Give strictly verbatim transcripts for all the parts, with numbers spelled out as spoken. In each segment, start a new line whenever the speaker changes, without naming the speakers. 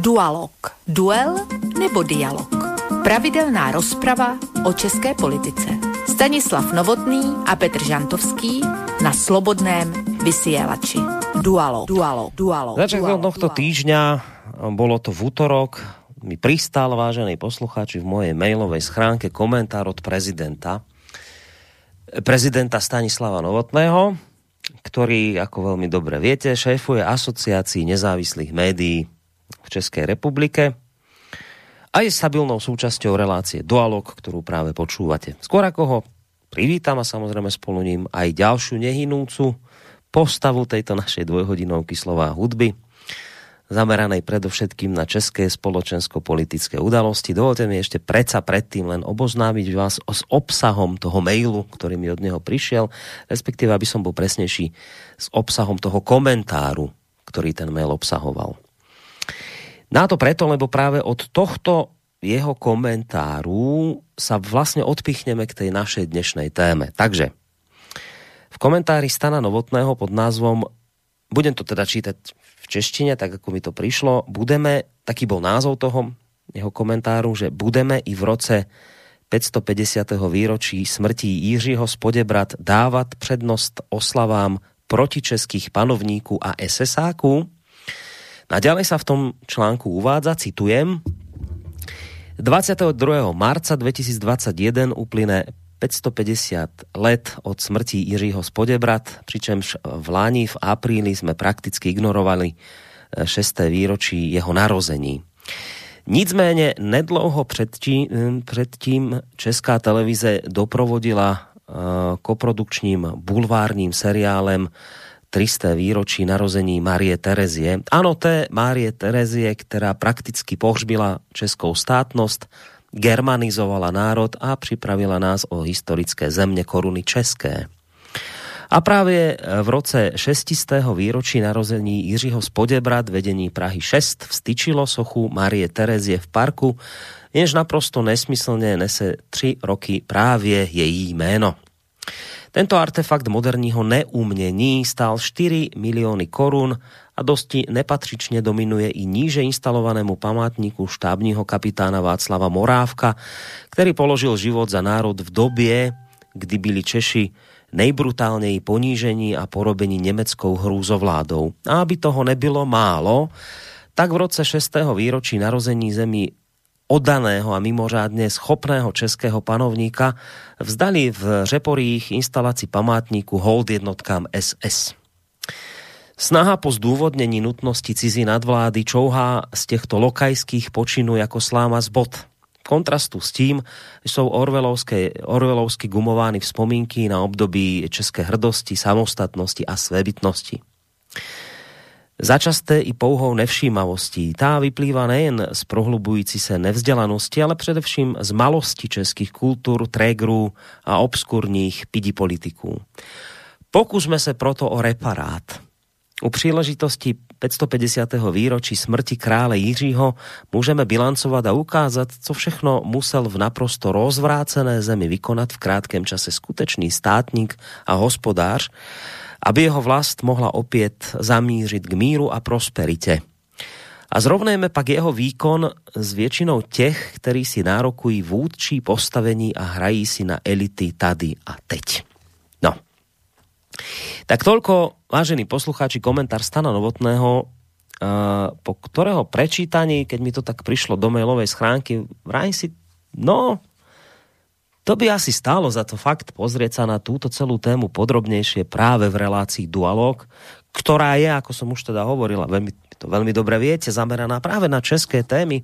Dualog. Duel nebo dialog. Pravidelná rozprava o české politice. Stanislav Novotný a Petr Žantovský na Slobodném vysielači. Dualog. Dualog. Dualog.
Začiatkom tohto týždňa, bolo to v útorok, mi pristal, vážení poslucháči, v mojej mailovej schránke komentár od prezidenta. Prezidenta Stanislava Novotného, ktorý, ako veľmi dobre viete, šéfuje Asociácii nezávislých médií v Českej republike a je stabilnou súčasťou relácie Dualog, ktorú práve počúvate. Skôr ako ho privítam a samozrejme spolu ním aj ďalšiu nehynúcu postavu tejto našej dvojhodinovky Slová hudby, zameranej predovšetkým na české spoločensko-politické udalosti. Dovolte mi ešte predsa predtým len oboznámiť vás s obsahom toho mailu, ktorý mi od neho prišiel, respektíve, aby som bol presnejší, s obsahom toho komentáru, ktorý ten mail obsahoval. Na to preto, lebo práve od tohto jeho komentáru sa vlastne odpichneme k tej našej dnešnej téme. Takže v komentári Stana Novotného pod názvom, budem to teda čítať v češtine, tak ako mi to prišlo, budeme, taký bol názov toho jeho komentáru, že budeme i v roce päťstopäťdesiateho výročí smrti Jiřího z Poděbrad dávať prednosť oslavám protičeských panovníků a esesáků. Naďalej sa v tom článku uvádza, citujem, dvadsiateho druhého marca dvetisícdvadsaťjeden uplyne päťstopäťdesiat let od smrti Jiřího z Poděbrad, pričemž v lani v apríli sme prakticky ignorovali šesté výročí jeho narození. Nicméně nedlouho předtím, předtím Česká televize doprovodila koprodukčním bulvárním seriálem tristé výročí narození Márie Terezie. Áno, té Márie Terezie, ktorá prakticky pohřbila českou státnosť, germanizovala národ a pripravila nás o historické zemne koruny české. A práve v roce šesťstého výročí narození Jiřího z Poděbrad vedení Prahy šesť vstyčilo sochu Márie Terezie v parku, jenž naprosto nesmyslne nese tri roky právě její jméno. Tento artefakt moderního neumnení stál štyri milióny korún a dosti nepatřične dominuje i níže instalovanému památníku štábního kapitána Václava Morávka, ktorý položil život za národ v dobie, kdy byli Češi nejbrutálněji ponížení a porobení nemeckou hrůzovládou. A aby toho nebylo málo, tak v roce šestého výročí narození zemi oddaného a mimořádne schopného českého panovníka vzdali v Řeporích instalaci památníku hold jednotkám es es. Snaha po zdôvodnení nutnosti cizí nadvlády čouhá z těchto lokajských počinů jako sláma z bod. Kontrastu s tím jsou orwellovsky gumovány vzpomínky na období české hrdosti, samostatnosti a svébytnosti. Začasté i pouhou nevšímavostí. Tá vyplýva nejen z prohlubující se nevzdelanosti, ale především z malosti českých kultúr, trégrů a obskurních pidipolitiků. Pokusme se proto o reparát. U příležitosti päťstopäťdesiateho výročí smrti krále Jiřího můžeme bilancovat a ukázat, co všechno musel v naprosto rozvrácené zemi vykonat v krátkém čase skutečný státník a hospodář, aby jeho vlast mohla opět zamířit k míru a prosperite. A zrovnejme pak jeho výkon s většinou těch, kteří si nárokují vůdčí postavení a hrají si na elity tady a teď. No. Tak toľko, vážení poslucháči, komentár Stana Novotného, po ktorého prečítaní, keď mi to tak prišlo do mailovej schránky, vrajím si, no, to by asi stálo za to fakt pozrieť sa na túto celú tému podrobnejšie práve v relácii Dualog, ktorá je, ako som už teda hovorila, veľmi, to veľmi dobre viete, zameraná práve na české témy.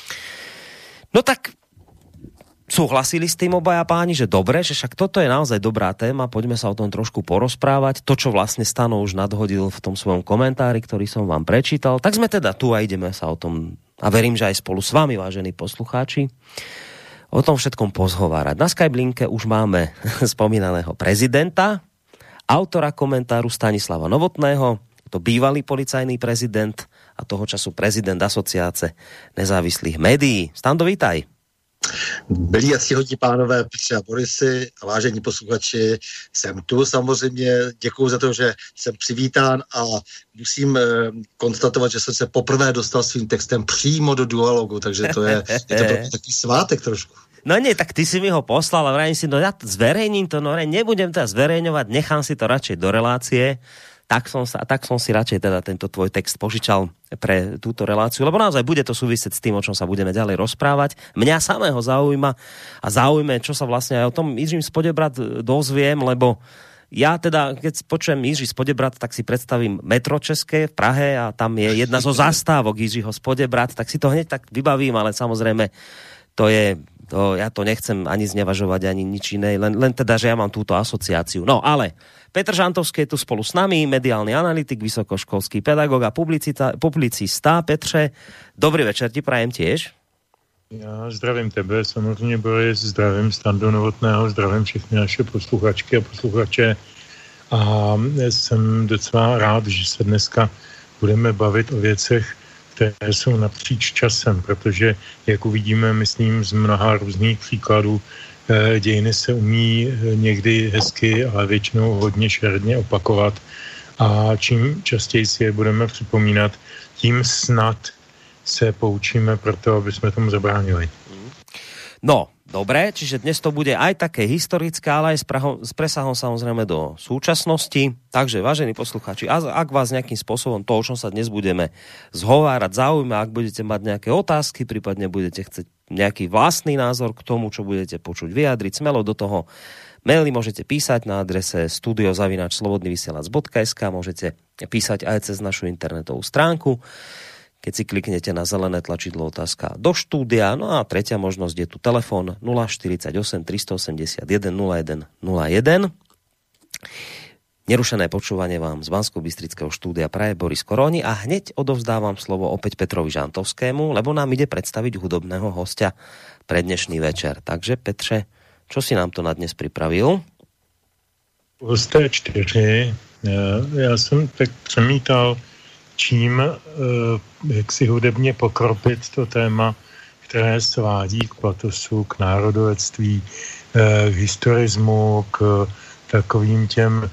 No tak súhlasili s tým obaja páni, že dobre, že však toto je naozaj dobrá téma, poďme sa o tom trošku porozprávať. To, čo vlastne Stano už nadhodil v tom svojom komentári, ktorý som vám prečítal, tak sme teda tu a ideme sa o tom, a verím, že aj spolu s vami, vážení poslucháči, o tom všetkom pozhovárať. Na Skyblinke už máme spomínaného prezidenta, autora komentáru Stanislava Novotného, to bývalý policajný prezident a toho času prezident Asociácie nezávislých médií. Stando, vítaj.
Milí a ctihodní pánové Petře a Borisy a vážení posluchači, jsem tu samozřejmě, děkuju za to, že jsem přivítán a musím eh, konstatovat, že jsem se poprvé dostal svým textem přímo do Dualogu, takže to je, je to takový svátek trošku.
No nie, tak ty si mi ho poslal a vrajím si, no ja zverejním to, no nebudem to zverejňovať, nechám si to radšej do relácie. Tak som, sa, tak som si radšej teda tento tvoj text požičal pre túto reláciu, lebo naozaj bude to súvisieť s tým, o čom sa budeme ďalej rozprávať. Mňa samého zaujíma a zaujme, čo sa vlastne aj o tom Jiřím z Poděbrad dozviem, lebo ja teda, keď počujem Jiří z Poděbrad, tak si predstavím metro České v Prahe a tam je jedna zo zastávok Jiřího z Poděbrad, tak si to hneď tak vybavím, ale samozrejme to je... To, ja to nechcem ani znevažovať, ani nič iné, len, len teda, že ja mám túto asociáciu. No ale Petr Žantovský je tu spolu s nami, mediálny analytik, vysokoškolský pedagóg a publicita, publicista. Petře, dobrý večer ti prajem tiež.
Já zdravím tebe, samozřejmě Boris, zdravím Standu Novotného, zdravím všechny naše posluchačky a posluchače a jsem docela rád, že se dneska budeme bavit o věcech, které jsou napříč časem, protože, jak uvidíme, myslím, z mnoha různých příkladů, dějiny se umí někdy hezky, ale většinou hodně šeredně opakovat a čím častěji si je budeme připomínat, tím snad se poučíme pro to, aby jsme tomu zabránili.
No, dobre, čiže dnes to bude aj také historické, ale aj s, prahom, s presahom samozrejme do súčasnosti. Takže, vážení poslucháči, ak vás nejakým spôsobom to, o čom sa dnes budeme zhovárať, zaujíma, ak budete mať nejaké otázky, prípadne budete chcieť nejaký vlastný názor k tomu, čo budete počuť, vyjadriť, smelo do toho maily môžete písať na adrese studio zavináč slobodný vysielač bodka es ká, môžete písať aj cez našu internetovú stránku, keď si kliknete na zelené tlačidlo otázka do štúdia. No a tretia možnosť je tu telefón nula štyridsaťosem tristoosemdesiatjeden nula jeden nula jeden. Nerušené počúvanie vám z Banskobystrického štúdia praje Boris Koroni a hneď odovzdávam slovo opäť Petrovi Žantovskému, lebo nám ide predstaviť hudobného hostia pre dnešný večer. Takže Petře, čo si nám to na dnes pripravil?
Hosté čtyři. Já jsem tak přemítal, čím jak si hudebně pokropit to téma, které svádí k patosu, k národovectví, k historismu, k takovým těm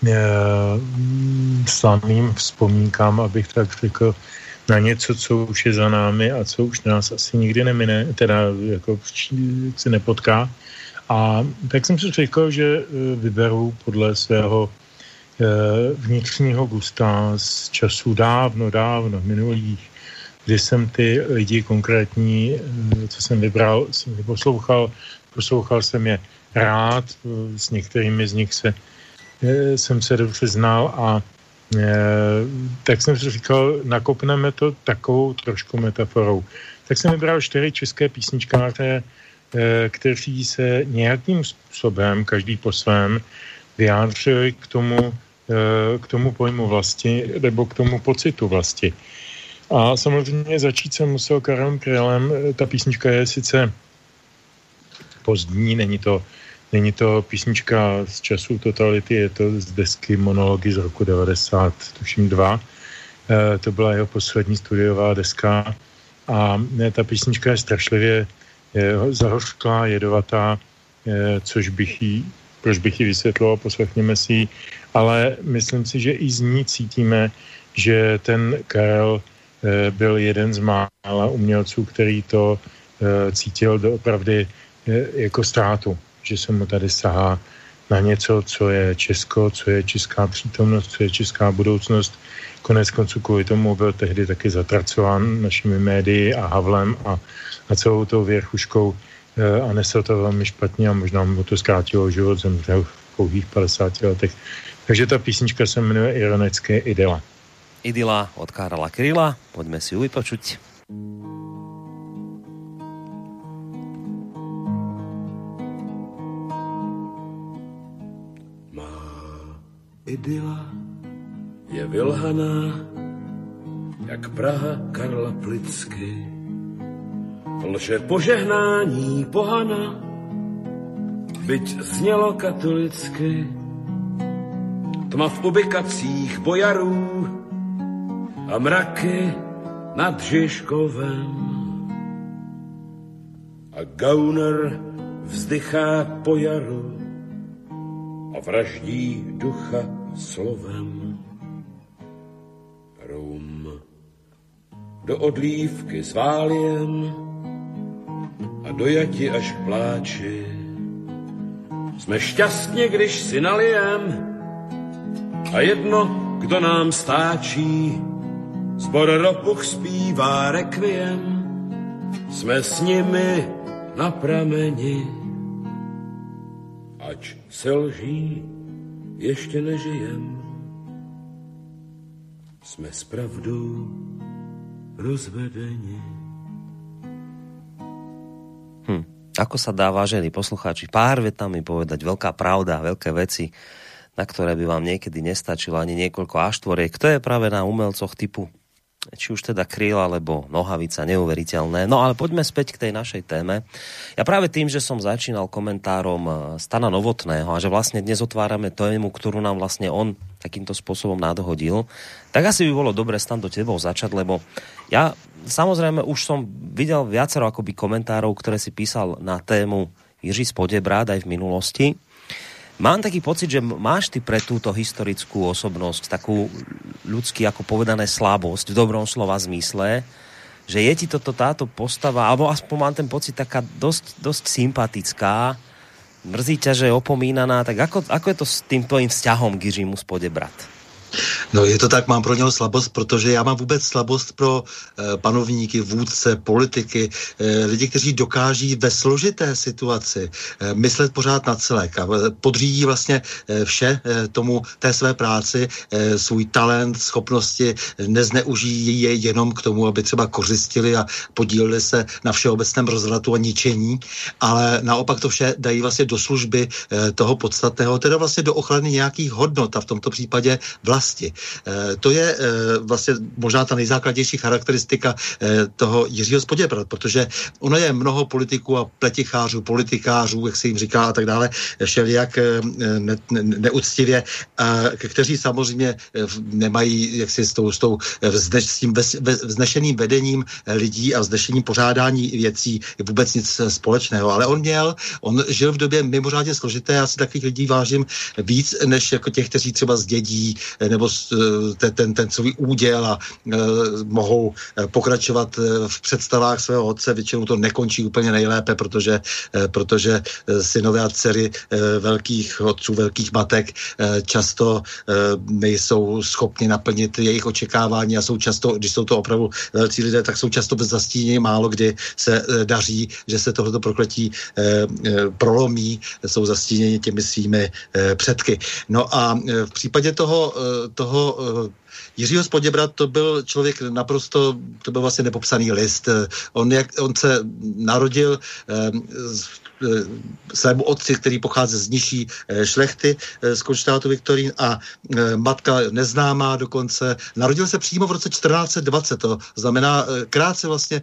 slavným vzpomínkám, abych tak řekl, na něco, co už je za námi a co už nás asi nikdy nemine, teda jako se nepotká. A tak jsem si řekl, že vyberu podle svého vnitřního gusta z časů dávno, dávno minulých, kdy jsem ty lidi konkrétní, co jsem vybral, jsem poslouchal, poslouchal jsem je rád, s některými z nich se, jsem se dobře znal a tak jsem si říkal, nakopneme to takovou trošku metaforou. Tak jsem vybral čtyři české písničkáře, kteří se nějakým způsobem, každý po svém, vyjádřili k tomu, k tomu pojmu vlasti, nebo k tomu pocitu vlasti. A samozřejmě začít jsem musel Karlem Krylen. Ta písnička je sice pozdní, není to, není to písnička z času totality, je to z desky Monology z roku devadesát, tuším dva. E, to byla jeho poslední studiová deska a ne, ta písnička je strašlivě je, zahořklá, jedovatá, e, což bych jí, proč bych ji vysvětloval, poslechněme si ji, ale myslím si, že i z ní cítíme, že ten Karel e, byl jeden z mála umělců, který to e, cítil doopravdy e, jako ztrátu, že se mu tady sahá na něco, co je Česko, co je česká přítomnost, co je česká budoucnost. Konec konců kvůli tomu byl tehdy taky zatracován našimi médii a Havlem a, a celou tou věrchuškou e, a nesl to velmi špatně a možná mu to zkrátilo život, zemřel v pouhých padesáti letech. Takže ta písnička se jmenuje ironicky Idyla.
Idyla od Karla Kryla, poďme si ju vypočuť.
Má idyla je vylhaná, jak Praha Karla Plicky. Lže požehnání pohana, byť znělo katolicky. Tma v ubikacích bojarů a mraky nad Žižkovem. a gauner vzdychá po jaru a vraždí ducha slovem. Rum do odlívky s váliem a dojati až k pláči. Jsme šťastně, když si nalijem a jedno, kdo nám stáčí. Zbor Ropuch zpívá rekviem, jsme s nimi na prameni. Ač se lží, ještě nežijem, jsme s pravdou rozvedeni.
Hm. Ako sa dá, vážení poslucháči, pár vetami povedať veľká pravda, veľké veci, na ktoré by vám niekedy nestačilo ani niekoľko áštvoriek. To je práve na umelcoch typu, či už teda Kryl alebo Nohavica, neuveriteľné. No ale poďme späť k tej našej téme. Ja práve tým, že som začínal komentárom Stana Novotného a že vlastne dnes otvárame tému, ktorú nám vlastne on takýmto spôsobom nadhodil, tak asi by bolo dobre, Stan, do tebou začať, lebo ja samozrejme už som videl viacero akoby komentárov, ktoré si písal na tému Jiří Spodebrád aj v minulosti. Mám taký pocit, že máš ty pre túto historickú osobnosť takú ľudsky, ako povedané, slabosť v dobrom slova zmysle, že je ti toto táto postava, alebo aspoň mám ten pocit taká dosť, dosť sympatická, mrzí ťa, že je opomínaná, tak ako, ako je to s tým tvojím vzťahom k Jiřímu Spodebrat?
No je to tak, mám pro něho slabost, protože já mám vůbec slabost pro e, panovníky, vůdce, politiky, e, lidi, kteří dokáží ve složité situaci e, myslet pořád na celek a podřídí vlastně e, vše e, tomu té své práci, e, svůj talent, schopnosti, nezneužijí je jenom k tomu, aby třeba kořistili a podíleli se na všeobecném rozvratu a ničení, ale naopak to vše dají vlastně do služby e, toho podstatného, teda vlastně do ochrany nějakých hodnot a v tomto případě vlasti. To je vlastně možná ta nejzákladnější charakteristika toho Jiřího Spodebrat, protože ono je mnoho politiků a pletichářů, politikářů, jak se jim říká a tak dále, všelijak ne, ne, neúctivě, kteří samozřejmě nemají jaksi s, tou, s, tou, s tím vznešeným vedením lidí a vznešeným pořádání věcí vůbec nic společného. Ale on měl, on žil v době mimořádně složité, já si takových lidí vážím víc, než jako těch, kteří třeba zdědí nebo ten, ten, ten svůj úděl a e, mohou pokračovat v představách svého otce. Většinou to nekončí úplně nejlépe, protože, e, protože synové a dcery e, velkých otců, velkých matek e, často e, nejsou schopni naplnit jejich očekávání a jsou často, když jsou to opravdu velcí lidé, tak jsou často bez zastínění, málo kdy se e, daří, že se tohleto prokletí e, e, prolomí, jsou zastíněni těmi svými e, předky. No a e, v případě toho toho Jiřího Spodebrat to byl člověk naprosto, to byl vlastně nepopsaný list. On, jak, on se narodil eh, svému otci, který pochází z nižší šlechty z Konštátu Viktorín a matka neznámá dokonce. Narodil se přímo v roce čtrnáct dvacet, to znamená krátce vlastně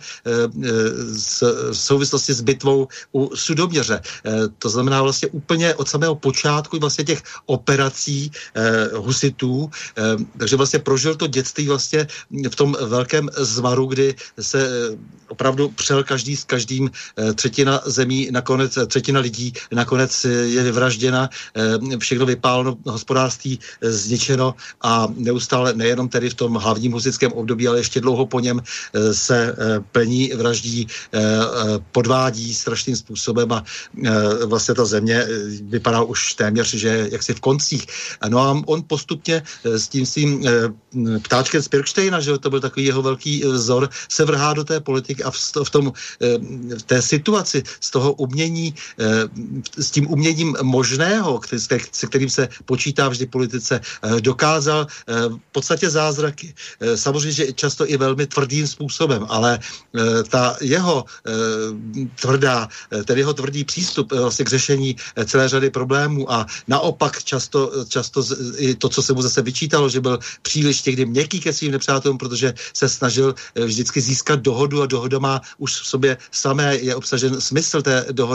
v souvislosti s bitvou u Sudoměře. To znamená vlastně úplně od samého počátku vlastně těch operací husitů, takže vlastně prožil to dětství vlastně v tom velkém zmaru, kdy se opravdu přel každý s každým, třetina zemí nakonec, třetina lidí nakonec je vyvražděna, všechno vypáleno, hospodářství zničeno a neustále nejenom tedy v tom hlavním husitském období, ale ještě dlouho po něm se plení, vraždí, podvádí strašným způsobem a vlastně ta země vypadá už téměř, že jaksi v koncích. No a on postupně s tím svým ptáčkem z Pirkštejna, že to byl takový jeho velký vzor, se vrhá do té politiky a v, v, tom, v té situaci z toho umění, s tím uměním možného, se kterým se počítá vždy politice, dokázal v podstatě zázraky. Samozřejmě, že často i velmi tvrdým způsobem, ale ta jeho tvrdá, ten jeho tvrdý přístup vlastně k řešení celé řady problémů a naopak často, často i to, co se mu zase vyčítalo, že byl příliš někdy měkký ke svým nepřátelům, protože se snažil vždycky získat dohodu a dohoda má už v sobě samé, je obsažen smysl té dohody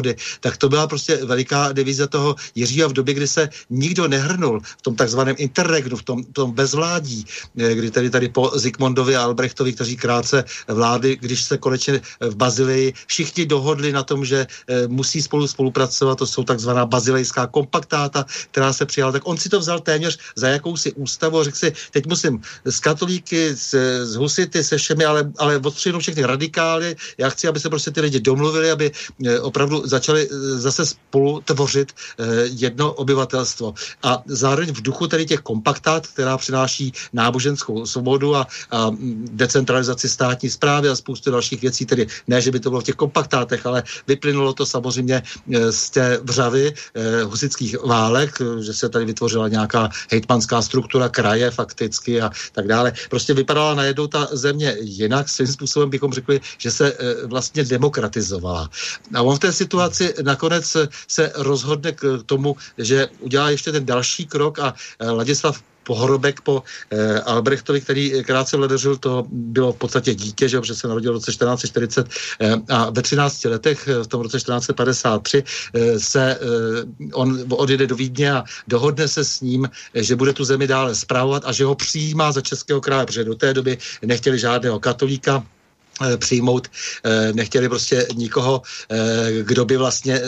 svobody, tak to byla prostě veliká devíza toho Jiřího v době, kdy se nikdo nehrnul v tom takzvaném interregnu, v tom, v tom bezvládí, kdy tady tady po Zikmundovi a Albrechtovi, kteří krátce vlády, když se konečně v Bazilii všichni dohodli na tom, že musí spolu spolupracovat, to jsou takzvaná bazilejská kompaktáta, která se přijala, tak on si to vzal téměř za jakousi ústavu a řekl si, teď musím s katolíky, s, s husity, se všemi, ale, ale odstřihnout všechny radikály, já chci, aby se prostě ty lidi domluvili, aby opravdu začali zase spolu tvořit jedno obyvatelstvo. A zároveň v duchu tady těch kompaktát, která přináší náboženskou svobodu a, a decentralizaci státní správy a spoustu dalších věcí, tedy ne, že by to bylo v těch kompaktátech, ale vyplynulo to samozřejmě z té vřavy eh, husických válek, že se tady vytvořila nějaká hejtmanská struktura kraje fakticky a tak dále. Prostě vypadala najednou ta země jinak, svým způsobem bychom řekli, že se eh, vlastně demokratizovala. A on v té situaci nakonec se rozhodne k tomu, že udělá ještě ten další krok a eh, Ladislav Pohrobek po eh, Albrechtovi, který krátce vledařil, to bylo v podstatě dítě, že, že se narodil v roce čtrnáct set čtyřicet eh, a ve třinácti letech, v tom roce čtrnáct set padesát tři, eh, se eh, on odjede do Vídně a dohodne se s ním, eh, že bude tu zemi dále spravovat a že ho přijímá za českého krále, protože do té doby nechtěli žádného katolíka přijmout, nechtěli prostě nikoho, kdo by vlastně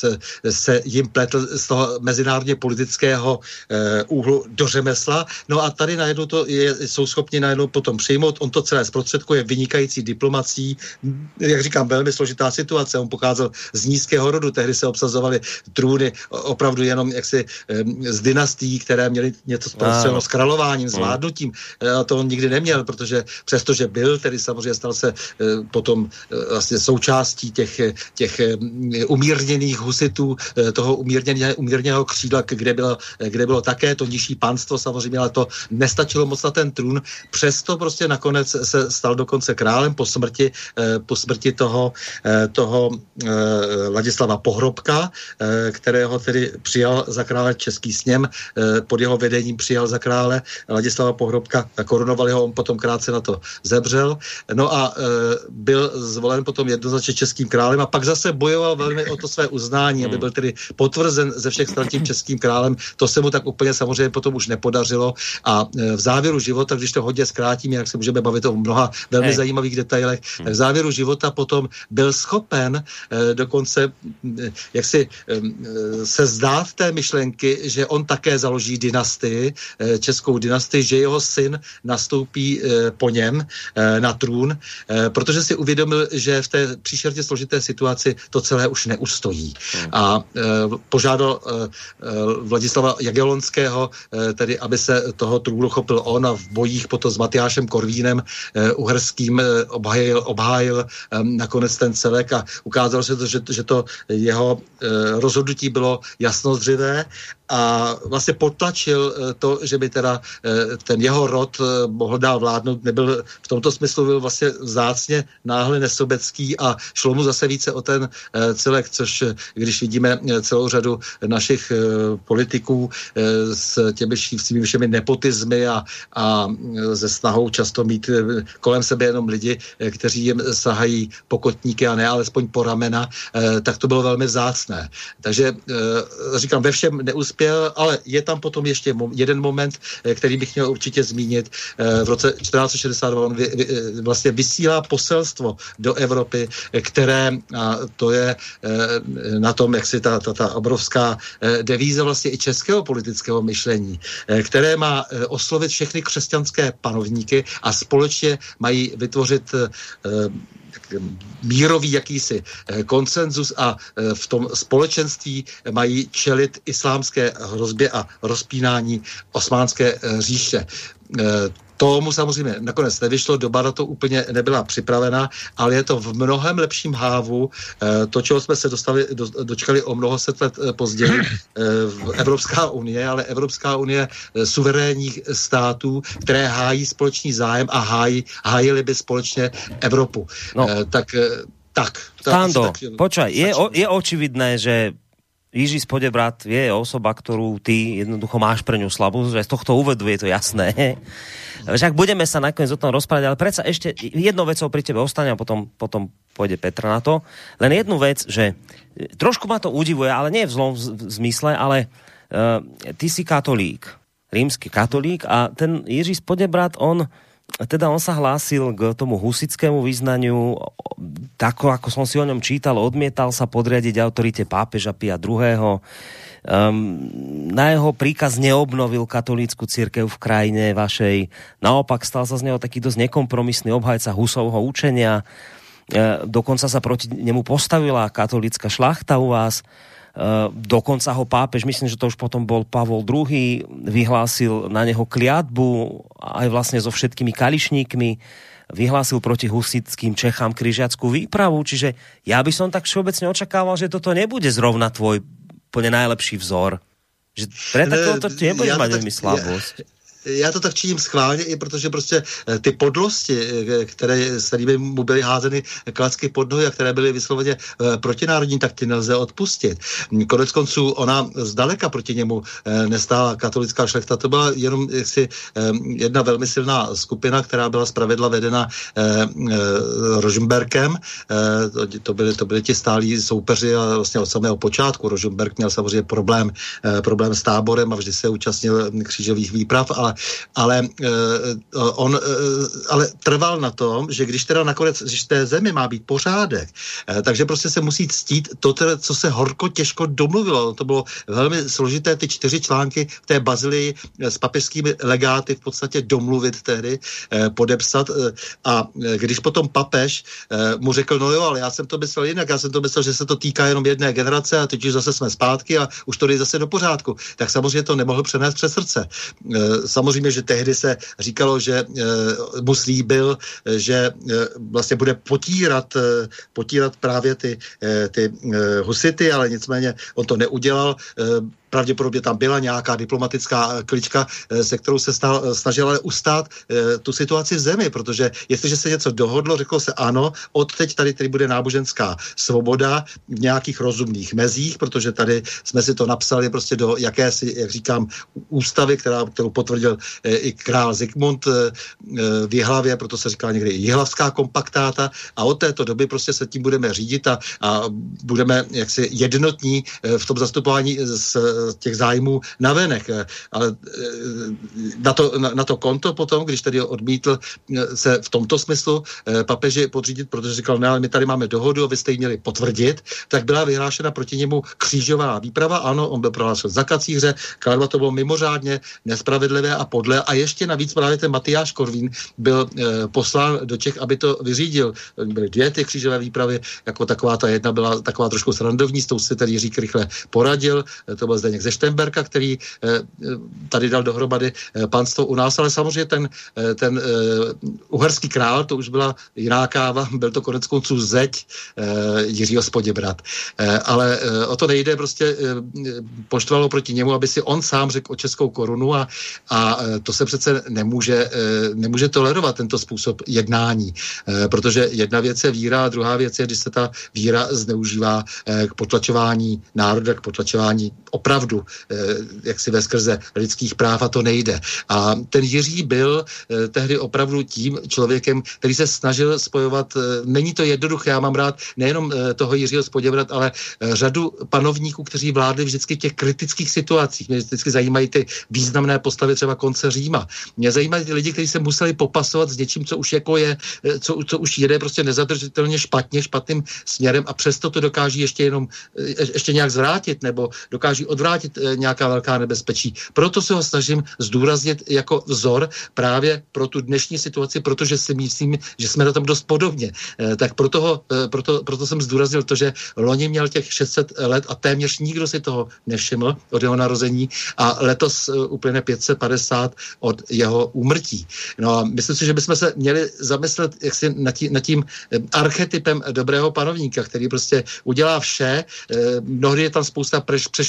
se jim pletl z toho mezinárodně politického úhlu do řemesla. No a tady najednou to je, jsou schopni najednou potom přijmout. On to celé zprostředkuje vynikající diplomací. Jak říkám, velmi složitá situace. On pocházel z nízkého rodu, tehdy se obsazovaly trůny opravdu jenom jaksi z dynastií, které měly něco společného s králováním, s vládnutím. A to on nikdy neměl, protože přestože byl, tedy samozřejmě stal se potom vlastně součástí těch, těch umírněných husitů, toho umírněného, umírněného křídla, kde bylo, kde bylo také to nižší panstvo samozřejmě, ale to nestačilo moc na ten trůn. Přesto prostě nakonec se stal dokonce králem po smrti, po smrti toho, toho Ladislava Pohrobka, kterého tedy přijal za krále český sněm, pod jeho vedením přijal za krále Ladislava Pohrobka a korunovali ho, on potom krátce na to zemřel. No a byl zvolen potom jednoznačně českým králem a pak zase bojoval velmi o to své uznání, aby byl tedy potvrzen ze všech stran tím českým králem. To se mu tak úplně samozřejmě potom už nepodařilo a v závěru života, když to hodně zkrátím, jak se můžeme bavit o mnoha velmi hey. zajímavých detailech, tak v závěru života potom byl schopen dokonce jak si se zdát té myšlenky, že on také založí dynastii, českou dynastii, že jeho syn nastoupí po něm na trůn, protože si uvědomil, že v té příšerně složité situaci to celé už neustojí. A e, požádal e, Vladislava Jagellonského, e, tedy aby se toho trůnu chopil on a v bojích potom s Matyášem Korvínem e, uherským e, obhájil, obhájil e, nakonec ten celek a ukázalo se to, že, že to jeho e, rozhodnutí bylo jasnozřivé a vlastně potlačil to, že by teda ten jeho rod mohl dál vládnout, nebyl v tomto smyslu byl vlastně vzácně náhle nesobecký a šlo mu zase více o ten celek, což když vidíme celou řadu našich politiků s těmi svými všemi nepotizmy a, a ze snahou často mít kolem sebe jenom lidi, kteří jim sahají pokotníky a ne alespoň po ramena, tak to bylo velmi vzácné. Takže říkám, ve všem neuspěl, ale je tam potom ještě jeden moment, který bych měl určitě zmínit. V roce čtrnáct set šedesát dva on vy, vy, vlastně vysílá poselstvo do Evropy, které, a to je na tom, jak si ta, ta, ta obrovská devíza vlastně i českého politického myšlení, které má oslovit všechny křesťanské panovníky a společně mají vytvořit mírový jakýsi konsenzus a v tom společenství mají čelit islámské hrozbě a rozpínání osmánské říše. Tomu samozřejmě nakonec nevyšlo, doba na to úplně nebyla připravena, ale je to v mnohem lepším hávu. To, čeho jsme se dostali, do, dočkali o mnoho set let později, Evropská unie, ale Evropská unie suverénních států, které hájí společný zájem a hájí, hájili by společně Evropu. No. Tak, tak.
Stando, počkaj, je, o, je očividné, že Jiří Spodebrat je osoba, ktorú ty jednoducho máš pre ňu slabú, že z tohto úvodu je to jasné. Však budeme sa nakoniec o tom rozprávať, ale predsa ešte jednou vecou pri tebe ostane a potom, potom pôjde Petra na to. Len jednu vec, že trošku ma to udivuje, ale nie v zlom zmysle, ale uh, ty si katolík, rímsky katolík a ten Jiří Spodebrat, on teda on sa hlásil k tomu husitskému vyznaniu, tako ako som si o ňom čítal, odmietal sa podriadiť autorite pápeža Pia druhého. Um, na jeho príkaz neobnovil katolícku cirkev v krajine vašej. Naopak stal sa z neho taký dosť nekompromisný obhajca Husovho učenia. E, dokonca sa proti nemu postavila katolícka šlachta u vás. Uh, dokonca ho pápež, myslím, že to už potom bol Pavol druhý, vyhlásil na neho kliatbu aj vlastne so všetkými kališníkmi, vyhlásil proti husitským Čechám križiackú výpravu, čiže ja by som tak všeobecne očakával, že toto nebude zrovna tvoj plne najlepší vzor. Že pre takového to nebudeš mať veľmi slabosť.
Já to tak činím schválně, i protože prostě ty podlosti, které, s kterými mu byly házeny klacky pod nohy a které byly vysloveně protinárodní, tak ty nelze odpustit. Konec konců ona zdaleka proti němu nestála katolická šlechta. To byla jenom jaksi jedna velmi silná skupina, která byla zpravidla vedena Rožmberkem. To byly, to byly ti stálí soupeři a vlastně od samého počátku. Rožmberk měl samozřejmě problém, problém s táborem a vždy se účastnil křížových výprav, ale ale uh, on uh, ale trval na tom, že když teda nakonec, když v té zemi má být pořádek, uh, takže prostě se musí ctít to, teda, co se horko těžko domluvilo. To bylo velmi složité, ty čtyři články v té bazilii s papežskými legáty v podstatě domluvit tehdy, uh, podepsat uh, a uh, když potom papež uh, mu řekl, no jo, ale já jsem to myslel jinak, já jsem to myslel, že se to týká jenom jedné generace a teď už zase jsme zpátky a už to jde zase do pořádku. Tak samozřejmě to nemohl přenést přes srdce. Uh, Samozřejmě, že tehdy se říkalo, že e, mu slíbil, že e, vlastně bude potírat, e, potírat právě ty, e, ty e, husity, ale nicméně on to neudělal. E, Pravděpodobně tam byla nějaká diplomatická klička, se kterou se stal, snažil ale ustát e, tu situaci v zemi, protože jestliže se něco dohodlo, řeklo se ano, odteď tady, tady bude náboženská svoboda v nějakých rozumných mezích, protože tady jsme si to napsali prostě do jakési, jak říkám, ústavy, která, kterou potvrdil e, i král Zikmund e, v Jihlavě, proto se říká někdy Jihlavská kompaktáta a od této doby prostě se tím budeme řídit a, a budeme jaksi jednotní e, v tom zastupování s těch zájmů navenek. Ale na to, na, na to konto potom, když tedy odmítl se v tomto smyslu papeži podřídit, protože říkal, ne, ale my tady máme dohodu a vy jste ji měli potvrdit, tak byla vyhlášena proti němu křížová výprava. Ano, on byl prohlášen za kacíře, kladva to bylo mimořádně nespravedlivé a podle. A ještě navíc právě ten Matyáš Korvín byl eh, poslán do Čech, aby to vyřídil. Byly dvě ty křížové výpravy, jako taková ta jedna byla taková trošku srandovní, s tou si tedy Jiřík rychle poradil. To byl Zdeněk ze Štemberka, který eh, tady dal dohromady eh, panstvo u nás, ale samozřejmě ten, eh, ten eh, uherský král, to už byla jiná káva, byl to konec konců zeď eh, Jiřího Spoděbrat. Eh, ale eh, o to nejde, prostě eh, poštvalo proti němu, aby si on sám řekl o českou korunu a, a eh, to se přece nemůže, eh, nemůže tolerovat tento způsob jednání, eh, protože jedna věc je víra a druhá věc je, když se ta víra zneužívá eh, k potlačování národa, k potlačování opravdu, eh, jak si ve skrze lidských práv a to nejde. A ten Jiří byl eh, tehdy opravdu tím člověkem, který se snažil spojovat, eh, není to jednoduché, já mám rád nejenom eh, toho Jiřího Spoděbrat, ale eh, řadu panovníků, kteří vládli vždycky v těch kritických situacích. Mě vždycky zajímají ty významné postavy třeba konce Říma. Mě zajímají ty lidi, kteří se museli popasovat s něčím, co už jako je, eh, co, co už jede prostě nezadržitelně špatně, špatným směrem a přesto to dokáží ještě jenom eh, ještě nějak zvrátit nebo dokáží odvrátit eh, nějaká velká nebezpečí. Proto se ho snažím zdůraznit jako vzor právě pro tu dnešní situaci, protože si myslím, že jsme na tom dost podobně. Eh, tak proto, ho, eh, proto, proto jsem zdůraznil to, že loni měl těch šest set let a téměř nikdo si toho nevšiml od jeho narození a letos eh, uplyne pět set padesát od jeho úmrtí. No a myslím si, že bychom se měli zamyslet jaksi nad tím, nad tím eh, archetypem dobrého panovníka, který prostě udělá vše. Eh, mnohdy je tam spousta preš, přešlapů v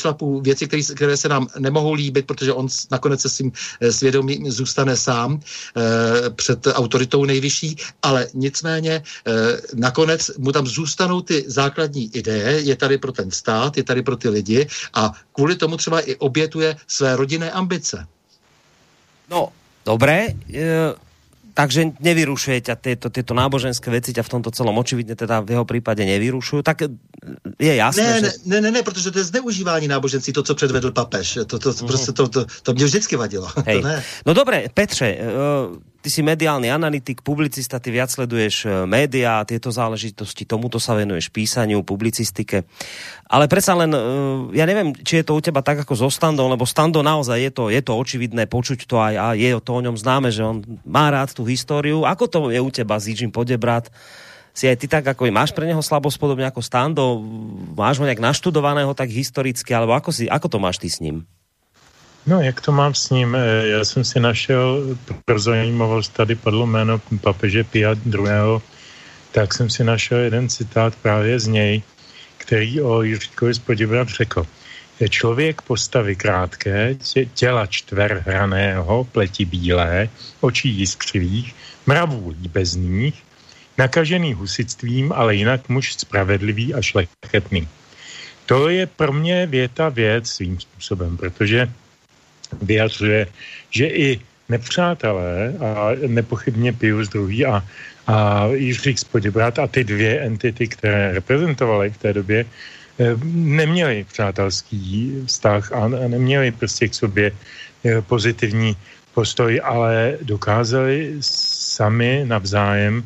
věci, které, které se nám nemohou líbit, protože on nakonec se svým svědomím zůstane sám e, před autoritou nejvyšší, ale nicméně e, nakonec mu tam zůstanou ty základní ideje, je tady pro ten stát, je tady pro ty lidi a kvůli tomu třeba i obětuje své rodinné ambice.
No, dobré, e, takže nevyrušuje ťa tieto, tieto náboženské veci, ťa v tomto celom očividne teda v jeho prípade nevyrušujú, tak je jasné,
ne,
že...
Ne, ne, ne, protože to je zneužívání náboženství, to, co předvedl papež. To, to, mm. prostě to, to, to mě vždycky vadilo.
Hej.
To ne.
No dobre, Petře, ty si mediálny analytik, publicista, ty viac sleduješ médiá, tieto záležitosti, tomuto sa venuješ písaniu, publicistike. Ale predsa len, ja neviem, či je to u teba tak ako so Standom, lebo Stando naozaj je to, je to očividné, počuť to aj a je to o ňom známe, že on má rád tú históriu. Ako to je u teba s Jiřím Poděbrad? Si aj ty tak, ako máš pre neho slabosť, podobne ako Stando? Máš ho nejak naštudovaného tak historicky, alebo ako, si, ako to máš ty s ním?
No, jak to mám s ním? Já jsem si našel, pro zajímavost, tady padlo jméno papeže Pia druhého. Tak jsem si našel jeden citát právě z něj, který o Jiříkovi z Poděbrad řekl. Je člověk postavy krátké, těla čtverhraného, pleti bílé, očí jiskřivých, mravů líbezných, nakažený husitstvím, ale jinak muž spravedlivý a šlechetný. To je pro mě věta věc svým způsobem, protože vyjadřuje, že i nepřátelé a nepochybně Pius druhý. a, a Jiřík z Poděbrad a ty dvě entity, které reprezentovaly v té době, neměli přátelský vztah a neměli prostě k sobě pozitivní postoj, ale dokázali sami navzájem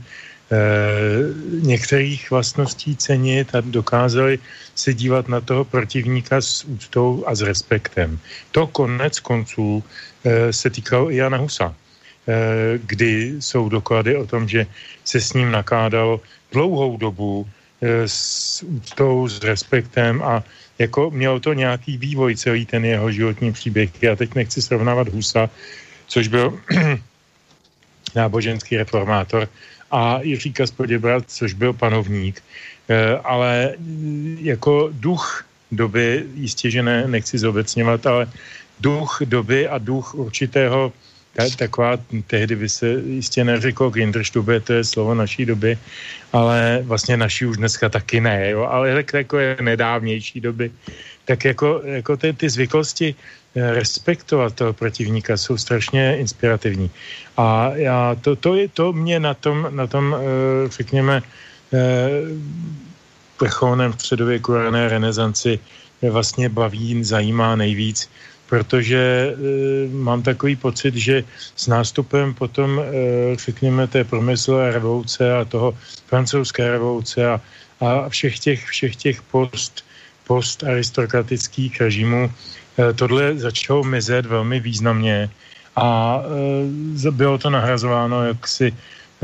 některých vlastností cenit a dokázali se dívat na toho protivníka s úctou a s respektem. To konec konců se týkalo i Jana Husa, kdy jsou doklady o tom, že se s ním nakládalo dlouhou dobu s úctou, s respektem a jako mělo to nějaký vývoj celý ten jeho životní příběh. Já teď nechci srovnávat Husa, což byl náboženský reformátor, a Jiříka z Poděbrad, což byl panovník. E, ale jako duch doby, jistě, že ne, nechci zobecňovat, ale duch doby a duch určitého, taková, tehdy by se jistě neřeklo Kinderstube, to je slovo naší doby, ale vlastně naší už dneska taky ne, jo, ale takové nedávnější doby. Tak jako, jako ty, ty zvyklosti respektovat toho protivníka jsou strašně inspirativní. A já, to, to, je, to mě na tom, na tom řekněme, vrcholném středověku rané renesanci vlastně baví, zajímá nejvíc, protože mám takový pocit, že s nástupem potom, řekněme, té průmyslové revoluce a toho francouzské revoluce a, a všech těch, všech těch post, postaristokratických režimů, tohle začalo mizet velmi významně a e, bylo to nahrazováno jaksi e,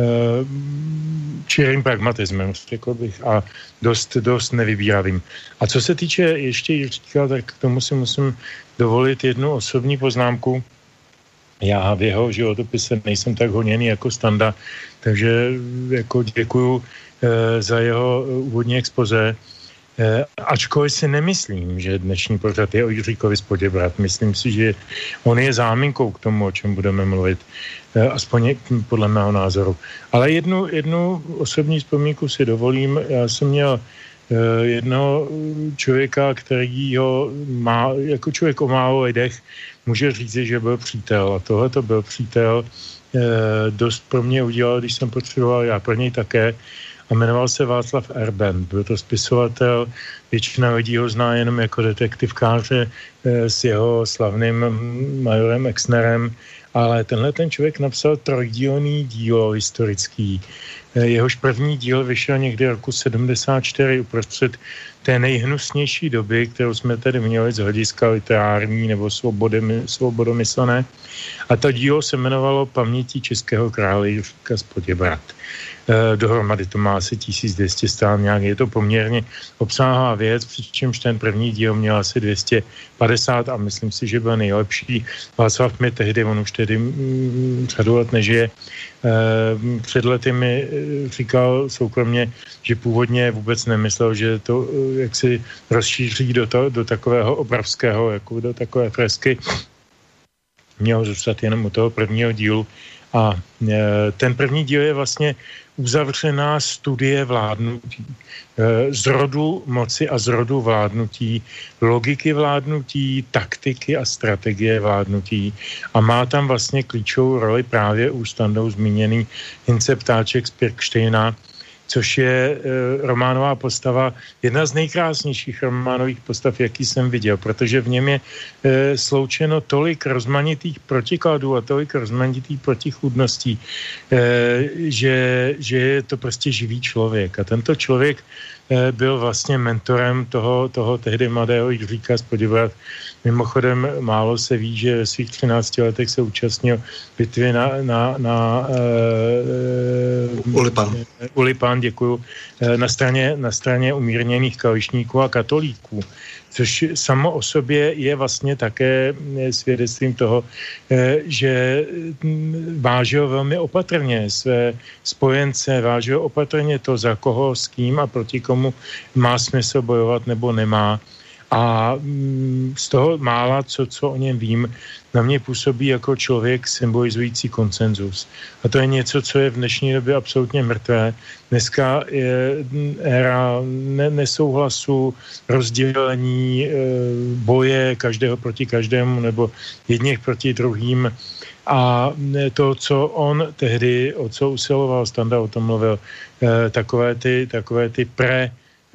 čirým pragmatismem, řekl bych, a dost, dost nevybíravým. A co se týče ještě Jiříka, tak k tomu si musím dovolit jednu osobní poznámku. Já v jeho životopise nejsem tak honěný jako Standa, takže jako děkuju e, za jeho úvodní expoze. E, ačkoliv si nemyslím, že dnešní pořad je o Jiříkovi z Poděbrad. Myslím si, že on je záminkou k tomu, o čem budeme mluvit. E, aspoň podle mého názoru. Ale jednu, jednu osobní vzpomínku si dovolím. Já jsem měl e, jednoho člověka, který ho má, jako člověk o málo lidech, může říct, že byl přítel. A tohle to byl přítel. E, dost pro mě udělal, když jsem potřeboval, já pro něj také. A jmenoval se Václav Erben. Byl to spisovatel, většina lidí ho zná jenom jako detektivkáře e, s jeho slavným majorem Exnerem, ale tenhle ten člověk napsal trojdílný dílo historický. E, jehož první díl vyšel někdy roku sedmdesát čtyři uprostřed té nejhnusnější doby, kterou jsme tady měli z hlediska literární nebo svobodomyslné. A to dílo se jmenovalo Paměti českého krále Jiříka z Poděbrad. E, dohromady to má asi tisíc dvě stě strán nějak, je to poměrně obsáhlá věc, přičemž ten první díl měl asi dvě stě padesát a myslím si, že byl nejlepší. Václav mi tehdy, on už tedy mm, řadu let nežije, e, před lety mi říkal soukromně, že původně vůbec nemyslel, že to jak si rozšíří do, to, do takového obrovského, jako do takové fresky. Mělo zůstat jenom u toho prvního dílu. A ten první díl je vlastně uzavřená studie vládnutí. Z rodu moci a z rodu vládnutí, logiky vládnutí, taktiky a strategie vládnutí. A má tam vlastně klíčovou roli právě už standou zmíněný Hince Ptáček z Pirkštejna, což je e, románová postava, jedna z nejkrásnějších románových postav, jaký jsem viděl, protože v něm je e, sloučeno tolik rozmanitých protikladů a tolik rozmanitých protichůdností, e, že, že je to prostě živý člověk. A tento člověk e, byl vlastně mentorem toho, toho tehdy mladého Jiříka z Poděbrad. Mimochodem, málo se ví, že ve svých třinácti letech se účastnil bitvy na, na, na uh,
Ulipan.
Ulipan, děkuju, na straně, na straně umírněných kališníků a katolíků, což samo o sobě je vlastně také svědectvím toho, že vážil velmi opatrně své spojence, vážil opatrně to, za koho, s kým a proti komu má smysl bojovat nebo nemá. A z toho mála, co, co o něm vím, na mě působí jako člověk symbolizující konsenzus. A to je něco, co je v dnešní době absolutně mrtvé. Dneska je éra nesouhlasu, rozdělení, boje každého proti každému nebo jedněch proti druhým. A to, co on tehdy, o co usiloval, Standa o tom mluvil, takové ty, takové ty pre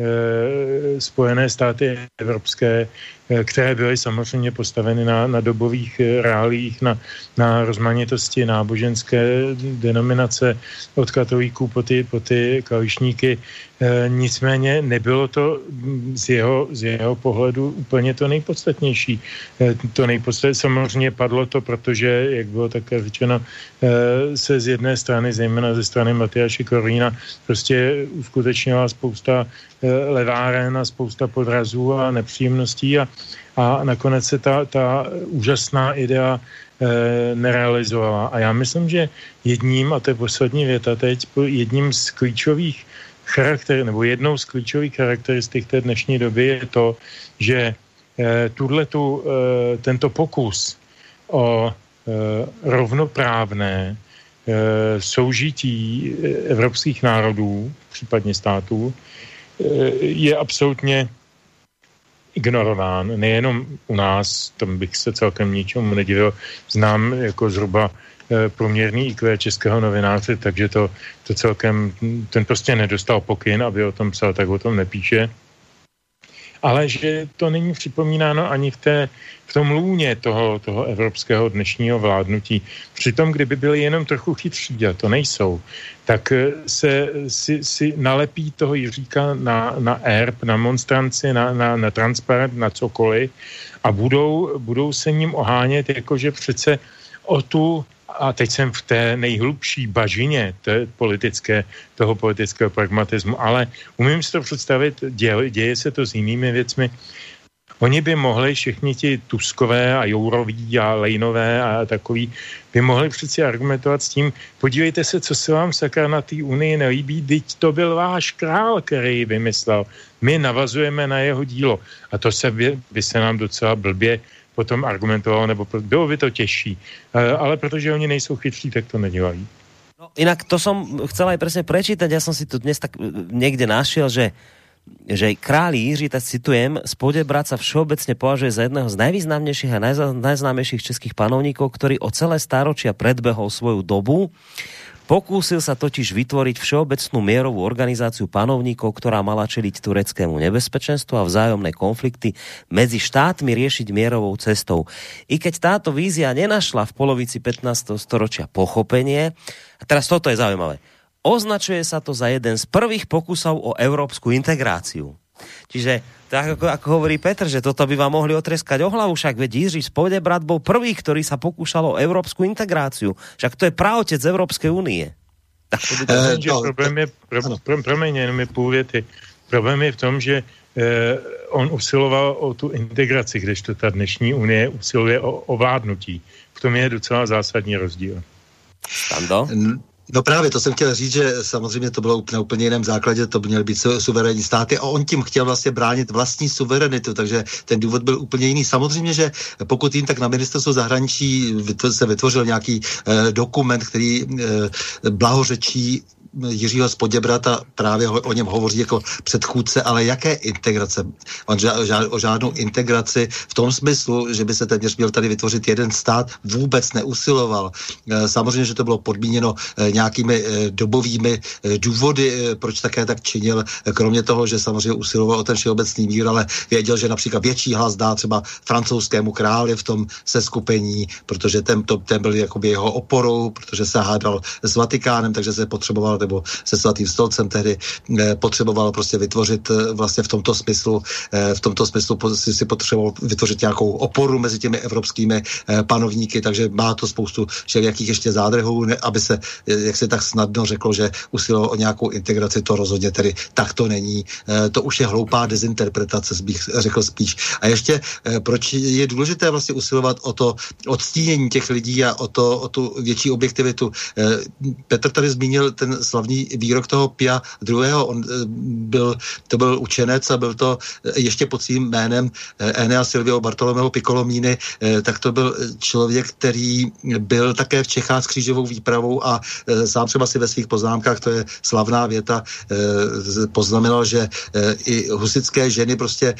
Spojené státy evropské, které byly samozřejmě postaveny na, na dobových reálích, na, na rozmanitosti náboženské denominace od katolíků po ty, po ty kališníky. E, nicméně nebylo to z jeho, z jeho pohledu úplně to nejpodstatnější. E, to nejpodstatnější samozřejmě padlo to, protože, jak bylo také řečeno, e, se z jedné strany, zejména ze strany Matyáše Korvína, prostě uskutečnila spousta e, leváren a spousta podrazů a nepříjemností a a nakonec se ta, ta úžasná idea e, nerealizovala. A já myslím, že jedním, a to je poslední věta teď, jedním z klíčových charakter, nebo jednou z klíčových charakteristik té dnešní doby je to, že e, tuhletu, e, tento pokus o e, rovnoprávné e, soužití evropských národů, případně států, e, je absolutně ignorován, nejenom u nás, tam bych se celkem ničemu nedivil, znám jako zhruba e, průměrný í kvé českého novináře, takže to, to celkem, ten prostě nedostal pokyn, aby o tom psal, tak o tom nepíše. Ale že to není připomínáno ani v, té, v tom lůně toho, toho evropského dnešního vládnutí. Přitom, kdyby byli jenom trochu chytří, a to nejsou, tak se si, si nalepí toho Jiříka na, na erb, na monstranci, na, na, na transparent, na cokoliv a budou, budou se ním ohánět, jakože přece o tu, a teď jsem v té nejhlubší bažině té politické, toho politického pragmatismu, ale umím si to představit, děje, děje se to s jinými věcmi. Oni by mohli, všichni ti Tuskové a Jouroví a Lejnové a takový, by mohli přeci argumentovat s tím, podívejte se, co se vám sakra na té unii nelíbí, teď to byl váš král, který ji vymyslel. My navazujeme na jeho dílo. A to se by, by se nám docela blbě potom argumentovalo, nebo bylo by to těžší. Ale protože oni nejsou chytří, tak to nedělají.
No, inak to som chcel aj presne prečítať, ja som si tu dnes tak niekde našiel, že že kráľ Jiří, tak citujem, z Poděbrad sa všeobecne považuje za jedného z najvýznamnejších a najznámejších českých panovníkov, ktorý o celé stáročia predbehol svoju dobu. Pokúsil sa totiž vytvoriť všeobecnú mierovú organizáciu panovníkov, ktorá mala čeliť tureckému nebezpečenstvu a vzájomné konflikty medzi štátmi riešiť mierovou cestou. I keď táto vízia nenašla v polovici pätnásteho storočia pochopenie, a teraz toto je zaujímavé, označuje sa to za jeden z prvých pokusov o európsku integráciu. Čiže, tak ako, ako hovorí Petr, že toto by vám mohli otreskať o hlavu, však veď Jiří z Poděbrad bol prvý, ktorý sa pokúšal o európsku integráciu. Však to je praotec Európskej únie. Tak to by to...
E, no, problém je, pro, pro, promiň, jenom je půl věty. Problém je v tom, že eh, on usiloval o tu integraci, kdežto ta dnešní unie usiluje o ovládnutí. V tom je docela zásadní rozdíl.
Stando?
No právě, to jsem chtěl říct, že samozřejmě to bylo na úplně jiném základě, to by měly být suverénní státy a on tím chtěl vlastně bránit vlastní suverenitu, takže ten důvod byl úplně jiný. Samozřejmě, že pokud jim, tak na ministerstvu zahraničí se vytvořil nějaký eh, dokument, který eh, blahořečí Jiřího z Poděbrada, právě ho, o něm hovoří jako předchůdce, ale jaké integrace? On ža, ža, o žádnou integraci v tom smyslu, že by se téměř měl tady vytvořit jeden stát, vůbec neusiloval. E, samozřejmě, že to bylo podmíněno e, nějakými e, dobovými e, důvody, e, proč také tak činil, e, kromě toho, že samozřejmě usiloval o ten všeobecný mír, ale věděl, že například větší hlas dá třeba francouzskému králi v tom seskupení, protože ten, to, ten byl jakoby jeho oporou, protože se hádal s Vatikánem, takže se potřeboval nebo se Svatým stolcem tehdy eh, potřeboval prostě vytvořit eh, vlastně v tomto smyslu, eh, v tomto smyslu si, si potřeboval vytvořit nějakou oporu mezi těmi evropskými eh, panovníky, takže má to spoustu všelijakých ještě zádrhů, ne, aby se, eh, jak se tak snadno řeklo, že usilovalo o nějakou integraci, to rozhodně tedy tak to není. Eh, to už je hloupá dezinterpretace, bych řekl spíš. A ještě, eh, proč je důležité vlastně usilovat o to odstínění těch lidí a o, to, o tu větší objektivitu. Eh, Petr tady zmínil ten slavný výrok toho Pia druhého. On byl, to byl učenec a byl to ještě pod svým jménem Enea Silvio Bartolomeo Piccolomini, tak to byl člověk, který byl také v Čechách s křížovou výpravou a sám třeba si ve svých poznámkách, to je slavná věta, poznamenal, že i husitské ženy prostě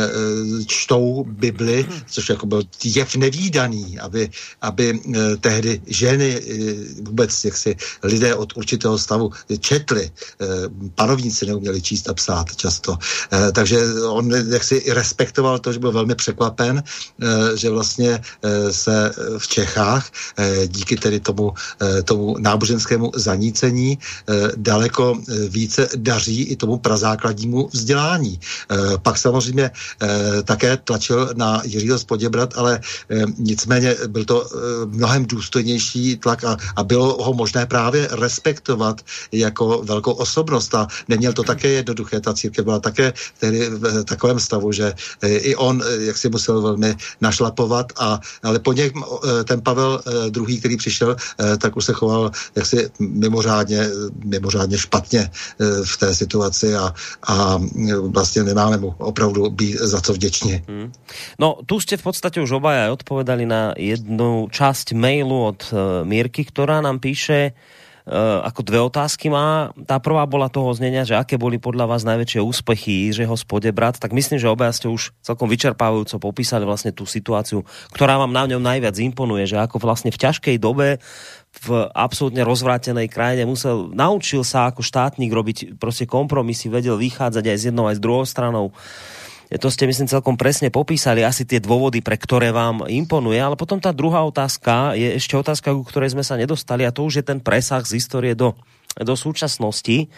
čtou Bibli, což jako byl jev nevídaný, aby, aby tehdy ženy vůbec jaksi lidé od určitého stavu četli. Panovníci neuměli číst a psát často. Takže on jaksi respektoval to, že byl velmi překvapen, že vlastně se v Čechách díky tedy tomu, tomu náboženskému zanícení daleko více daří i tomu prazákladnímu vzdělání. Pak samozřejmě také tlačil na Jiřího z Poděbrad, ale nicméně byl to mnohem důstojnější tlak a, a bylo ho možné právě respektovat jako velkou osobnost a neměl to také jednoduché. Ta církev byla také tedy v takovém stavu, že i on jak si musel velmi našlapovat, a, ale po něm ten Pavel druhý, který přišel, tak už se choval jaksi mimořádně, mimořádně špatně v té situaci a, a vlastně nemáme mu opravdu být za co vděční. Hmm.
No, tu ste v podstate už obaja odpovedali na jednu časť mailu od Mírky, ktorá nám píše, Uh, ako dve otázky má. Tá prvá bola toho znenia, že aké boli podľa vás najväčšie úspechy Jiřího z Poděbrad, tak myslím, že obaja ste už celkom vyčerpávajúco popísali vlastne tú situáciu, ktorá vám na ňom najviac imponuje, že ako vlastne v ťažkej dobe v absolútne rozvrátenej krajine musel, naučil sa ako štátnik robiť proste kompromisy, vedel vychádzať aj z jednou aj z druhou stranou. To ste, myslím, celkom presne popísali asi tie dôvody, pre ktoré vám imponuje, ale potom tá druhá otázka je ešte otázka, ku ktorej sme sa nedostali, a to už je ten presah z histórie do, do súčasnosti.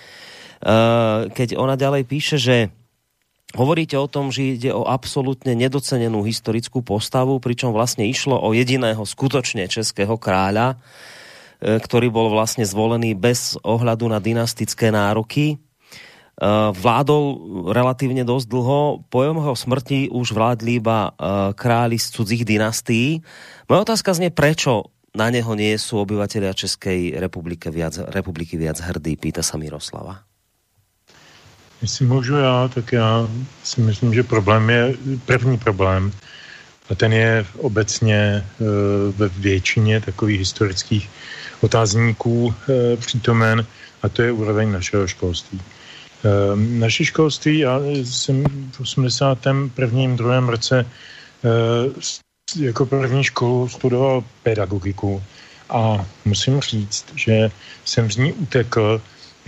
Keď ona ďalej píše, že hovoríte o tom, že ide o absolútne nedocenenú historickú postavu, pričom vlastne išlo o jediného skutočne českého kráľa, ktorý bol vlastne zvolený bez ohľadu na dynastické nároky. Vládol relatívne dosť dlho, po jeho smrti už vládli iba králi z cudzích dynastií. Moja otázka znie, prečo na neho nie sú obyvatelia Českej republiky viac, republiky viac hrdí, pýta sa Miroslava.
Jestli můžu já, tak já si myslím, že problém je, první problém, a ten je obecně ve většině takových historických otázníků přítomen, a to je úroveň našeho školství. Naše školství, já jsem v osmdesátém prvním druhém roce jako první školu studoval pedagogiku a musím říct, že jsem z ní utekl.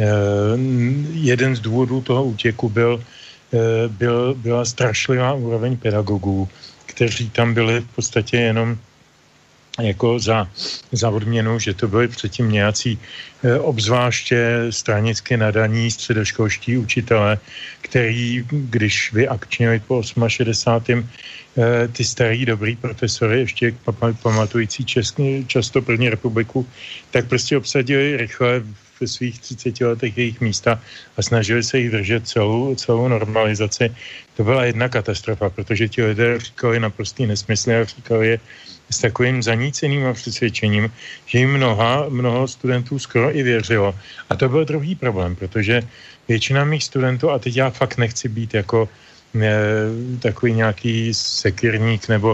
Jeden z důvodů toho útěku byl, byl, byla strašlivá úroveň pedagogů, kteří tam byli v podstatě jenom jako za, za odměnu, že to byli předtím nějací e, obzvláště stranicky nadaní středoškolští učitelé, který, když vyakčnili po šedesátém osmém e, ty starý dobrý profesory, ještě pamatující český, často první republiku, tak prostě obsadili rychle ve svých třiceti letech jejich místa a snažili se jich držet celou, celou normalizaci. To byla jedna katastrofa, protože ti lidé říkali naprostý nesmysly a říkali je s takovým zaníceným přesvědčením, že jim mnoha, mnoho studentů skoro i věřilo. A to byl druhý problém, protože většina mých studentů, a teď já fakt nechci být jako e, takový nějaký sekirník nebo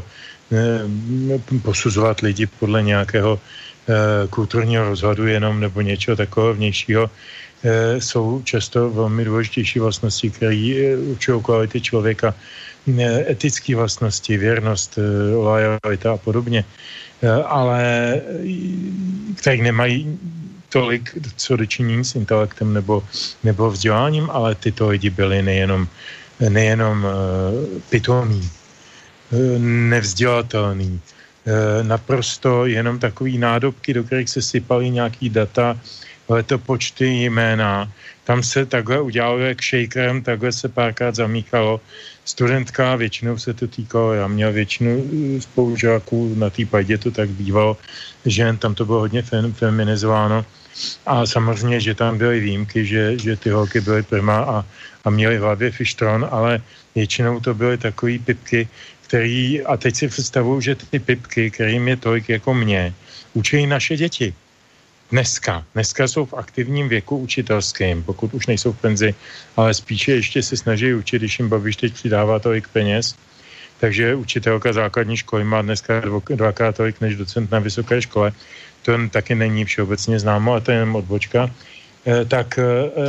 e, posuzovat lidi podle nějakého e, kulturního rozhodu jenom nebo něčeho takového vnějšího, e, jsou často velmi důležitější vlastnosti, které určují kvality člověka, e, etické vlastnosti, věrnost, e, loajalita a podobně, e, ale které nemají tolik co dočinění s intelektem nebo, nebo vzděláním, ale tyto lidi byli nejenom, nejenom uh, pitomí, uh, nevzdělatelný, uh, naprosto jenom takový nádobky, do kterých se sypaly nějaký data, letopočty, jména. Tam se takhle udělalo jak shakerem, takhle se párkrát zamíchalo. Studentka, většinou se to týkalo, já měl většinu spolužáků, na té pajdě to tak bývalo, že tam to bylo hodně feminizováno. A samozřejmě, že tam byly výjimky, že, že ty holky byly prima a, a měly v hlavě fištron, ale většinou to byly takový pipky, který, a teď si představuju, že ty pipky, kterým je tolik jako mě, učí naše děti. Dneska. Dneska jsou v aktivním věku učitelským, pokud už nejsou v penzi, ale spíše ještě se snaží učit, když jim Babiš teď přidává tolik peněz. Takže učitelka základní školy má dneska dvakrát tolik než docent na vysoké škole. To taky není všeobecně známo, a to je jenom odbočka. E, tak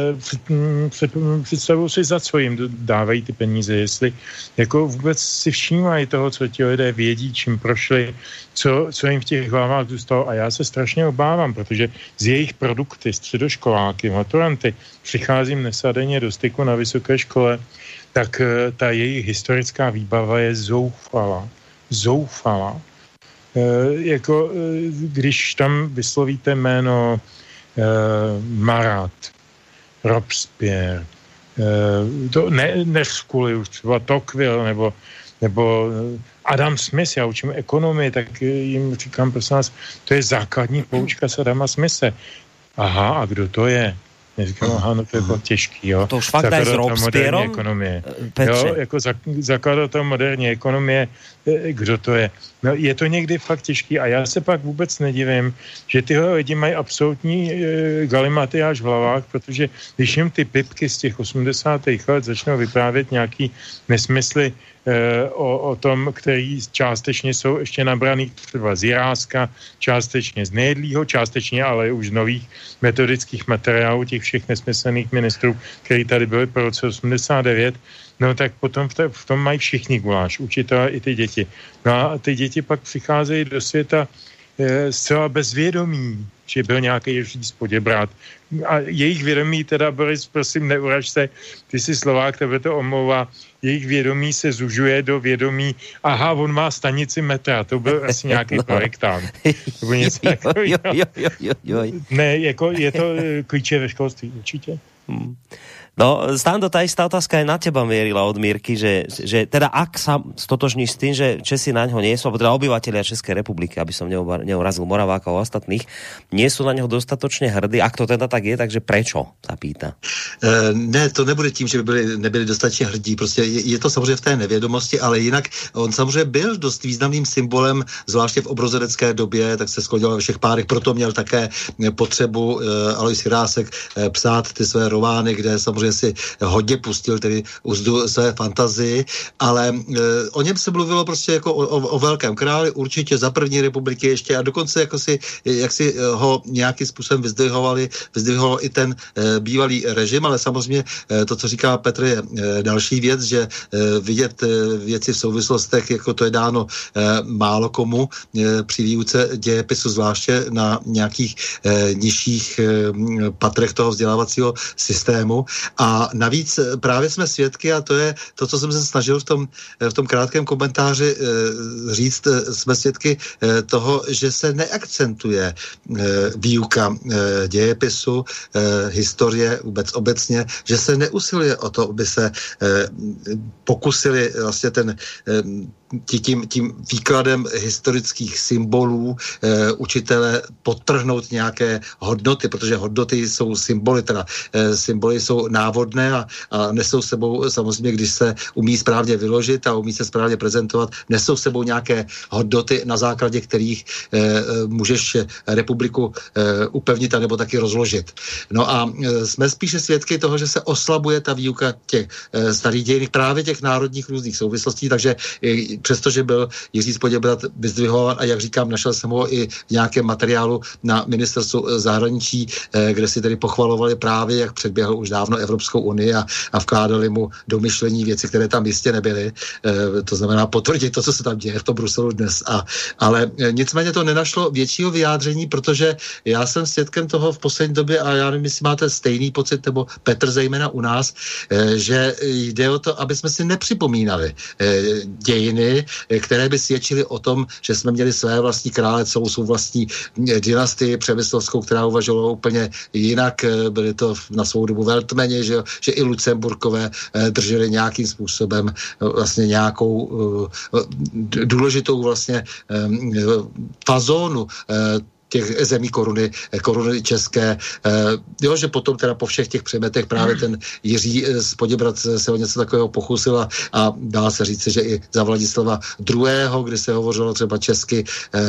e, představuji si, za co jim dávají ty peníze, jestli jako vůbec si všímají toho, co ti lidé vědí, čím prošli, co, co jim v těch hlavách zůstalo. A já se strašně obávám, protože z jejich produkty, středoškoláky, maturanty, přicházím nesadeně do styku na vysoké škole, tak ta jejich historická výbava je zoufalá. Zoufalá. E, jako, když tam vyslovíte jméno e, Marat, Robespierre, e, to ne, ne v škole už třeba Tocqueville, nebo, nebo Adam Smith, já učím ekonomii, tak jim říkám, prosím vás, to je základní poučka z Adama Smithe. Aha, a kdo to je? Neříkám, aha, no to je bylo těžký, jo.
To už fakt aj s Robespierrom?
Jo, jako zakladatel moderní ekonomie, kdo to je? No, je to někdy fakt těžký a já se pak vůbec nedivím, že tyhle lidi mají absolutní e, galimatiáž v hlavách, protože když jim ty pipky z těch osmdesátých let začnou vyprávět nějaký nesmysly e, o, o tom, který částečně jsou ještě nabraný třeba z Jiráska, částečně z nejedlýho, částečně ale už z nových metodických materiálů těch všech nesmyslných ministrů, který tady byli po roce osmdesát devět, no tak potom v, t- v tom mají všichni guláš, učitelé i ty děti. No a ty děti pak přicházejí do světa e, zcela bezvědomí, že byl nějaký Ježíš Poděbrát. A jejich vědomí teda, Boris, prosím, neuraž se, ty jsi Slovák, tebe to omlouvá, jejich vědomí se zužuje do vědomí, aha, on má stanici metra, to byl asi nějaký no. projektant. Nebo něco takového. Ne, jako je to klíče ve školství, určitě.
Hmm. No, Stando, tá istá otázka aj na teba mierila od Mírky, že, že teda ak sa stotožníš s tým, že Česi na ňo nie sú, alebo teda obyvatelia Českej republiky, aby som neurazil Moraváka a ostatných, nie sú na ňo dostatočne hrdí. Ak to teda tak je, takže prečo, sa pýta?
E, ne, to nebude tím, že by byli, nebyli dostatečně hrdí. Prostě je, je to samozřejmě v té nevědomosti, ale jinak on samozřejmě byl dost významným symbolem, zvláště v obrozenecké době, tak se sklonil ve všech párech, proto měl také potřebu e, Alois Jirásek e, psát ty své romány, kde samozřejmě si hodně pustil tedy uzdu své fantazii, ale e, o něm se mluvilo prostě jako o, o, o velkém králi, určitě za první republiky ještě a dokonce jako si, jak si ho nějakým způsobem vyzdvihovali, vyzdvihoval i ten e, bývalý režim, ale samozřejmě e, to, co říká Petr, je e, další věc, že e, vidět e, věci v souvislostech, jako to je dáno e, málo komu e, při výuce dějepisu, zvláště na nějakých e, nižších e, patrech toho vzdělávacího systému. A navíc právě jsme svědky, a to je to, co jsem se snažil v tom, v tom krátkém komentáři e, říct, jsme svědky e, toho, že se neakcentuje e, výuka e, dějepisu, e, historie vůbec obecně, že se neusiluje o to, aby se e, pokusili vlastně ten e, tím, tím výkladem historických symbolů e, učitele podtrhnout nějaké hodnoty, protože hodnoty jsou symboly, teda e, symboly jsou návodné a, a nesou sebou samozřejmě, když se umí správně vyložit a umí se správně prezentovat, nesou sebou nějaké hodnoty, na základě kterých e, můžeš republiku e, upevnit a nebo taky rozložit. No a e, jsme spíše svědky toho, že se oslabuje ta výuka těch e, starých dějin, právě těch národních různých souvislostí, takže e, přestože byl Jiří Spoděbrat vyzdvihován a jak říkám, našel jsem ho i v nějakém materiálu na ministerstvu zahraničí, e, kde si tedy pochvalovali právě, jak předběhl už dávno Evropskou unii a, a vkládali mu do myšlení věci, které tam jistě nebyly. E, to znamená potvrdit to, co se tam děje v tom Bruselu dnes. A, ale e, nicméně to nenašlo většího vyjádření, protože já jsem svědkem toho v poslední době a já nevím, jestli máte stejný pocit, nebo Petr zejména u nás, e, že jde o to, aby jsme si nepřipomínali e, dějiny, e, které by svědčily o tom, že jsme měli své vlastní krále, celou svou vlastní dynastii přemyslovskou, která uvažovala úplně jinak. E, byly to na svou dobu veltmeni, že, že i Lucemburkové e, drželi nějakým způsobem e, vlastně nějakou e, důležitou vlastně e, fazónu e, těch zemí koruny, koruny české. Jo, že potom teda po všech těch přemetech právě ten Jiří Spoděbrat se o něco takového pokusil a, a dá se říct, že i za Vladislava druhého., kdy se hovořilo třeba česky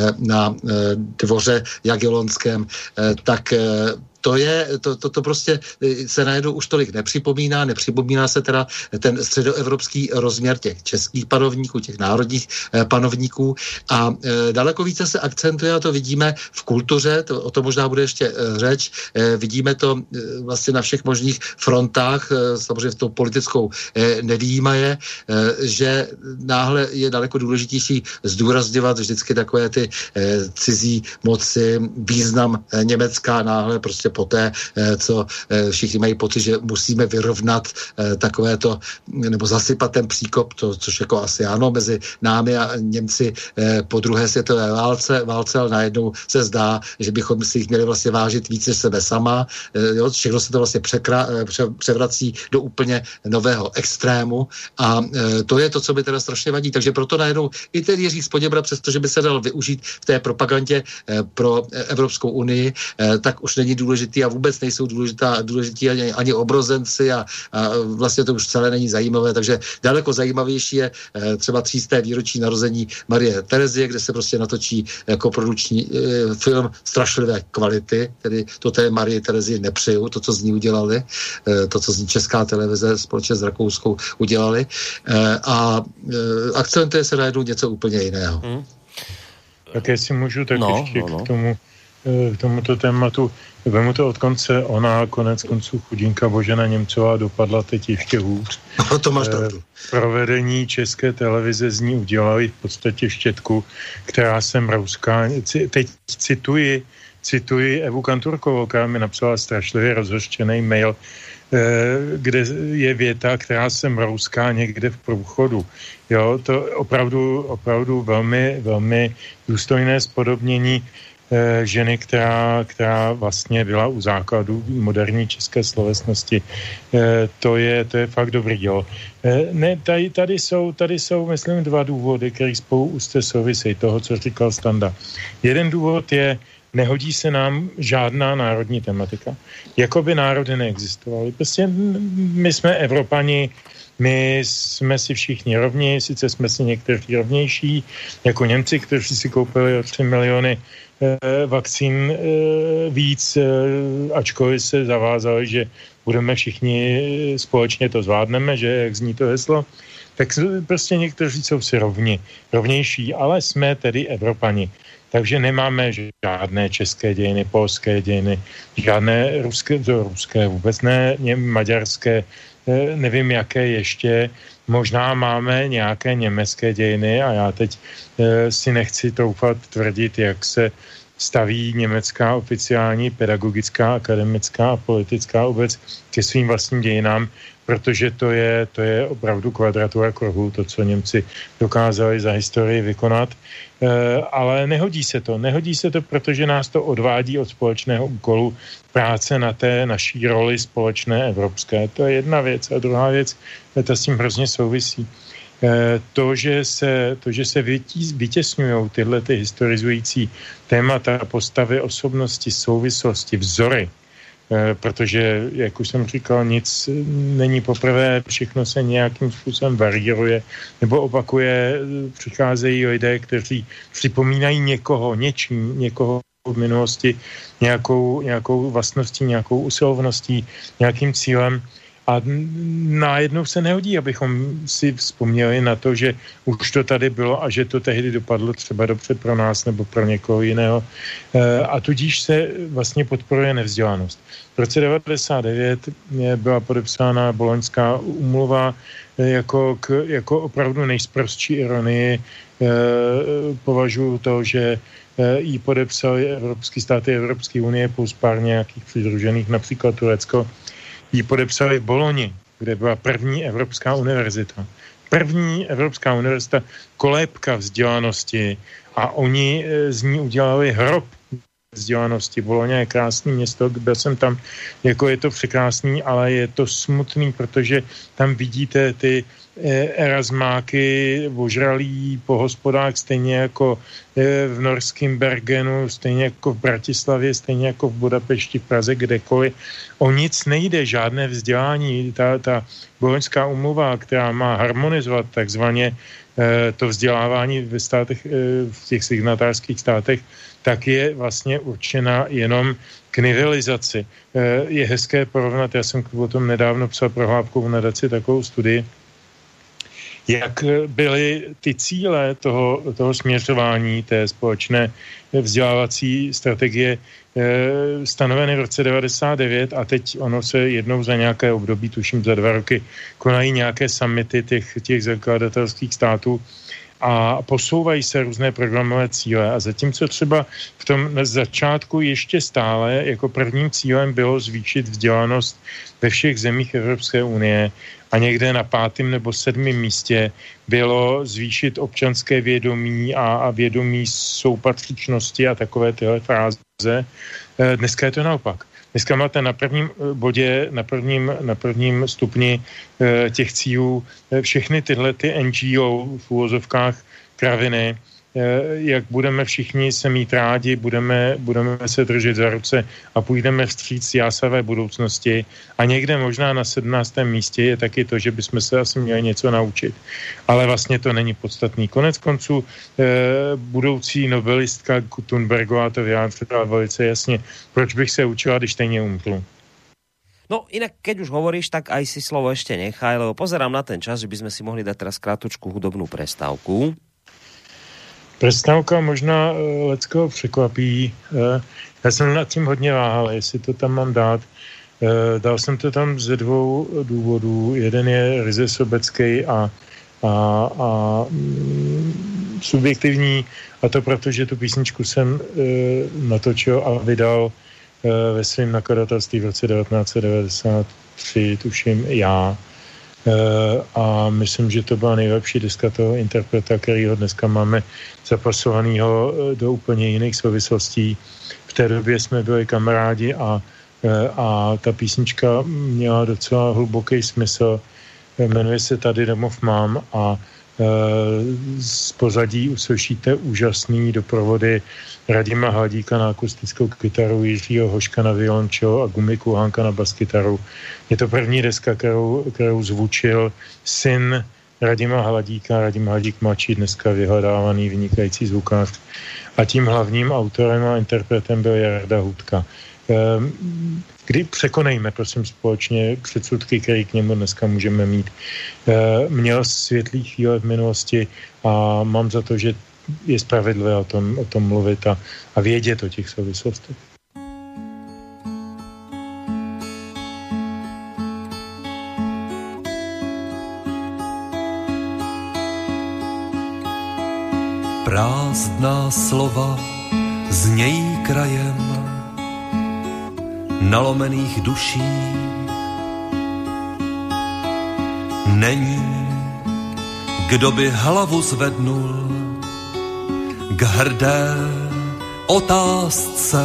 na dvoře Jagellonském, tak to je, to, to, to prostě se najednou už tolik nepřipomíná, nepřipomíná se teda ten středoevropský rozměr těch českých panovníků, těch národních eh, panovníků a eh, daleko více se akcentuje, a to vidíme v kultuře, to, o tom možná bude ještě eh, řeč, eh, vidíme to eh, vlastně na všech možných frontách, eh, samozřejmě v tou politickou eh, nevýjímaje, eh, že náhle je daleko důležitější zdůrazňovat vždycky takové ty eh, cizí moci, význam eh, Německa náhle prostě poté, co všichni mají pocit, že musíme vyrovnat takovéto, nebo zasypat ten příkop, to, což jako asi ano, mezi námi a Němci po druhé světové válce, válce, ale najednou se zdá, že bychom si jich měli vlastně vážit víc než sebe sama. Jo, všechno se to vlastně překra, pře, převrací do úplně nového extrému a to je to, co by teda strašně vadí. Takže proto najednou i ten Jiří Spoděbrat, přestože by se dal využít v té propagandě pro Evropskou unii, tak už není důležitý a vůbec nejsou důležitá, důležití ani, ani obrozenci a, a vlastně to už celé není zajímavé, takže daleko zajímavější je e, třeba třísté výročí narození Marie Terezie, kde se prostě natočí jako produkční e, film strašlivé kvality, tedy to té Marie Terezii nepřeju, to, co z ní udělali, e, to, co z ní Česká televize společně s Rakouskou udělali e, a e, akcentuje se najednou něco úplně jiného. Hmm.
Tak jestli můžu, tak
no,
ještě
no, no.
k tomu k tomuto tématu. Vemu to od konce, ona konec konců chudinka Božena Němcová dopadla teď ještě hůř.
No to máš pravdu.
Provedení České televize z ní udělali v podstatě štětku, která se mrouská. Teď cituji, cituji Evu Kanturkovou, která mi napsala strašlivě rozhořčený mail, kde je věta, která se mrouská někde v průchodu. Jo, to opravdu, opravdu velmi, velmi důstojné spodobnění ženy, která, která vlastně byla u základu moderní české slovesnosti. To je, to je fakt dobrý, jo. Ne, tady, tady, jsou, tady jsou, myslím, dva důvody, které spolu úzce souvisejí toho, co říkal Standa. Jeden důvod je, nehodí se nám žádná národní tematika. Jakoby národy neexistovaly. Prostě my jsme Evropani, my jsme si všichni rovní, sice jsme si někteří rovnější, jako Němci, kteří si koupili o tři miliony vakcín víc, ačkoliv se zavázali, že budeme všichni společně to zvládneme, že jak zní to heslo, tak prostě někteří jsou si rovni, rovnější, ale jsme tedy Evropani. Takže nemáme žádné české dějiny, polské dějiny, žádné ruské, to ruské vůbec ne, maďarské, nevím jaké ještě, možná máme nějaké německé dějiny a já teď e, si nechci troufat tvrdit, jak se staví německá oficiální pedagogická, akademická a politická obec ke svým vlastním dějinám, protože to je, to je opravdu kvadratura kruhu, to, co Němci dokázali za historii vykonat. E, ale nehodí se to. Nehodí se to, protože nás to odvádí od společného úkolu práce na té naší roli společné evropské. To je jedna věc. A druhá věc, ta s tím hrozně souvisí. To, že se, to, že se vytěsňují tyhle ty historizující témata, postavy, osobnosti, souvislosti, vzory, protože, jak už jsem říkal, nic není poprvé, všechno se nějakým způsobem varíruje nebo opakuje, přicházejí lidé, kteří připomínají někoho, něčím, někoho v minulosti, nějakou, nějakou vlastností, nějakou usilovností, nějakým cílem. A najednou se nehodí, abychom si vzpomněli na to, že už to tady bylo a že to tehdy dopadlo třeba dobře pro nás nebo pro někoho jiného. A tudíž se vlastně podporuje nevzdělanost. V roce devadesát devět byla podepsána Boloňská úmluva jako, k, jako opravdu nejsprostší ironii. Považuji to, že ji podepsali evropské státy Evropské unie plus pár nějakých přidružených, například Turecko, ji podepsali v Boloni, kde byla první Evropská univerzita. První Evropská univerzita, kolébka vzdělanosti a oni z ní udělali hrob vzdělanosti. Bologna je krásné město, byl jsem tam, jako je to překrásný, ale je to smutný, protože tam vidíte ty erasmáky ožralí po hospodách, stejně jako v norském Bergenu, stejně jako v Bratislavě, stejně jako v Budapešti, v Praze, kdekoliv. O nic nejde, žádné vzdělání. Ta, ta Boloňská úmluva, která má harmonizovat takzvaně to vzdělávání ve státech, v těch signatářských státech, tak je vlastně určena jenom k nivelizaci. Je hezké porovnat, já jsem o tom nedávno psal pro Hlávkovou nadaci takovou studii, jak byly ty cíle toho, toho směřování té společné vzdělávací strategie e, stanoveny v roce devadesát devět a teď ono se jednou za nějaké období, tuším za dva roky, konají nějaké summity těch, těch zakladatelských států a posouvají se různé programové cíle. A zatímco třeba v tom začátku ještě stále jako prvním cílem bylo zvýšit vzdělanost ve všech zemích Evropské unie a někde na pátém nebo sedmém místě bylo zvýšit občanské vědomí a, a vědomí soupatřičnosti a takové tyhle fráze. Dneska je to naopak. Dneska máte na prvním bodě, na prvním, na prvním stupni e, těch cílů e, všechny tyhle ty N G O v úvozovkách kraviny, e, jak budeme všichni se mít rádi, budeme, budeme se držet za ruce a půjdeme vstříc jásavé budoucnosti. A někde možná na sedmnáctém místě je taky to, že bychom se asi měli něco naučit. Ale vlastně to není podstatný. Konec konců e, budoucí nobelistka Thunbergová to vyjádřila velice jasně. Proč bych se učila, když stejně umřu?
No inak, keď už hovoríš, tak aj si slovo ešte nechaj, lebo pozerám na ten čas, že by sme si mohli dať teraz krátku hudobnú prestávku.
Prestávka možná uh, leckoho překvapí. Uh, já jsem nad tím hodně váhal, jestli to tam mám dát. Uh, dal jsem to tam ze dvou důvodů. Jeden je ryze sobecký a, a, a mm, subjektivní, a to proto, že tu písničku jsem uh, natočil a vydal ve svém nakladatelství v roce devatenáct set devadesát tři, tuším, já. A myslím, že to byla nejlepší deska toho interpreta, kterýho dneska máme zapasovanýho do úplně jiných souvislostí. V té době jsme byli kamarádi a, a ta písnička měla docela hluboký smysl. Jmenuje se Tady domov mám a z pozadí uslyšíte úžasný doprovody Radima Hladíka na akustickou kytaru, Jiřího Hoška na violončelo a Gumy Kulhánka na baskytaru. Je to první deska, kterou, kterou zvučil syn Radima Hladíka, Radim Hladík mladší, dneska vyhledávaný vynikající zvukář. A tím hlavním autorem a interpretem byl Jarda Hudka. Kdy překonejme, prosím, společně předsudky, které k němu dneska můžeme mít. Měl světlý chvíle v minulosti a mám za to, že je spravedlivé o tom, o tom mluvit a, a vědět o těch souvislostech.
Prázdná slova znějí krajem nalomených duší. Není, kdo by hlavu zvednul k hrdé otázce.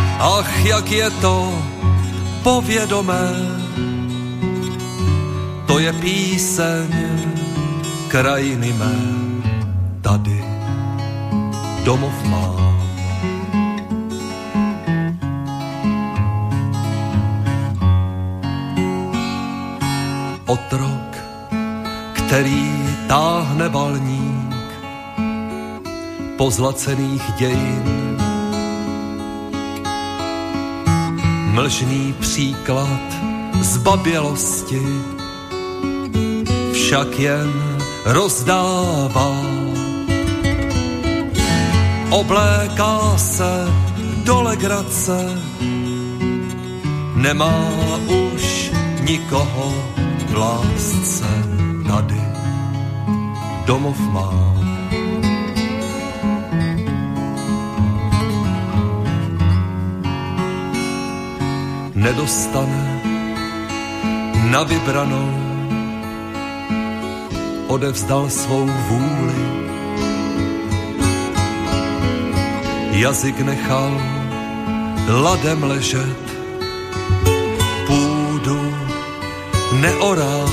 Ach, jak je to povědomé, to je píseň krajiny mé, tady domov mám. Otrok, který táhne balník pozlacených dějin, mlžný příklad zbabělosti však jen rozdává. Obléká se do legrace, nemá už nikoho v lásce, tady domov mám. Nedostane na vybranou, odevzdal svou vůli. Jazyk nechal ladem ležet, půdu neoral.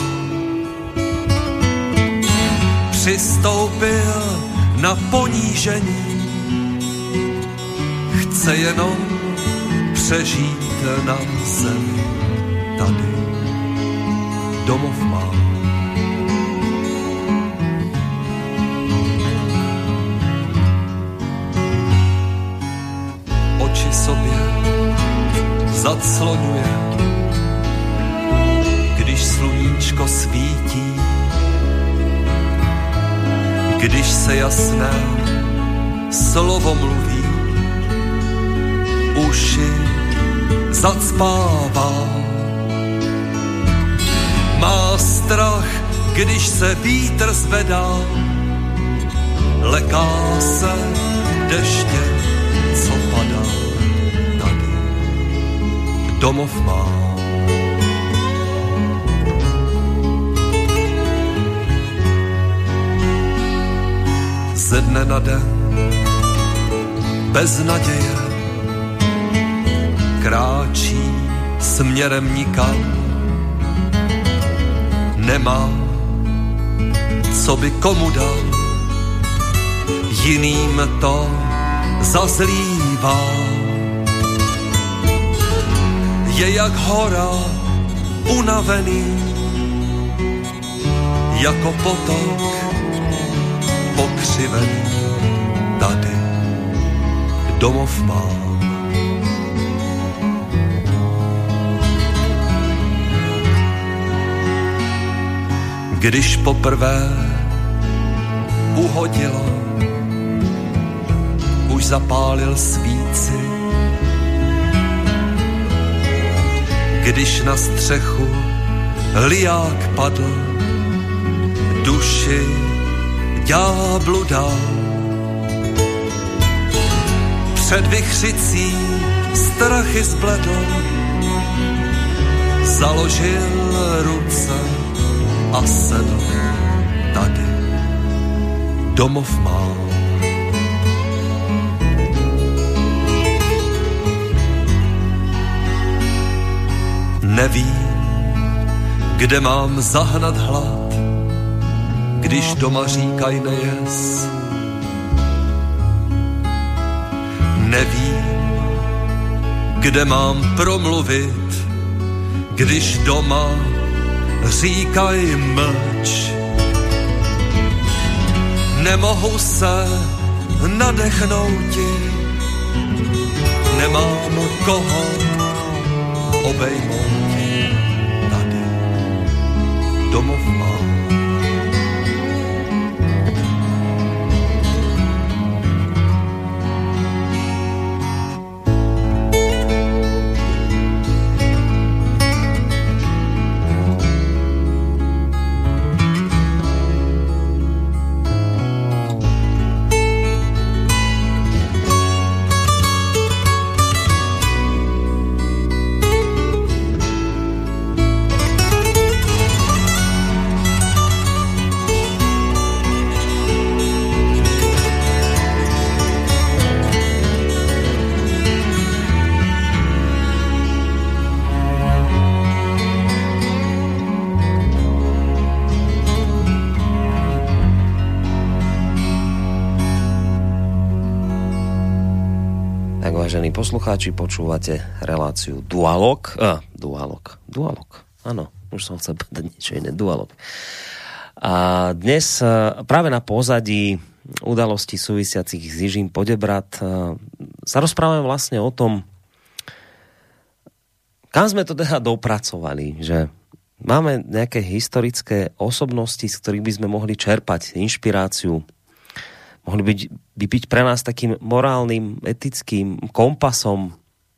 Přistoupil na ponížení, chce jenom přežít na zemi, tady domov mám. Oči sobě zacloňuje, když sluníčko svítí, když se jasné slovo mluví, uši zacpává. Má strach, když se vítr zvedá, leká se deště, co padá, tady domov má. Ze dne na den bez naděje kráčí směrem nikam, nemá, co by komu dal, jiným to zazlívá. Je jak hora unavený, jako potok pokřivený, tady domov mám. Když poprvé uhodilo, už zapálil svíci. Když na střechu liják padl, duši ďáblu dal. Před vichřicí strachy zbledl, založil ruce a sedl, tady domov mám. Nevím, kde mám zahnat hlad, když doma říkaj nejes. Nevím, kde mám promluvit, když doma říkaj mlč. Nemohu se nadechnouti, nemám koho obejmouti, tady domov mám.
Tak, vážení poslucháči, počúvate reláciu Dualog. Ah, Dualog. Dualog. Áno, už som chcel povedať niečo iné. Dualog. A dnes práve na pozadí udalostí súvisiacich s Jižím Poděbrad sa rozprávame vlastne o tom, kam sme to teda dopracovali, že máme nejaké historické osobnosti, z ktorých by sme mohli čerpať inšpiráciu, mohli byť, by byť pre nás takým morálnym, etickým kompasom.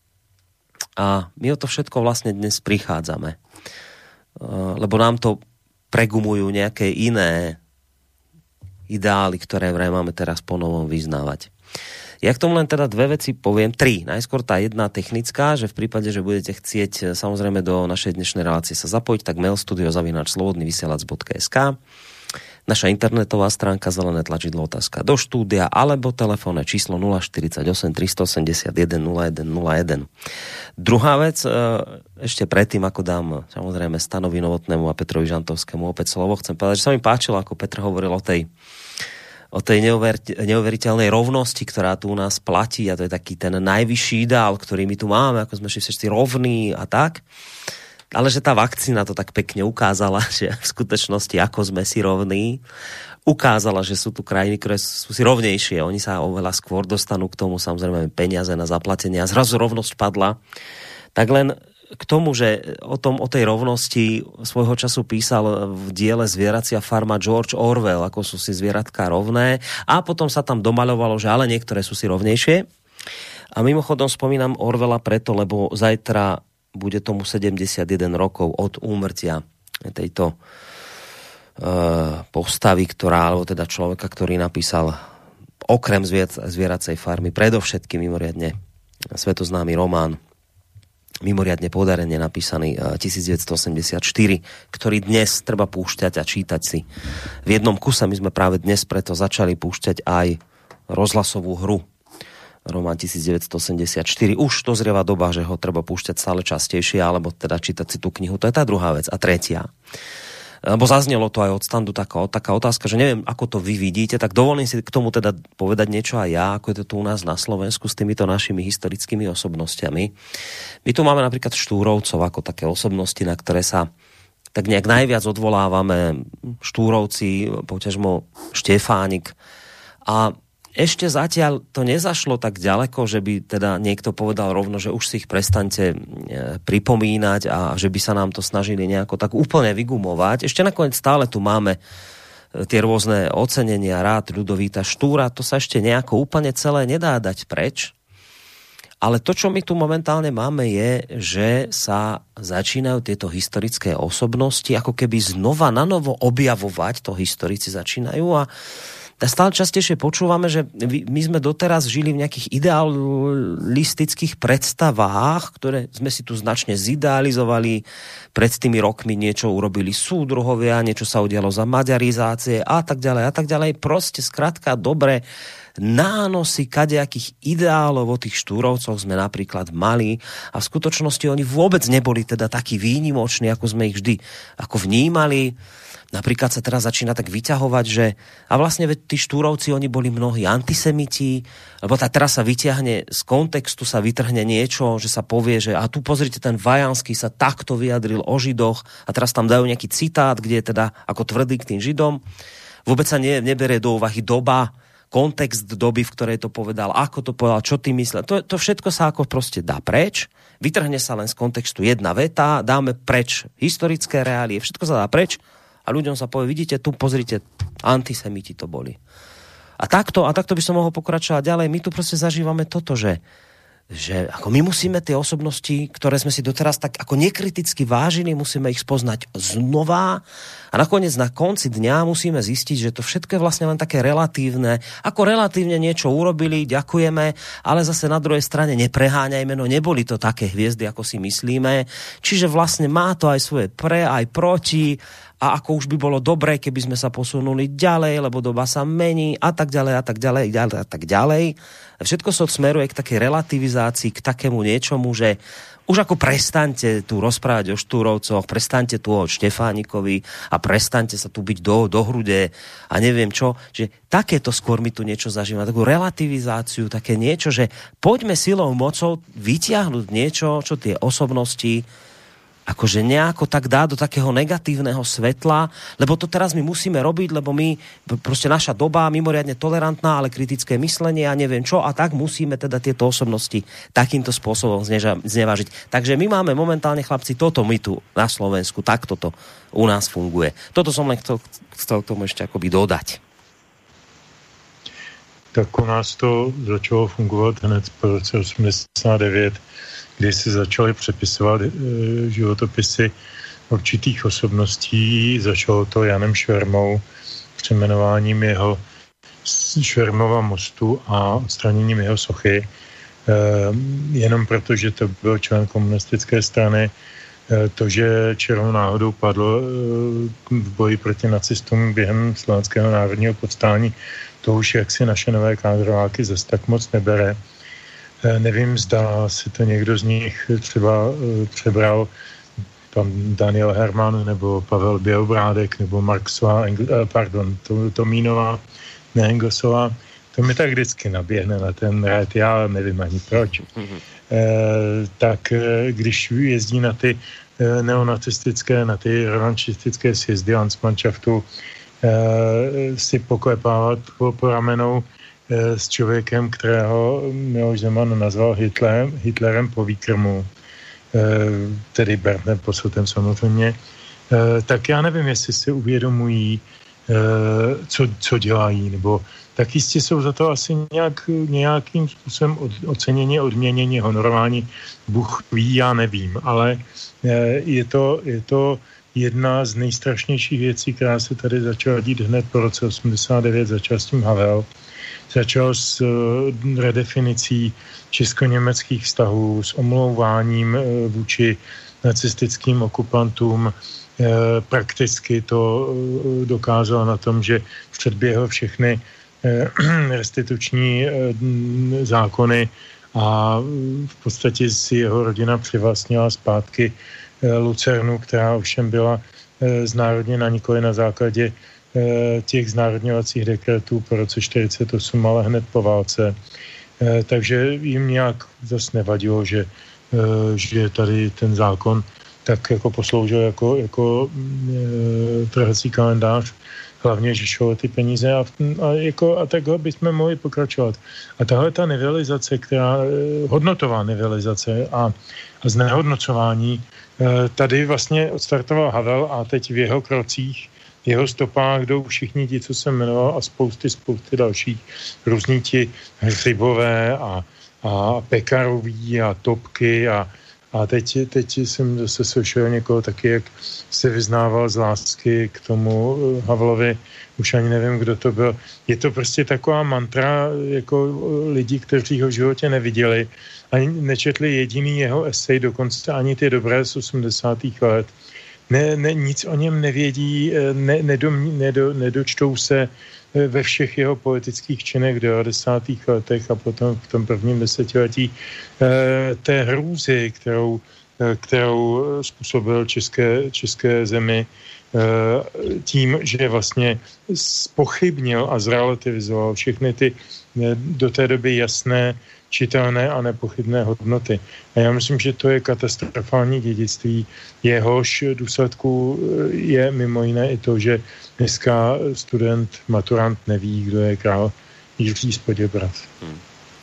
A my o to všetko vlastne dnes prichádzame. Lebo nám to pregumujú nejaké iné ideály, ktoré vraj máme teraz po novom vyznávať. Ja k tomu len teda dve veci poviem, tri. Najskôr tá jedna technická, že v prípade, že budete chcieť samozrejme do našej dnešnej relácie sa zapojiť, tak mail studio zavináč slobodný vysielač bodka es ká, naša internetová stránka, zelené tlačidlo otázka do štúdia, alebo telefónne číslo nula štyridsaťosem tristoosemdesiatjeden nula jeden nula jeden. Druhá vec, ešte predtým, ako dám samozrejme Stanovi Novotnému a Petrovi Žantovskému opäť slovo, chcem povedať, že sa mi páčilo, ako Petr hovoril o tej o tej neuveriteľnej rovnosti, ktorá tu u nás platí, a to je taký ten najvyšší ideál, ktorý my tu máme, ako sme všetci rovní a tak. Ale že tá vakcína to tak pekne ukázala, že v skutočnosti, ako sme si rovní, ukázala, že sú tu krajiny, ktoré sú si rovnejšie. Oni sa oveľa skôr dostanú k tomu, samozrejme, peniaze na zaplatenie a zrazu rovnosť padla. Tak len k tomu, že o tom, o tej rovnosti svojho času písal v diele Zvieracia farma George Orwell, ako sú si zvieratka rovné, a potom sa tam domaľovalo, že ale niektoré sú si rovnejšie. A mimochodom spomínam Orwella preto, lebo zajtra bude tomu sedemdesiatjeden rokov od úmrtia tejto uh, postavy, ktorá, alebo teda človeka, ktorý napísal okrem Zvieracej farmy predovšetkým mimoriadne svetoznámy román, mimoriadne podarene napísaný tisícdeväťstoosemdesiatštyri, ktorý dnes treba púšťať a čítať si. V jednom kuse my sme práve dnes preto začali púšťať aj rozhlasovú hru. Román tisícdeväťstoosemdesiatštyri. Už dozrieva doba, že ho treba púšťať stále častejšie, alebo teda čítať si tú knihu. To je tá druhá vec. A tretia. Lebo zaznelo to aj od standu taká, taká otázka, že neviem, ako to vy vidíte, tak dovolím si k tomu teda povedať niečo aj ja, ako je to tu u nás na Slovensku s týmito našimi historickými osobnostiami. My tu máme napríklad Štúrovcov ako také osobnosti, na ktoré sa tak nejak najviac odvolávame. Štúrovci, poťažmo Štefánik. A ešte zatiaľ to nezašlo tak ďaleko, že by teda niekto povedal rovno, že už si ich prestaňte pripomínať a že by sa nám to snažili nejako tak úplne vygumovať. Ešte nakoniec stále tu máme tie rôzne ocenenia, rád Ľudovíta Štúra, to sa ešte nejako úplne celé nedá dať preč. Ale to, čo my tu momentálne máme, je, že sa začínajú tieto historické osobnosti ako keby znova nanovo objavovať, to historici začínajú, a stále častejšie počúvame, že my sme doteraz žili v nejakých idealistických predstavách, ktoré sme si tu značne zidealizovali. Pred tými rokmi niečo urobili súdruhovia, niečo sa udialo za maďarizácie a tak ďalej a tak ďalej. Proste skrátka dobre nánosy kadejakých ideálov o tých Štúrovcoch sme napríklad mali a v skutočnosti oni vôbec neboli teda takí výnimoční, ako sme ich vždy ako vnímali. Napríklad sa teraz začína tak vyťahovať, že a vlastne tí Štúrovci, oni boli mnohí antisemiti, lebo tá teraz sa vyťahne z kontextu, sa vytrhne niečo, že sa povie, že a tu pozrite, ten Vajanský sa takto vyjadril o Židoch a teraz tam dajú nejaký citát, kde je teda ako tvrdý k tým Židom. Vôbec sa ne, neberie do úvahy doba, kontext doby, v ktorej to povedal, ako to povedal, čo tým myslel. To, to všetko sa ako proste dá preč, vytrhne sa len z kontextu jedna veta, dáme preč historické reálie, všetko sa dá preč. A ľuďom sa povie, vidíte, tu pozrite, antisemiti to boli. A takto, a takto by som mohol pokračovať ďalej. My tu proste zažívame toto, že, že ako my musíme tie osobnosti, ktoré sme si doteraz tak ako nekriticky vážili, musíme ich spoznať znova a nakoniec na konci dňa musíme zistiť, že to všetko je vlastne len také relatívne. Ako relatívne niečo urobili, ďakujeme, ale zase na druhej strane nepreháňajme, no neboli to také hviezdy, ako si myslíme. Čiže vlastne má to aj svoje pre, aj proti. A ako už by bolo dobré, keby sme sa posunuli ďalej, lebo doba sa mení a tak ďalej a tak ďalej a tak ďalej. Všetko sa smeruje k takej relativizácii, k takému niečomu, že Už ako prestaňte tu rozprávať o Štúrovcoch, prestaňte tu o Štefánikovi a prestaňte sa tu byť do, do hrude a neviem čo. Že takéto skôr mi tu niečo zažíva, takú relativizáciu, také niečo, že poďme silou mocou vytiahnuť niečo, čo tie osobnosti akože nejako tak dá do takého negatívneho svetla, lebo to teraz my musíme robiť, lebo my, proste naša doba mimoriadne tolerantná, ale kritické myslenie a neviem čo, a tak musíme teda tieto osobnosti takýmto spôsobom zneža, znevážiť. Takže my máme momentálne, chlapci, toto my tu na Slovensku, tak toto u nás funguje. Toto som len chcel, chcel k tomu ešte akoby dodať.
Tak u nás to začalo fungovat hned po roce osmdesát devět, kdy se začaly přepisovat e, životopisy určitých osobností. Začalo to Janem Švermou, přejmenováním jeho Švermova mostu a odstraněním jeho sochy. E, jenom proto, že to byl člen komunistické strany, e, to, že čirou náhodou padl e, v boji proti nacistům během Slovenského národního povstání, to už jaksi naše nové kádrováky zase tak moc nebere. Nevím, zda si to někdo z nich třeba přebral, pan Daniel Herman, nebo Pavel Bělobrádek, nebo Marksová, pardon, Tomínová, ne Engelsová. To mi tak vždycky naběhne na ten rad, já nevím ani proč. Mm-hmm. E, tak když jezdí na ty neonacistické, na ty revanšistické sjezdy Landsmannschaftu, e, si poklepávat po, po ramenou s člověkem, kterého Miloš Zeman nazval Hitlerem, Hitlerem po výkrmu, tedy Berndem Posseltem samozřejmě, tak já nevím, jestli si uvědomují, co, co dělají, nebo tak jistě jsou za to asi nějak, nějakým způsobem ocenění, odměnění, honorování. Bůh ví, já nevím, ale je to, je to jedna z nejstrašnějších věcí, která se tady začala dít hned po roce osmdesát devět, začal s tím Havel. Začal s redefinicí česko-německých vztahů, s omlouváním vůči nacistickým okupantům. Prakticky to dokázal na tom, že předběhl všechny restituční zákony a v podstatě si jeho rodina přivlastnila zpátky Lucernu, která ovšem byla znárodněna nikoli na základě těch znárodňovacích dekretů po roce čtyřicet osm, ale hned po válce. Takže jim nějak zase nevadilo, že, že tady ten zákon tak jako posloužil jako, jako trhací kalendář, hlavně, že šlo ty peníze a, a, jako, a takhle bychom mohli pokračovat. A tahle ta nivelizace, která, hodnotová nivelizace a, a znehodnocování, tady vlastně odstartoval Havel a teď v jeho krocích, jeho stopách jdou všichni ti, co jsem jmenoval, a spousty, spousty dalších, různí ti Hřibové a, a Pekaroví a Topky a, a teď, teď jsem zase slyšel někoho taky, jak se vyznával z lásky k tomu Havlovi, už ani nevím, kdo to byl. Je to prostě taková mantra jako lidí, kteří ho v životě neviděli, ani nečetli jediný jeho esej, dokonce ani ty dobré z osmdesátých let. Ne, ne, nic o něm nevědí, ne, nedom, nedo, nedočtou se ve všech jeho politických činech v devadesátých letech a potom v tom prvním desetiletí té hrůzy, kterou, kterou způsobil české, české zemi tím, že vlastně zpochybnil a zrelativizoval všechny ty do té doby jasné, čitelné a nepochybné hodnoty. A já myslím, že to je katastrofální dědictví. Jehož důsledku je mimo jiné i to, že dneska student, maturant neví, kdo je král Jiří z Poděbrad. Hmm.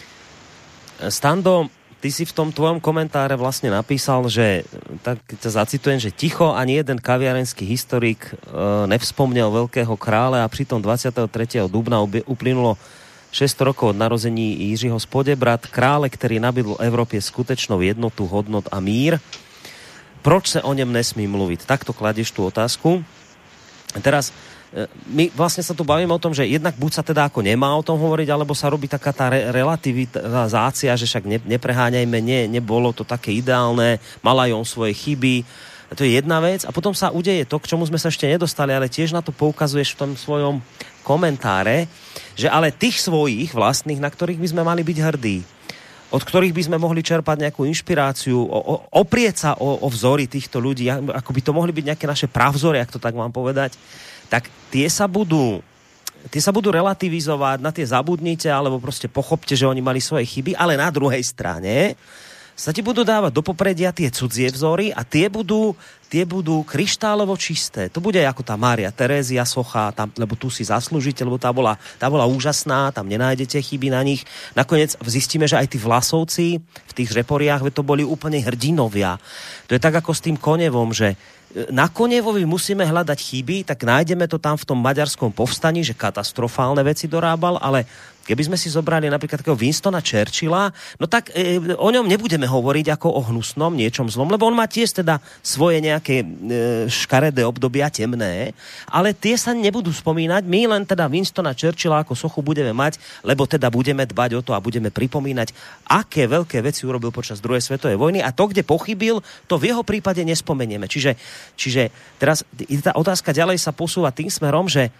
Stando, ty si v tom tvojom komentáre vlastne napísal, že, tak ťa zacitujem, že ticho ani jeden kaviarenský historik e, nevzpomnel veľkého krále a pritom dvadsiateho tretieho dubna uplynulo šesť rokov od narození Jiřího z Poděbrad, krále, ktorý nabídl Európe skutečnou jednotu, hodnot a mír. Proč sa o ňom nesmí mluviť? Takto kladieš tú otázku. Teraz my vlastne sa tu bavíme o tom, že jednak buď sa teda ako nemá o tom hovoriť, alebo sa robí taká tá re- relativizácia, že však ne, nepreháňajme, nie, nebolo to také ideálne, mala aj on svoje chyby. To je jedna vec. A potom sa udeje to, k čomu sme sa ešte nedostali, ale tiež na to poukazuješ v tom svojom komentáre, že ale tých svojich vlastných, na ktorých by sme mali byť hrdí, od ktorých by sme mohli čerpať nejakú inšpiráciu, o, o, oprieť sa o, o vzory týchto ľudí, ako by to mohli byť nejaké naše pravzory, ak to tak mám povedať, tak tie sa budú tie sa budú relativizovať, na tie zabudnite, alebo proste pochopte, že oni mali svoje chyby, ale na druhej strane sa ti budú dávať do popredia tie cudzie vzory a tie budú, tie budú kryštálovo čisté. To bude ako tá Mária Terézia socha, tam, lebo tu si zaslúžite, lebo tá bola, tá bola úžasná, tam nenájdete chyby na nich. Nakoniec zistíme, že aj tí Vlasovci v tých Žeporiach, to boli úplne hrdinovia. To je tak ako s tým Konevom, že na Konevovi musíme hľadať chyby, tak nájdeme to tam v tom maďarskom povstaní, že katastrofálne veci dorábal, ale keby sme si zobrali napríklad takého Winstona Churchilla, no tak e, o ňom nebudeme hovoriť ako o hnusnom, niečom zlom, lebo on má tiež teda svoje nejaké e, škaredé obdobia, temné, ale tie sa nebudú spomínať. My len teda Winstona Churchilla ako sochu budeme mať, lebo teda budeme dbať o to a budeme pripomínať, aké veľké veci urobil počas druhej svetovej vojny a to, kde pochybil, to v jeho prípade nespomenieme. Čiže, čiže teraz tá otázka ďalej sa posúva tým smerom, že,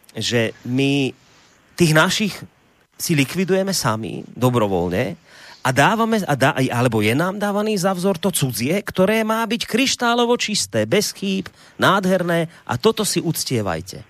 že my tých našich si likvidujeme sami, dobrovoľne, a dávame, a dá, alebo je nám dávaný za vzor to cudzie, ktoré má byť kryštálovo čisté, bez chýb, nádherné, a toto si uctievajte.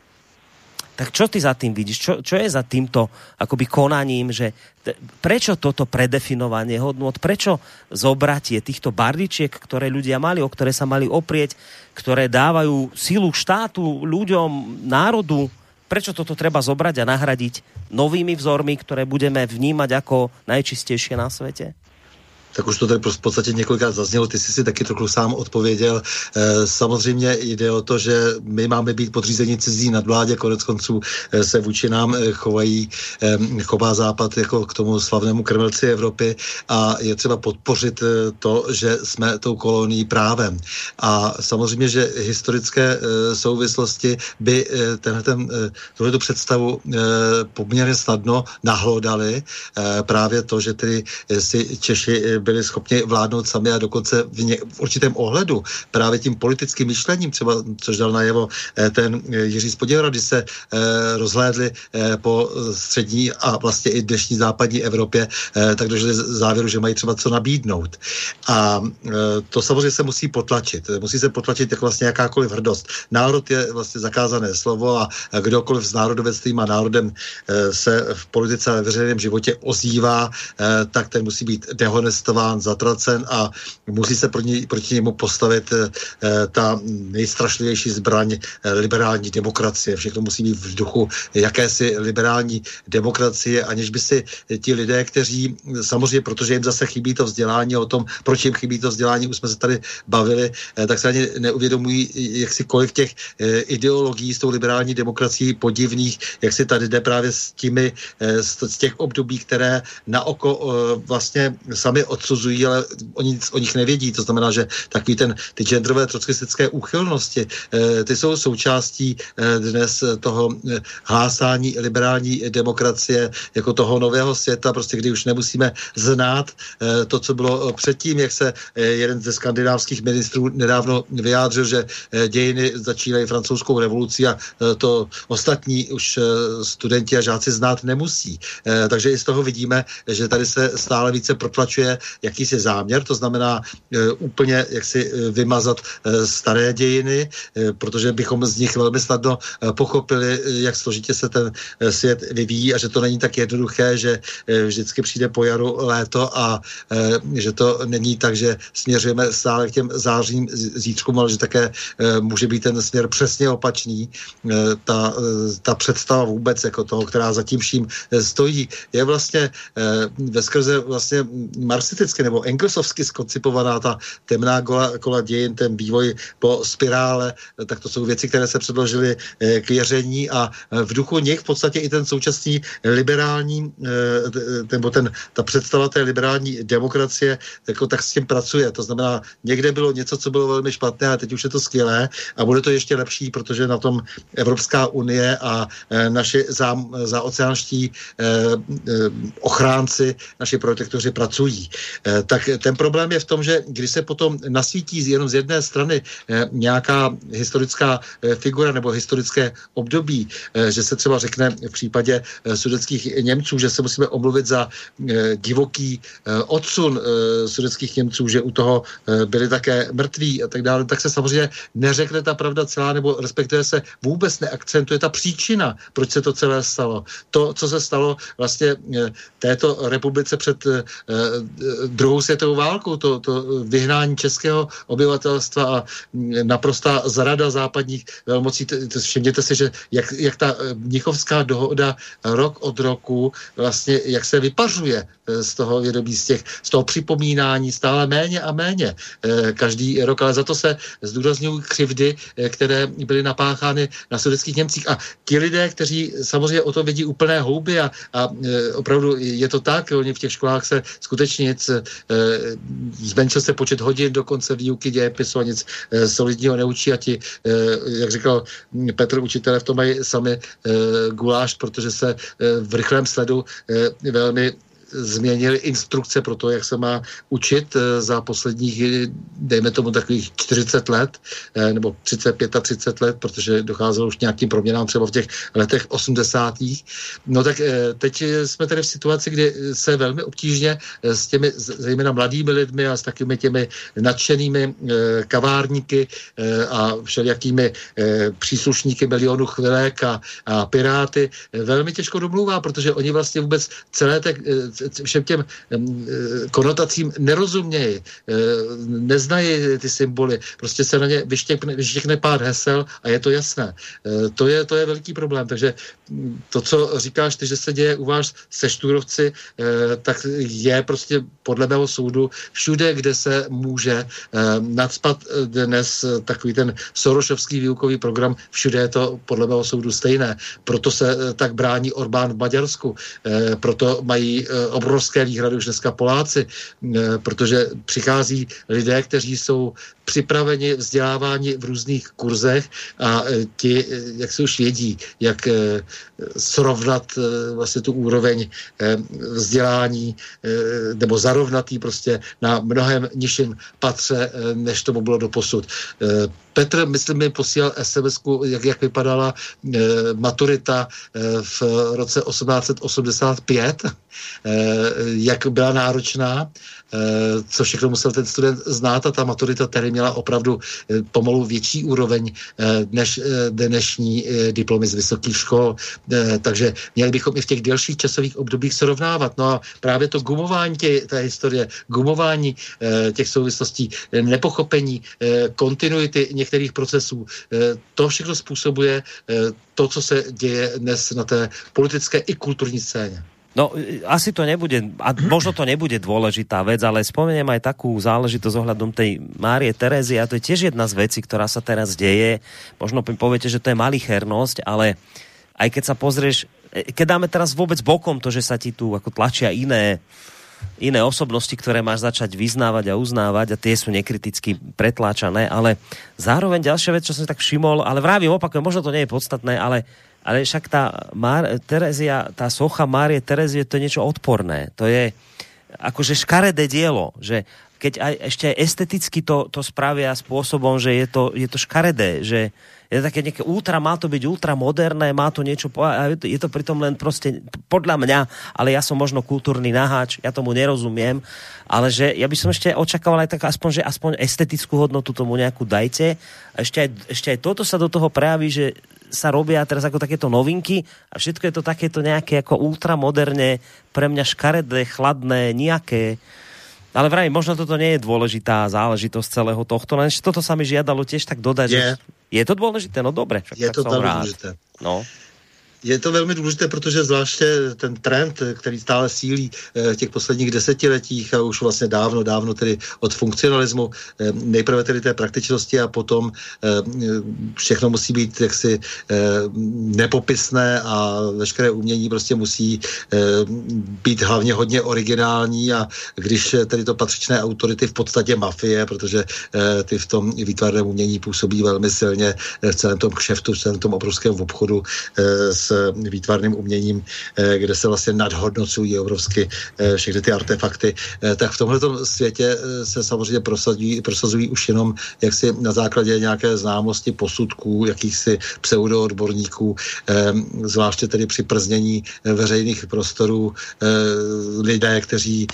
Tak čo ty za tým vidíš? Čo, čo je za týmto akoby konaním, že t- prečo toto predefinovanie hodnôt, prečo zobratie týchto bardičiek, ktoré ľudia mali, o ktoré sa mali oprieť, ktoré dávajú silu štátu, ľuďom, národu, prečo toto treba zobrať a nahradiť novými vzormi, ktoré budeme vnímať ako najčistejšie na svete?
Tak už to tady v podstatě několikrát zaznělo, ty jsi si taky trochu sám odpověděl. E, samozřejmě jde o to, že my máme být podřízení cizí nadvládě, konec konců e, se vůči nám e, chovají, e, chová Západ jako k tomu slavnému krmelci Evropy a je třeba podpořit e, to, že jsme tou kolonií právem. A samozřejmě, že historické e, souvislosti by e, tenhle, ten, e, tuhletu představu e, poměrně snadno nahlodali. E, právě to, že tedy e, si Češi e, byli schopni vládnout sami a dokonce v, ně, v určitém ohledu právě tím politickým myšlením, třeba, což dal najevo ten Jiří Spoděra, když se eh, rozhlédli eh, po střední a vlastně i dnešní západní Evropě, eh, tak došli závěru, že mají třeba co nabídnout. A eh, to samozřejmě se musí potlačit. Musí se potlačit jako vlastně jakákoliv hrdost. Národ je vlastně zakázané slovo a kdokoliv s národovectvím a národem eh, se v politice a veřejném životě ozývá, eh, tak ten musí být dehonestován, zatracen a musí se proti, proti němu postavit e, ta nejstrašlivější zbraň e, liberální demokracie. Všechno musí být v duchu jakési liberální demokracie, aniž by si ti lidé, kteří samozřejmě, protože jim zase chybí to vzdělání, o tom, proč jim chybí to vzdělání, už jsme se tady bavili, e, tak se ani neuvědomují, jak si kolik těch e, ideologií s tou liberální demokracií podivných, jak si tady jde právě s těmi, e, z, z těch období, které na oko e, vlastně sami odsuzují, ale oni o nich nevědí. To znamená, že takový ten, ty genderové trotskistické úchylnosti, eh, ty jsou součástí eh, dnes toho eh, hlásání liberální demokracie jako toho nového světa, prostě kdy už nemusíme znát eh, to, co bylo předtím, jak se eh, jeden ze skandinávských ministrů nedávno vyjádřil, že eh, dějiny začínají francouzskou revolucí a eh, to ostatní už eh, studenti a žáci znát nemusí. Eh, takže i z toho vidíme, že tady se stále více protlačuje jakýsi záměr, to znamená e, úplně jaksi e, vymazat e, staré dějiny, e, protože bychom z nich velmi snadno e, pochopili, e, jak složitě se ten e, svět vyvíjí a že to není tak jednoduché, že e, vždycky přijde po jaru léto a e, že to není tak, že směřujeme stále k těm zářím zítřkům, ale že také e, může být ten směr přesně opačný. E, ta, e, ta představa vůbec jako toho, která zatím vším e, stojí, je vlastně e, veskrze vlastně marxisticky nebo engelsovsky skoncipovaná ta temná kola, kola dějin, ten vývoj po spirále, tak to jsou věci, které se předložily k věření a v duchu nich v podstatě i ten současný liberální, nebo ten, ta představa té liberální demokracie, jako tak s tím pracuje. To znamená, někde bylo něco, co bylo velmi špatné a teď už je to skvělé a bude to ještě lepší, protože na tom Evropská unie a naši za, zaoceánští ochránci, naši protektoři pracují. tak ten problém je v tom, že když se potom nasvítí jenom z jedné strany nějaká historická figura nebo historické období, že se třeba řekne v případě sudetských Němců, že se musíme omluvit za divoký odsun sudetských Němců, že u toho byli také mrtví a tak dále, tak se samozřejmě neřekne ta pravda celá, nebo respektive se vůbec neakcentuje ta příčina, proč se to celé stalo. To, co se stalo vlastně této republice před druhou světovou válkou, to, to vyhnání českého obyvatelstva a naprostá zrada západních velmocí. Všimněte si, že jak, jak ta mnichovská dohoda rok od roku vlastně, jak se vypařuje z toho vědomí, z, těch, z toho připomínání stále méně a méně každý rok, ale za to se zdůrazňují křivdy, které byly napáchány na sudetských Němcích. A ti lidé, kteří samozřejmě o to vidí úplné houby a, a opravdu je to tak, oni v těch školách se skutečně nic, zmenšil se počet hodin dokonce výuky dějepisu a nic solidního neučí a ti, jak říkal Petr, učitelé v tom mají sami guláš, protože se v rychlém sledu velmi změnili instrukce pro to, jak se má učit za posledních, dejme tomu takových čtyřicet let, nebo třicet pět a třicet let, protože docházelo už nějakým proměnám třeba v těch letech osmdesátých. No tak teď jsme tady v situaci, kdy se velmi obtížně s těmi zejména mladými lidmi a s takovými těmi nadšenými kavárníky a všelijakými příslušníky Milionu chvilek a, a Piráty velmi těžko domluvá, protože oni vlastně vůbec celé te, všem těm konotacím nerozumějí, neznají ty symboly, prostě se na ně vyštěkne, vyštěkne pár hesel a je to jasné. To je, to je veliký problém, takže to, co říkáš ty, že se děje u vás se Štúrovci, tak je prostě podle mého soudu všude, kde se může nacpat dnes takový ten Sorošovský výukový program, všude je to podle mého soudu stejné. Proto se tak brání Orbán v Maďarsku, proto mají obrovské výhrady už dneska Poláci, protože přichází lidé, kteří jsou připraveni vzdělávání v různých kurzech a ti, jak se už vědí, jak srovnat vlastně tu úroveň vzdělání nebo zarovnatý prostě na mnohem nižším patře, než tomu bylo doposud. Petr, myslím, mi posílal es em esku, jak, jak vypadala e, maturita e, v roce osmnáct set osmdesát pět, e, jak byla náročná, e, co všechno musel ten student znát a ta maturita tady měla opravdu e, pomalu větší úroveň e, než e, dnešní e, diplomy z vysokých škol. E, takže měli bychom i v těch delších časových obdobích srovnávat. No a právě to gumování tě, té historie, gumování e, těch souvislostí, e, nepochopení, e, kontinuity některých procesů. To všechno způsobuje to, co se děje dnes na té politické i kulturní scéně.
No, asi to nebude, a možno to nebude dôležitá vec, ale spomeniem aj takú záležitosť ohľadom tej Márie Terézie, a to je tiež jedna z vecí, ktorá sa teraz deje. Možno poviete, že to je malichernosť, ale aj keď sa pozrieš, keď dáme teraz vôbec bokom to, že sa ti tu ako tlačia iné iné osobnosti, ktoré máš začať vyznávať a uznávať a tie sú nekriticky pretláčané, ale zároveň ďalšia vec, čo som tak všimol, ale vravím, opakujem, možno to nie je podstatné, ale, ale však tá Mar- Terezia, tá socha Márie Terezie, to je niečo odporné. To je akože škaredé dielo, že keď aj, ešte aj esteticky to, to spravia spôsobom, že je to, je to škaredé, že je to také nejaké ultra, má to byť ultramoderné, má to niečo, je to pritom len proste podľa mňa, ale ja som možno kultúrny naháč, ja tomu nerozumiem, ale že ja by som ešte očakával aj tak aspoň, že aspoň estetickú hodnotu tomu nejakú dajte. A ešte aj, ešte aj toto sa do toho prejaví, že sa robia teraz ako takéto novinky a všetko je to takéto nejaké ako ultramoderne, pre mňa škaredé, chladné, nejaké. Ale vraj, možno toto nie je dôležitá záležitosť celého tohto, len toto sa mi žiadalo tiež tak dodať.
Je,
že je to dôležité? No dobre. Však
je
tak
to
som
velmi
rád.
důležité.
No.
Je to velmi důležité, protože zvláště ten trend, který stále sílí v těch posledních desetiletích a už vlastně dávno, dávno tedy od funkcionalismu, nejprve tedy té praktičnosti a potom všechno musí být jaksi nepopisné a veškeré umění prostě musí být hlavně hodně originální a když tedy to patřičné autority v podstatě mafie, protože ty v tom výtvarném umění působí velmi silně v celém tom kšeftu, v celém tom obrovském obchodu s s výtvarným uměním, kde se vlastně nadhodnocují obrovsky všechny ty artefakty, tak v tomhletom světě se samozřejmě prosazují, prosazují už jenom jaksi na základě nějaké známosti posudků, jakýchsi pseudoodborníků, zvláště tedy při prznění veřejných prostorů lidé, kteří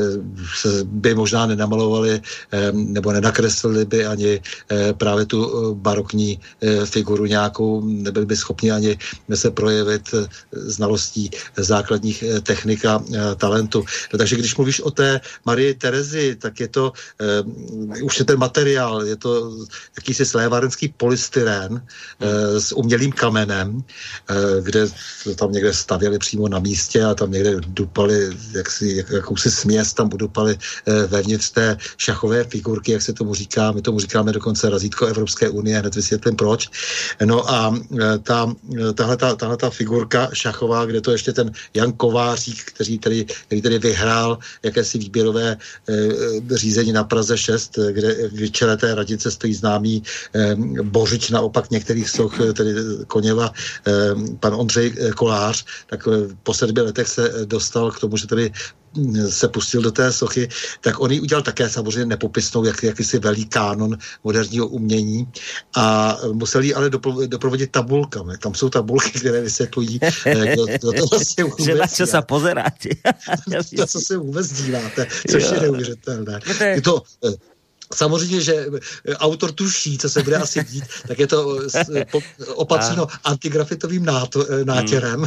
by možná nenamalovali nebo nenakreslili by ani právě tu barokní figuru nějakou, nebyli by schopni ani se projevit znalostí základních technik a talentu. No, takže když mluvíš o té Marii Terezi, tak je to uh, už je ten materiál, je to jakýsi slévárenský polystyrén uh, s umělým kamenem, uh, kde tam někde stavěli přímo na místě a tam někde dupali jaksi, jak, jakousi směs, tam udupali uh, vevnitř té šachové figurky, jak se tomu říká, my tomu říkáme dokonce razítko Evropské unie, hned vysvětlím proč. No a uh, ta, tahle, ta, tahle ta figurka šachová, kde to ještě ten Jan Kovářík, který tedy, který tedy vyhrál jakési výběrové e, řízení na Praze šest, kde v čele té radnice stojí známý e, bořič naopak některých soch, tedy Koněva, e, pan Ondřej Kolář, tak po sedmi letech se dostal k tomu, že tedy se pustil do té sochy, tak on ji udělal také samozřejmě nepopisnou, jak, jakýsi velý kánon moderního umění a musel ji ale dopro, doprovodit tabulkami. Tam jsou tabulky, které vysvětlují, kdo, kdo to vlastně vůbec
že na čo sa pozeráte.
to, co se vůbec díváte, což je neuvěřitelné. Je to samozřejmě, že autor tuší, co se bude asi dít, tak je to opatřeno antigrafitovým nátěrem.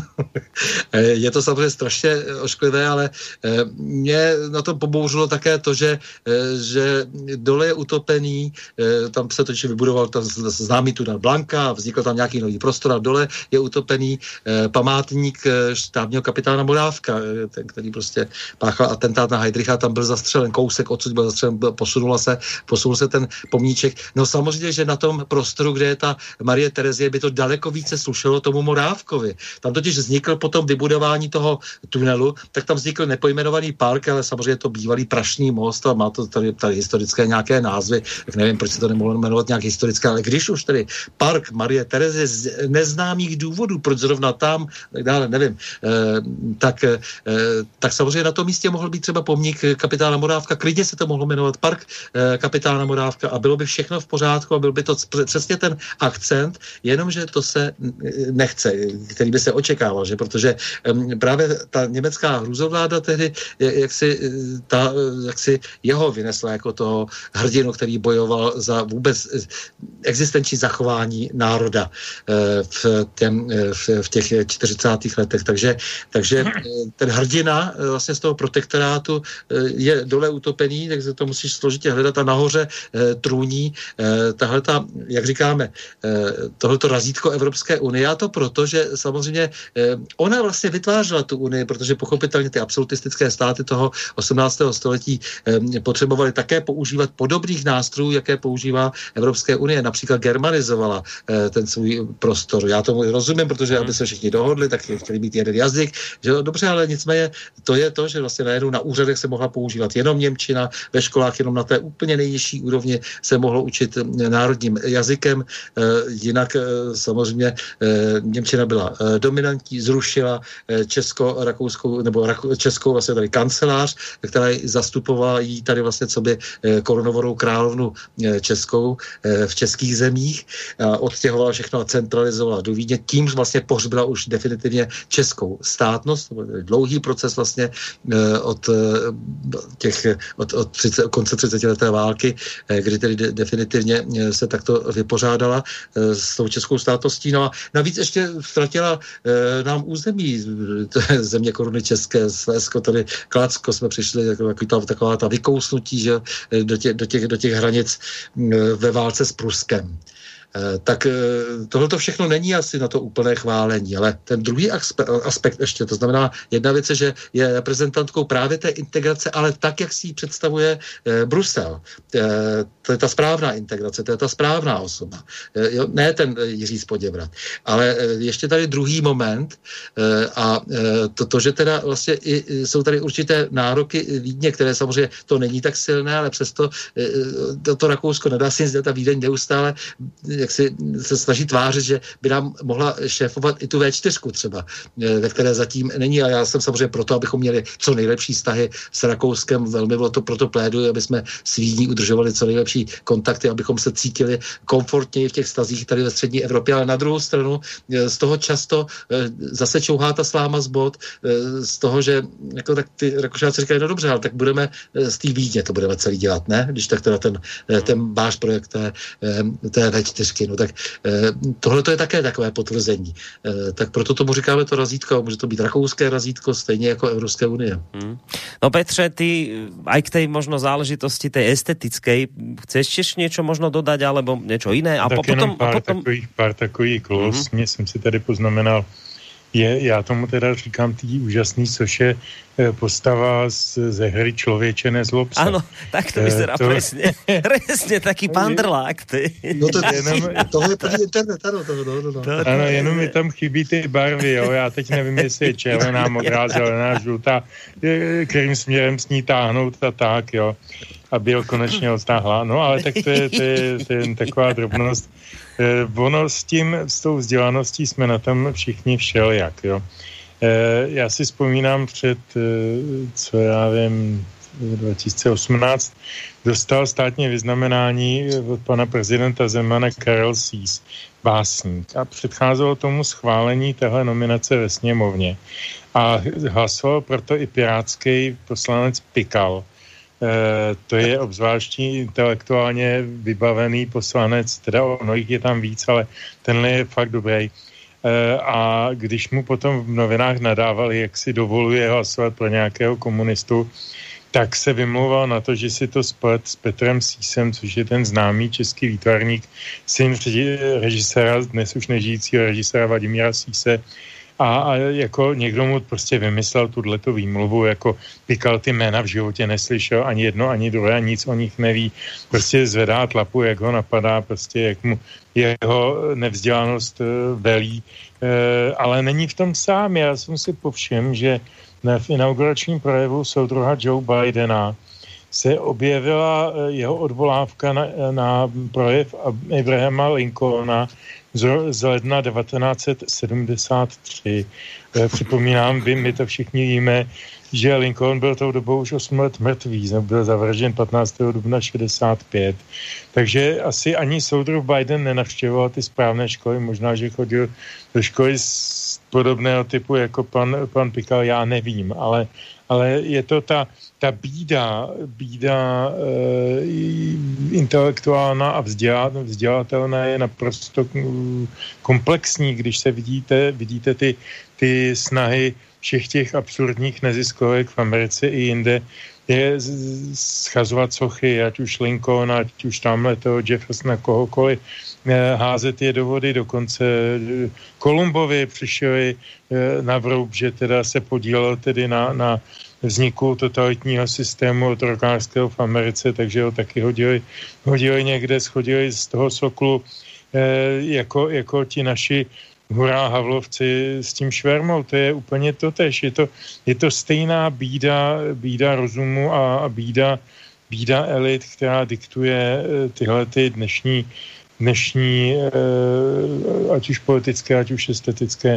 Je to samozřejmě strašně ošklivé, ale mě na to pobouřilo také to, že, že dole je utopený, tam se totiž vybudoval tam známý tunel Blanka, vznikl tam nějaký nový prostor a dole je utopený památník štábního kapitána Morávka, ten, který prostě páchal atentát na Heydricha, tam byl zastřelen kousek, odsud byl zastřelen, posunula se posunul se ten pomníček. No samozřejmě, že na tom prostoru, kde je ta Marie Terezie, by to daleko více slušelo tomu Morávkovi. Tam totiž vznikl potom vybudování toho tunelu, tak tam vznikl nepojmenovaný park, ale samozřejmě to bývalý Prašný most a má to tady, tady historické nějaké názvy, tak nevím, proč se to nemohlo jmenovat nějak historické, ale když už tady park Marie Terezie z neznámých důvodů, proč zrovna tam, tak dále, nevím, eh, tak, eh, tak samozřejmě na tom místě mohl být třeba pomník kapitána Morávka, klidně se to mohlo jmenovat park eh, kapitána Morávka a bylo by všechno v pořádku a byl by to přesně ten akcent, jenomže to se nechce, který by se očekával, že protože um, právě ta německá hrůzovláda tehdy, jak si, ta, jak si jeho vynesla jako toho hrdinu, který bojoval za vůbec existenční zachování národa uh, v, těm, v, v těch čtyřicátých letech. Takže, takže ten hrdina vlastně z toho protektorátu je dole utopený, takže to musíš složitě hledat a nahoře eh, trůní eh, tahleta, jak říkáme, eh, tohleto razítko Evropské unie. A to proto, že samozřejmě eh, ona vlastně vytvářela tu unii, protože pochopitelně ty absolutistické státy toho osmnáctého století eh, potřebovaly také používat podobných nástrojů, jaké používá Evropské unie. Například germanizovala eh, ten svůj prostor. Já tomu rozumím, protože aby se všichni dohodli, tak chtěli mít jeden jazyk. Že dobře, ale nicméně to je to, že vlastně najednou na úřadech se mohla používat jenom němčina, ve školách jenom na té úplně nejnižší úrovni se mohlo učit národním jazykem, jinak samozřejmě němčina byla dominantní, zrušila česko-rakouskou, nebo českou vlastně tady kancelář, která zastupovala jí tady vlastně co by korunovorou královnu českou v českých zemích, odstěhovala všechno a centralizovala do Vídně, tím vlastně pohřbila už definitivně českou státnost, dlouhý proces vlastně od těch, od, od třicet, konce třicetileté války, kdy tedy de, definitivně se takto vypořádala e, s tou českou státností. No a navíc ještě ztratila e, nám území země koruny české, Slezsko, tady Kladsko, jsme přišli taková, taková ta vykousnutí, že, do, tě, do, těch, do těch hranic e, ve válce s Pruskem. Tak tohleto všechno není asi na to úplné chválení, ale ten druhý aspekt ještě, to znamená, jedna věc je, že je reprezentantkou právě té integrace, ale tak, jak si ji představuje Brusel. To je ta správná integrace, to je ta správná osoba. Ne ten Jiří Spoděbrat. Ale ještě tady druhý moment a to, to že teda vlastně i jsou tady určité nároky Vídně, které samozřejmě to není tak silné, ale přesto to, to Rakousko nedá si jít, ta Vídeň neustále jak si se snaží tvářit, že by nám mohla šéfovat i tu vé čtyři třeba, ve které zatím není, a já jsem samozřejmě proto, abychom měli co nejlepší vztahy s Rakouskem, velmi bylo to proto pléduji, aby jsme s Vídní udržovali co nejlepší kontakty, abychom se cítili komfortněji v těch vztazích tady ve střední Evropě, ale na druhou stranu z toho často zase čouhá ta sláma z bod, z toho, že jako tak ty Rakušáci říkají, no dobře, ale tak budeme z té Vídně to budeme celý dělat, ne? Když tak teda ten, ten váš projekt té, té vé čtyři, no tak tohle to je také takové potvrzení. Tak proto tomu říkáme to razítko, může to být rakouské razítko, stejně jako Evropské unie. Hmm.
No Petře, ty aj k tej možno záležitosti tej estetickej, chceš tiež niečo možno dodať, alebo niečo iné? A
tak
potom,
jenom pár,
a potom...
takových, pár takových klos, mm-hmm. mě jsem si tady poznamenal, je, já tomu teda říkám tý úžasný, což je postava z, ze hry Člověče nezlob se.
Áno, tak to vyzerá to... presne. Presne taký pandrlák, ty.
No to jenom... toho je první internet, ano. To, no, no, no.
Ano, jenom mi tam chybí ty barvy, jo. Já teď nevím, jestli je červená, modrá, zelená, žlutá, kterým směrem s ní táhnout a tak, jo. A byl konečně odtáhla. No, ale tak to je, to je, to je taková drobnost. Eh, ono s tím, s tou vzdělaností jsme na tom všichni všelijak, jo. Eh, já si vzpomínám před, eh, co já vím, dva tisíce osmnáct dostal státní vyznamenání od pana prezidenta Zemana Karel Sýs, básník. A předcházelo tomu schválení téhle nominace ve sněmovně. A hlasoval proto i pirátský poslanec Pikal. E, to je obzvláštní intelektuálně vybavený poslanec, teda ono jich je tam víc, ale tenhle je fakt dobrý. E, a když mu potom v novinách nadávali, jak si dovoluje hlasovat pro nějakého komunistu, tak se vymlouval na to, že si to splet s Petrem Sýsem, což je ten známý český výtvarník, syn režiséra, dnes už nežijícího režiséra Vladimíra Sýse. A, a jako někdo mu prostě vymyslel tuhletu výmluvu, jako Pikal ty jména v životě neslyšel, ani jedno, ani druhé, nic o nich neví. Prostě zvedá tlapu, jak ho napadá, prostě jak mu jeho nevzdělanost velí. E, ale není v tom sám. Já jsem si povšiml, že v inauguračním projevu soudruha Joe Bidena se objevila jeho odvolávka na, na projev Abrahama Lincolna z ledna devatenáct set sedmdesát tři. Připomínám, vy, my to všichni víme, že Lincoln byl tou dobou už osm let mrtvý, byl zavržen patnáctého dubna šedesát pět. Takže asi ani soudruh Biden nenavštěvoval ty správné školy, možná, že chodil do školy z podobného typu jako pan, pan Pikal, já nevím, ale, ale je to ta, ta bída, bída e, intelektuálna a vzdělat, vzdělatelná je naprosto komplexní, když se vidíte, vidíte ty, ty snahy všech těch absurdních neziskovek v Americe i jinde, je schazovat sochy, ať už Lincoln, ať už tamhle toho Jeffersona, kohokoliv, házet je do vody, dokonce Kolumbovi přišli na vroub, že teda se podílel tedy na, na vzniku totalitního systému otrokářského v Americe, takže ho taky hodili, hodili někde, schodili z toho soklu jako, jako ti naši hurá Havlovci s tím švermou, to je úplně totéž. Je to, je to stejná bída, bída rozumu a, a bída, bída elit, která diktuje tyhle ty dnešní, dnešní ať už politické, ať už estetické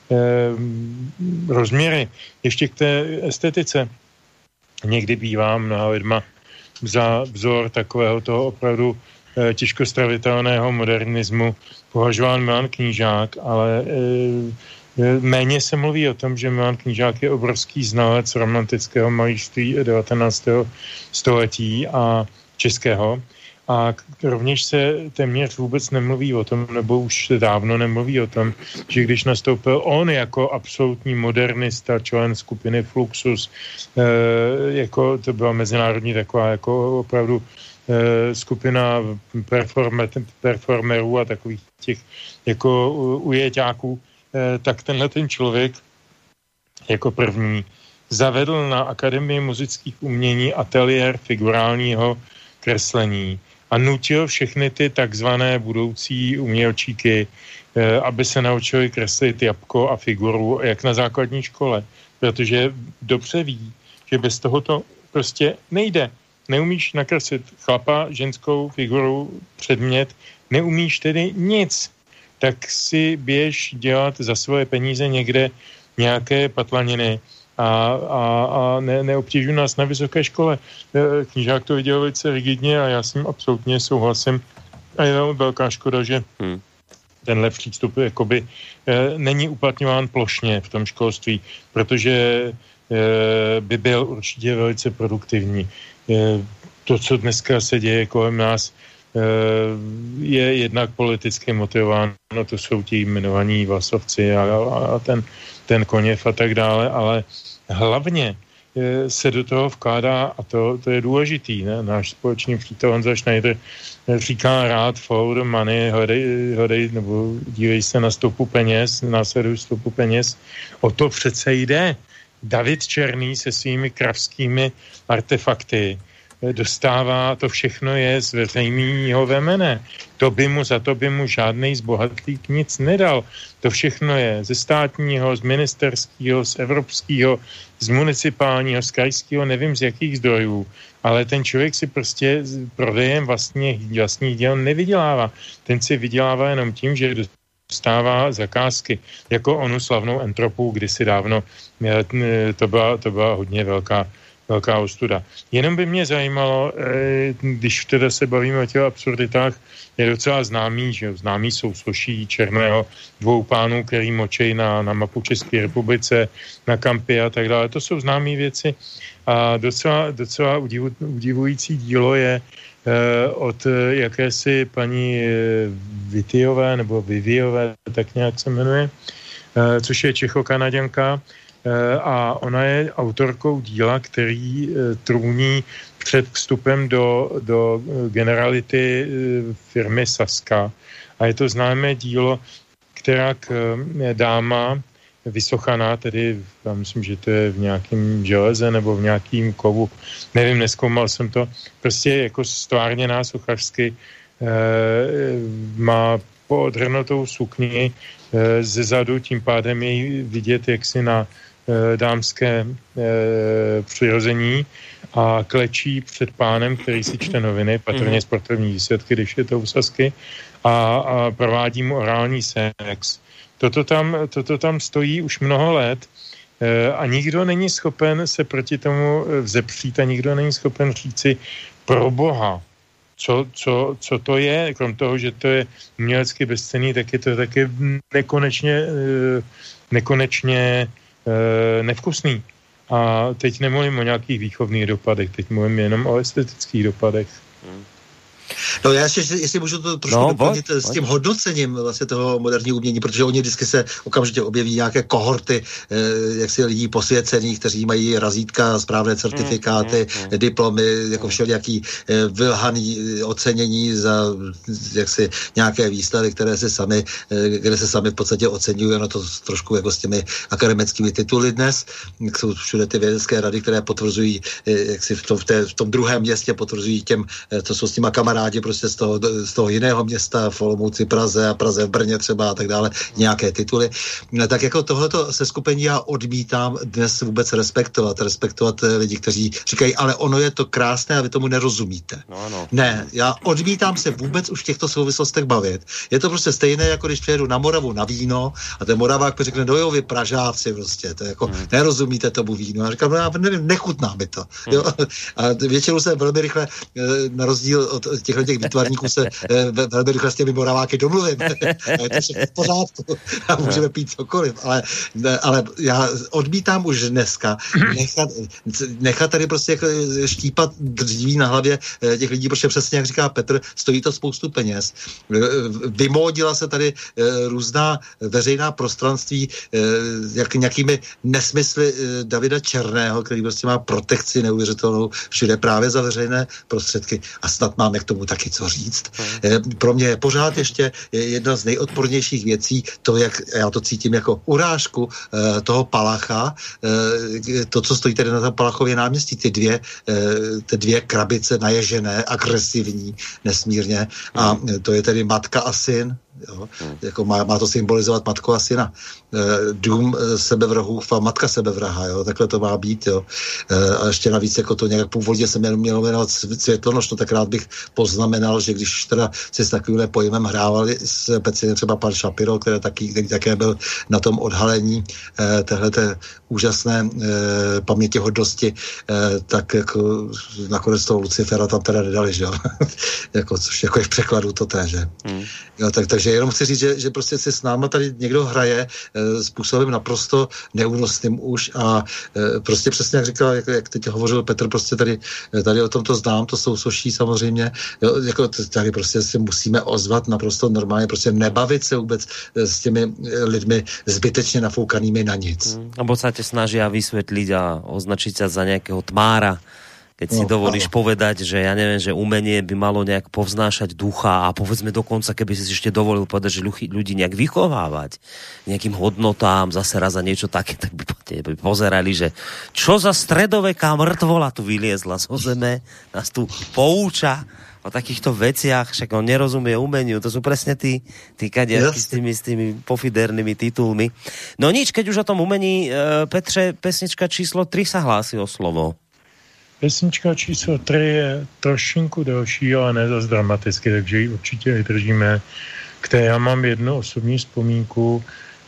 rozměry. Ještě k té estetice. Někdy bývá mnoha lidma za vzor takového toho opravdu těžko stravitelného modernismu považován Milan Knížák, ale e, méně se mluví o tom, že Milan Knížák je obrovský znalec romantického malířství devatenáctého století a českého. A rovněž se téměř vůbec nemluví o tom, nebo už dávno nemluví o tom, že když nastoupil on jako absolutní modernista, člen skupiny Fluxus, e, jako to byla mezinárodní taková jako opravdu skupina performerů a takových těch jako ujeťáků, tak tenhle ten člověk jako první zavedl na Akademii muzických umění ateliér figurálního kreslení a nutil všechny ty takzvané budoucí umělčíky, aby se naučili kreslit jabko a figuru jak na základní škole, protože dobře ví, že bez toho to prostě nejde. Neumíš nakreslit chlapa, ženskou figuru, předmět neumíš tedy nic, tak si běž dělat za svoje peníze někde nějaké patlaniny a, a, a ne, neobtěžuj nás na vysoké škole. Knížák to viděl velice rigidně a já s ním absolutně souhlasím. A je velmi velká škoda, že hmm. tenhle přístup jakoby e, není uplatňován plošně v tom školství, protože e, by byl určitě velice produktivní. E, to, co dneska se děje kolem nás, je jednak politicky motivováno, to jsou ti jmenovaní Vlasovci a, a ten, ten Koněv a tak dále, ale hlavně se do toho vkládá, a to, to je důležitý, ne? Náš společný přítel Honza Schneider říká rád follow the money, hledej, hledej nebo dívej se na stopu peněz, následuj stopu peněz. O to přece jde. David Černý se svými kravskými artefakty dostává, to všechno je z veřejného vemene. To by mu, za to by mu žádnej zbohatlík nic nedal. To všechno je ze státního, z ministerského, z evropského, z municipálního, z krajského, nevím z jakých zdrojů, ale ten člověk si prostě prodejem vlastně, vlastních děl nevydělává. Ten si vydělává jenom tím, že dostává zakázky, jako onu slavnou Entropu kdysi dávno. To byla, to byla hodně velká velká ostuda. Jenom by mě zajímalo, když teda se bavíme o těch absurditách, je docela známý, že známý jsou Sloší Černého, dvou pánů, který močej na, na mapu České republice, na kampy a tak dále. To jsou známé věci a docela, docela udivu, udivující dílo je eh, od jakési paní Vityové nebo Viviové, tak nějak se jmenuje, eh, což je Čechokanaděnka, a ona je autorkou díla, který trůní před vstupem do, do generality firmy Saska. A je to známé dílo, která dáma Vysochaná, tedy já myslím, že to je v nějakém železe nebo v nějakém kovu, nevím, nezkoumal jsem to, prostě jako stvárněná sochařsky má poodhrnutou sukni ze zadu, tím pádem jej vidět jaksi na dámské e, přirození a klečí před pánem, který si čte noviny, patrně sportovní výsledky, když je to u Sasky, a, a provádí mu orální sex. Toto tam, toto tam stojí už mnoho let e, a nikdo není schopen se proti tomu vzepřít a nikdo není schopen říci pro Boha, co, co, co to je, krom toho, že to je umělecky bezcenný, tak je to taky nekonečně e, nekonečně nevkusný. A teď nemluvím o nějakých výchovných dopadech, teď mluvím jenom o estetických dopadech. Hmm.
No já ještě, jestli můžu to trošku no, doplnit s tím hodnocením vlastně toho moderního umění, protože oni vždycky se okamžitě objeví nějaké kohorty eh, jaksi lidí posvěcených, kteří mají razítka, správné certifikáty, mm, mm, mm. diplomy, jako všelijaký eh, vylhaný ocenění za jaksi nějaké výsledky, které se sami, eh, které se sami v podstatě oceňují, no to trošku jako s těmi akademickými tituly dnes. Jsou všude ty vědecké rady, které potvrzují, eh, jaksi v tom, v, té, v tom druhém městě potvrzují těm, eh, co jsou s těma kamarádi prostě z toho, z toho jiného města, v Olomouci, Praze a Praze v Brně třeba a tak dále, nějaké tituly. Tak jako tohleto seskupení já odmítám dnes vůbec respektovat. Respektovat lidi, kteří říkají, ale ono je to krásné a vy tomu nerozumíte. No, no. Ne, já odmítám se vůbec už v těchto souvislostech bavit. Je to prostě stejné, jako když přijedu na Moravu na víno a ten Moravák řekne, no jo, vy Pražáci prostě, to je jako, hmm. nerozumíte tomu vínu. A říkám, no já nevím, nechutná mi to. Jo? A většinou se velmi rychle, na rozdíl od těchto těch výtvarníků se velmi rychle s těmi Moraváky domluvím. A je to všechno v pořádku. A můžeme pít cokoliv. Ale, ale já odmítám už dneska nechat, nechat tady prostě jako štípat dříví na hlavě těch lidí, protože přesně, jak říká Petr, stojí to spoustu peněz. Vymódila se tady různá veřejná prostranství jak nějakými nesmysly Davida Černého, který prostě má protekci neuvěřitelnou všude právě za veřejné prostředky. A snad máme k tomu taky co říct. Pro mě je pořád ještě jedna z nejodpornějších věcí to, jak já to cítím jako urážku toho Palacha, to, co stojí tady na tom Palachově náměstí, ty dvě, ty dvě krabice naježené, agresivní, nesmírně. A to je tedy matka a syn, Jo? Jako má, má to symbolizovat matku a syna. Dům sebevrahův a matka sebevraha, jo? Takhle to má být. Jo? A ještě navíc jako to nějak původně se mělo jmenovat Světlonoc, no tak rád bych poznamenal, že když teda si s takovým pojmem hrávali speciálně třeba pan Shapiro, který, taky, který také byl na tom odhalení téhleté úžasné pamětihodnosti, tak jako nakonec toho Lucifera tam teda nedali, že jo? jako, což jako je v překladu to té, že? Hmm. Jo, tak, takže jenom chci říct, že, že prostě si s náma tady někdo hraje e, způsobem naprosto neúnosným už a e, prostě přesně jak říkal, jak, jak teď hovořil Petr, prostě tady, tady o tom to znám, to jsou soší samozřejmě, jo, jako tady prostě si musíme ozvat naprosto normálně, prostě nebavit se vůbec s těmi lidmi zbytečně nafoukanými na nic.
Hmm. Abo sa te snažia vysvetliť a označiť sa za nejakého tmára, keď si no, dovolíš áno. povedať, že ja neviem, že umenie by malo nejak povznášať ducha a povedzme dokonca, keby si ešte dovolil povedať, že ľudí nejak vychovávať nejakým hodnotám, zase raz za niečo také, tak by, by pozerali, že čo za stredoveká mŕtvola tu vyliezla zo zeme, nás tu pouča o takýchto veciach, však on nerozumie umeniu, to sú presne tí, tí kadiaky s tými, s tými pofidernými titulmi. No nič, keď už o tom umení, Petře, pesnička číslo tri sa hlási o slovo.
Pesnička číslo tři je trošinku delší, ale ne zas dramaticky, takže ji určitě vydržíme. K té já mám jednu osobní vzpomínku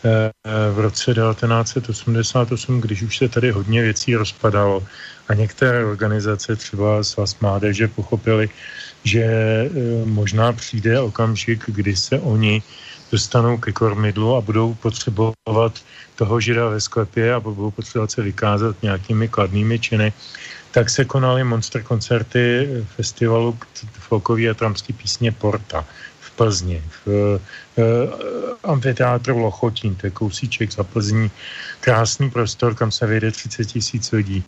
v roce devatenáct set osmdesát osm, když už se tady hodně věcí rozpadalo a některé organizace, třeba Svaz mládeže, pochopili, že možná přijde okamžik, kdy se oni dostanou ke kormidlu a budou potřebovat toho žida ve sklepě a budou potřebovat se vykázat nějakými kladnými činy, tak se konaly monster koncerty festivalu folkový a tramský písně Porta v Plzni, v uh, amfiteátru Lochotín, to je kousíček za Plzní, krásný prostor, kam se vejde třicet tisíc lidí.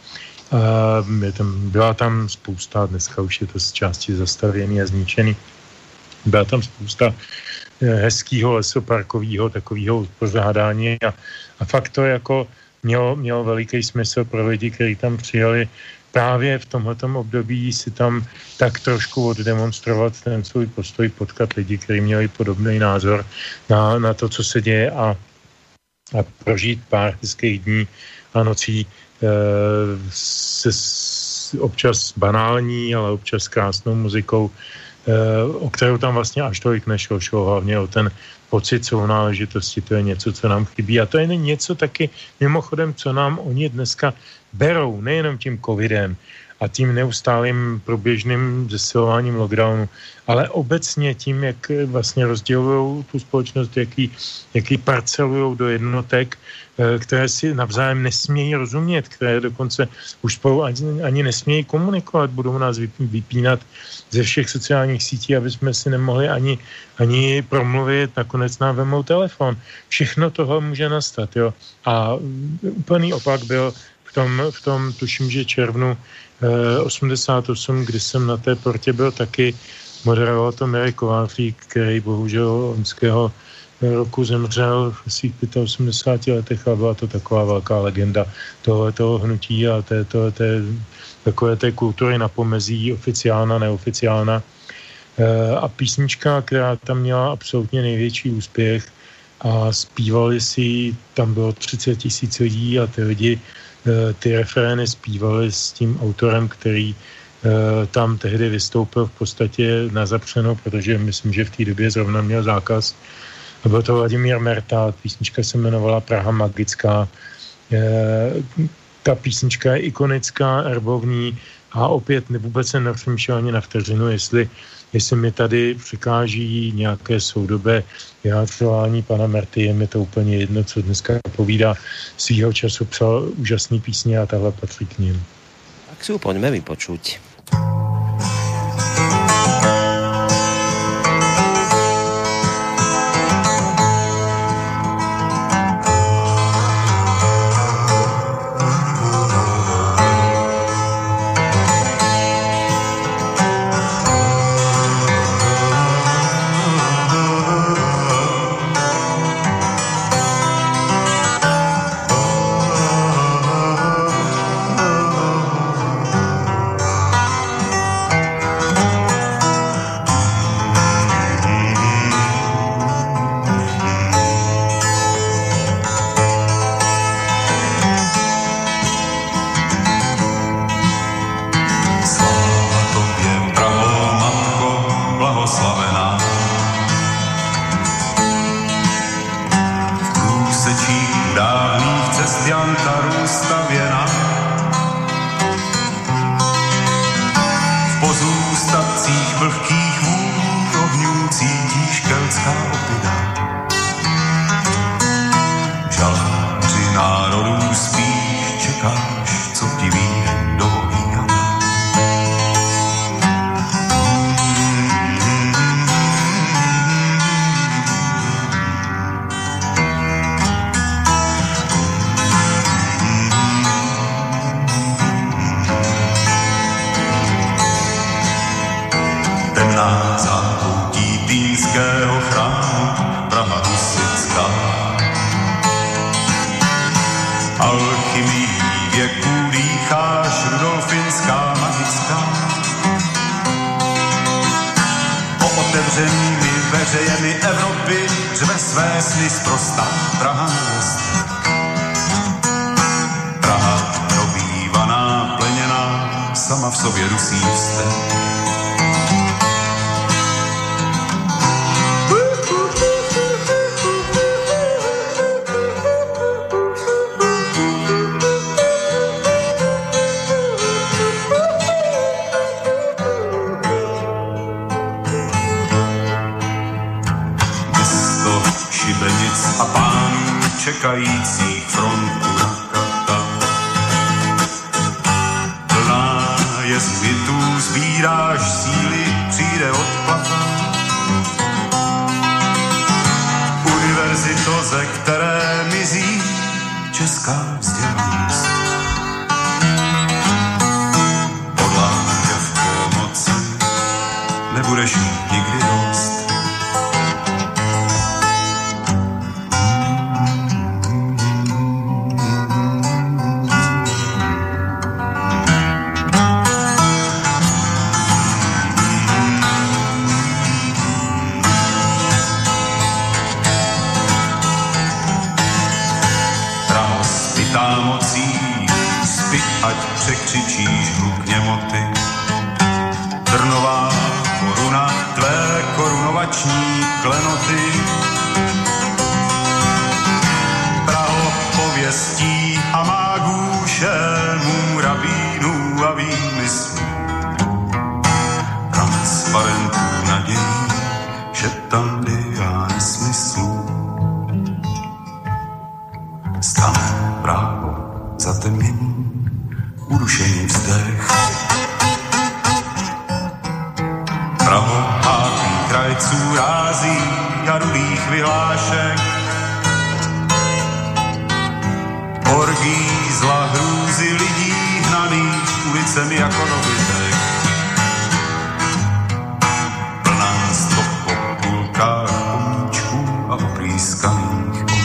Uh, je tam, byla tam spousta, dneska už je to z části zastavěný a zničený, byla tam spousta hezkýho lesoparkového takového pořádání a, a fakt to jako mělo, mělo veliký smysl pro lidi, kteří tam přijeli právě v tomhletom období si tam tak trošku oddemonstrovat ten svůj postoj, potkat lidi, kteří měli podobný názor na, na to, co se děje a, a prožít pár hezkých dní a nocí e, se s, občas banální, ale občas krásnou muzikou, e, o kterou tam vlastně až tolik nešlo, šlo hlavně o ten pocit sounáležitosti, to je něco, co nám chybí. A to je něco taky mimochodem, co nám oni dneska berou, nejenom tím covidem a tím neustálým průběžným zesilováním lockdownu, ale obecně tím, jak vlastně rozdělují tu společnost, jaký, jaký parcelují do jednotek, které si navzájem nesmějí rozumět, které dokonce už spolu ani, ani nesmějí komunikovat, budou nás vypínat ze všech sociálních sítí, aby jsme si nemohli ani, ani promluvit, nakonec nám vemou telefon. Všechno tohle může nastat, jo. A úplný opak byl v tom, v tom tuším, že červnu eh, osmdesát osm, kdy jsem na té Portě byl taky, moderoval to Mirek Kovářík, který bohužel loňského roku zemřel v svých osmdesáti pěti letech a byla to taková velká legenda tohoto hnutí a té, té, té, takové té kultury na pomezí oficiálna, neoficiálna. E, a písnička, která tam měla absolutně největší úspěch a zpívali si, tam bylo třicet tisíc lidí a ty lidi e, ty refrény zpívali s tím autorem, který e, tam tehdy vystoupil v podstatě na zapřeno, protože myslím, že v té době zrovna měl zákaz. A byl to Vladimír Merta, písnička se jmenovala Praha magická. E, ta písnička je ikonická, erbovní a opět vůbec se nepřemýšlel ani na vteřinu, jestli, jestli mi tady přikáží nějaké soudobé vyjádřování pana Merty, je mi to úplně jedno, co dneska povídá. Svýho času psal úžasný písně a tahle patří k ním.
Tak si ju poďme vypočuť.
Thank na zákoutí Týnského chrámu, Praha husitská. Alchymii věků dýcháš, rudolfinská, magická. Po otevřenými veřejemi Evropy řve své sny sprostá Praha města. Praha dobývaná, pleněná, sama v sobě dusí vztek. A pánů čekajících frontu na Katar. Plná jezuitů sbíráš síly, přijde odplata. Univerzito, ze které mizí česká vzdělanost. Podláže v pomoci nebudeš mít nikdy dost. Ať překřičíš hluk němoty. Trnová koruna, tvé korunovační klenoty. Praho pověstí a mágů, šémů, rabínů a výmyslů. Transparentů nadějí, šeptandy a nesmyslů. Stane právo zatemnění, udušený vzdech. Praho hápí krajců rází a rudých vyhlášek. Orgí zla hrůzy lidí hnaných ulicemi jako dobytek. Plná stop po půlkách pomíčků a oplískaných omítek.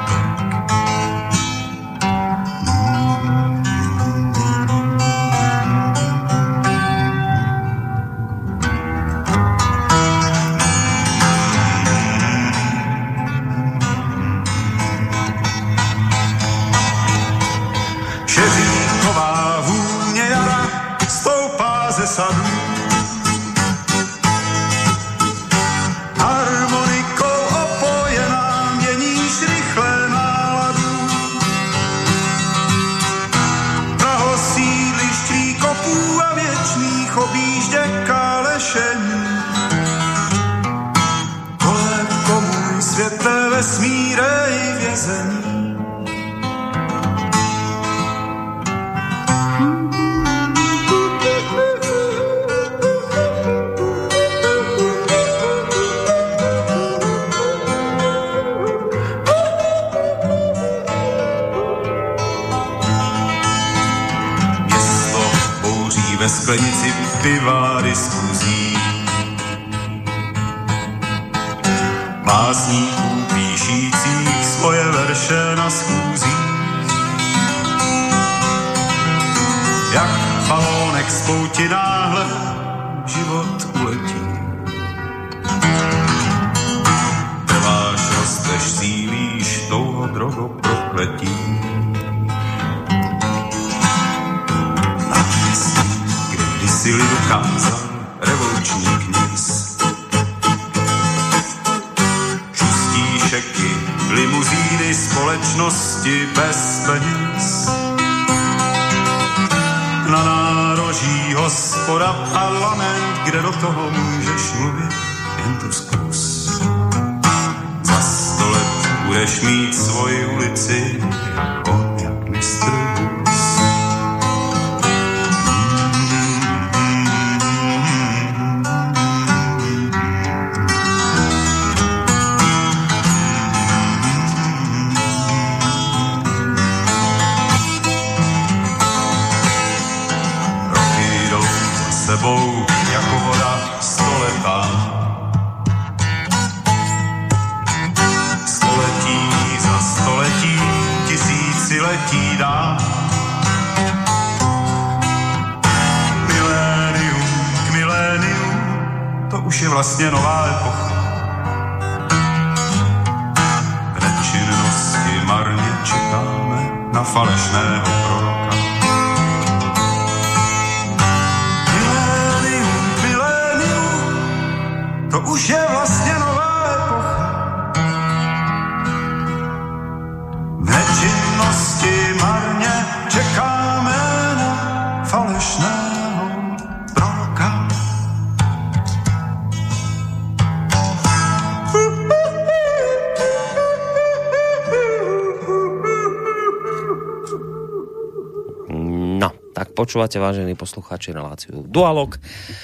Sadů. Harmonikou opojená měníš rychle náladu. Praho sídlišť výkopů a věčných objížděk a lešení. Kolébko můj světle vesmíre i vězení. Ve sklenici piva diskuzí. Básníků píšících svoje verše na schůzích. Jak balónek z pouti náhle život uletí. Trváš, rosteš, sílíš touho drogo prokletí. Si lidu kázal revoluční kněz. Šustí šeky, limuzíny, společnosti bez peněz. Na nároží hospoda parlament, kde do toho můžeš mluvit jen to zkus. Za sto let budeš mít svoji ulici, on jak mistr Bus. Sebou jako voda stoletá. už je vlastně nová epocha. V nečinnosti marně čekáme na falešného proroka. Milénium, milénium, to už je vlastně nová epocha. V nečinnosti marně čekáme na falešného proroka.
No, tak počúvate, vážení poslucháči, reláciu Dualog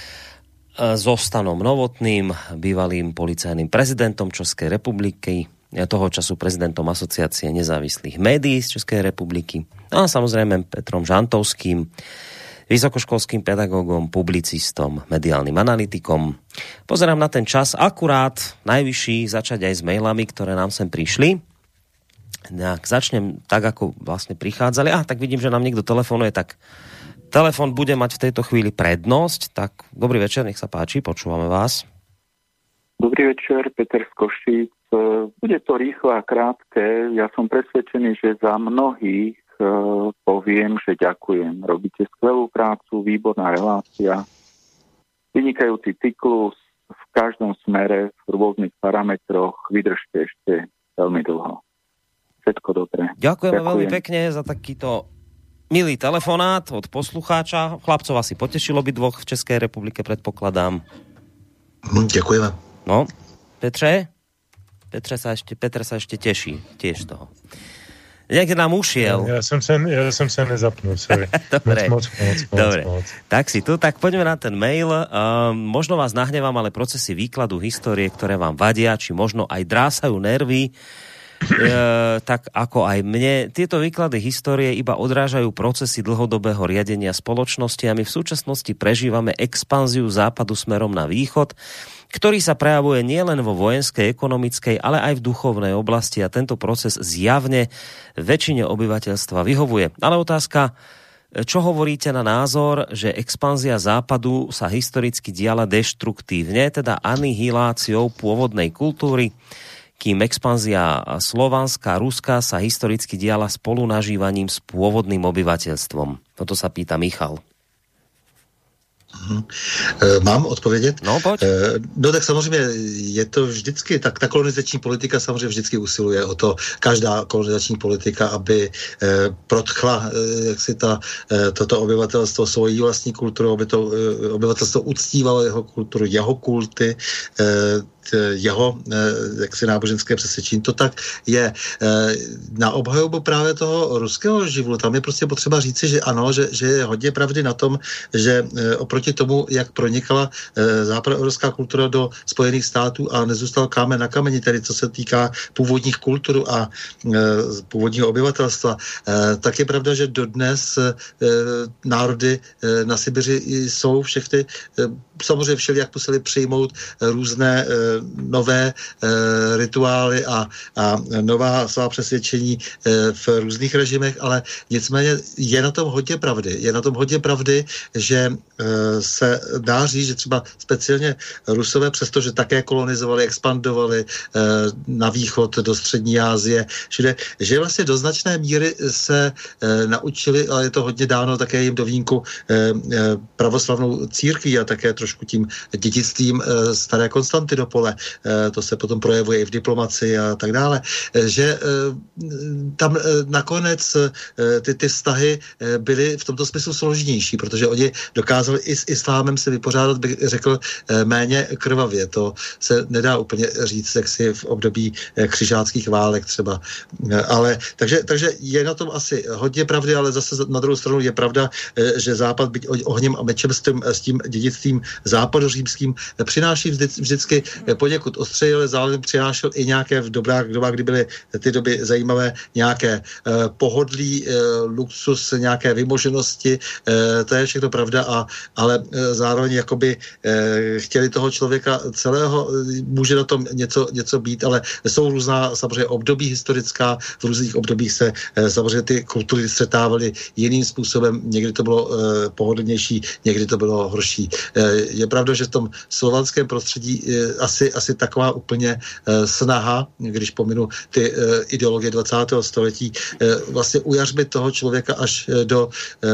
so Stanom Novotným, bývalým policajným prezidentom Českej republiky, toho času prezidentom Asociácie nezávislých médií z Českej republiky a samozrejme Petrom Žantovským, vysokoškolským pedagógom, publicistom, mediálnym analytikom. Pozerám na ten čas, akurát najvyšší začať aj s mailami, ktoré nám sem prišli. Tak začnem tak, ako vlastne prichádzali. A tak vidím, že nám niekto telefonuje, tak telefon bude mať v tejto chvíli prednosť. Tak dobrý večer, nech sa páči, počúvame vás.
Dobrý večer, Peter z Košíc. Bude to rýchle a krátke. Ja som presvedčený, že za mnohých uh, poviem, že ďakujem. Robíte skvelú prácu, výborná relácia, vynikajúci cyklus v každom smere, v rôznych parametroch. Vydržte ešte veľmi dlho. Všetko dobré.
Ďakujeme ďakujem. Veľmi pekne za takýto milý telefonát od poslucháča. Chlapcov asi potešilo by dvoch v Českej republike, predpokladám.
Ďakujeme.
No, Petře? Petře sa ešte, Petr sa ešte teší tiež toho. Niekde nám ušiel.
Ja som sa, ja som sa nezapnul, sorry.
Dobre.
Moc, moc, moc,
Dobre.
moc, moc.
Tak si tu, tak poďme na ten mail. Um, možno vás nahnevám, ale procesy výkladu histórie, ktoré vám vadia, či možno aj drásajú nervy, E, tak ako aj mne. Tieto výklady histórie iba odrážajú procesy dlhodobého riadenia spoločnosti a my v súčasnosti prežívame expanziu západu smerom na východ, ktorý sa prejavuje nielen vo vojenskej, ekonomickej, ale aj v duchovnej oblasti a tento proces zjavne väčšine obyvateľstva vyhovuje. Ale otázka, čo hovoríte na názor, že expanzia západu sa historicky diala deštruktívne, teda anihiláciou pôvodnej kultúry, kým expanzia slovanská, ruská sa historicky diala spolunažívaním s pôvodným obyvateľstvom. Toto sa pýta Michal.
Hmm. Mám odpovědět?
No, pojď.
No tak samozřejmě je to vždycky, tak ta kolonizační politika samozřejmě vždycky usiluje o to, každá kolonizační politika, aby protchla jak si ta, toto obyvatelstvo svojí vlastní kulturu, aby to obyvatelstvo uctívalo jeho kulturu, jeho kulty, jeho jaksi náboženské přesvědčení. To tak je. Na obhajobu právě toho ruského živlu, tam je prostě potřeba říci, že ano, že, že je hodně pravdy na tom, že oproti tomu, jak pronikala západoevropská kultura do Spojených států a nezůstal kámen na kameni, tedy co se týká původních kultur a původního obyvatelstva, tak je pravda, že dodnes národy na Sibiři jsou všechny, samozřejmě všelijak museli přijmout různé nové e, rituály a, a nová svá přesvědčení e, v různých režimech, ale nicméně je na tom hodně pravdy. Je na tom hodně pravdy, že e, se dá říct, že třeba speciálně Rusové, přestože také kolonizovali, expandovali e, na východ do střední Asie, že, že vlastně do značné míry se e, naučili, ale je to hodně dáno také jim do vínku e, e, pravoslavnou církví a také trošku tím dědictvím e, staré Konstantinopole. To se potom projevuje i v diplomaci a tak dále, že tam nakonec ty, ty vztahy byly v tomto smyslu složitější, protože oni dokázali i s islámem se vypořádat, bych řekl, méně krvavě. To se nedá úplně říct, jak si v období křižáckých válek třeba. Ale, takže, takže je na tom asi hodně pravdy, ale zase na druhou stranu je pravda, že Západ, byť ohněm a mečem s tím, s tím dědictvím západořímským, přináší vždy, vždycky poněkud ostřeji, ale zároveň přinášel i nějaké v dobrách dobách, kdy byly ty doby zajímavé, nějaké pohodlí, luxus, nějaké vymoženosti, to je všechno pravda, a, ale zároveň jakoby chtěli toho člověka celého, může na tom něco, něco být, ale jsou různá samozřejmě období historická, v různých obdobích se samozřejmě ty kultury střetávaly jiným způsobem, někdy to bylo pohodlnější, někdy to bylo horší. Je pravda, že v tom slovanském prostředí asi, asi taková úplně snaha, když pominu ty ideologie dvacátého století, vlastně ujařmit toho člověka až do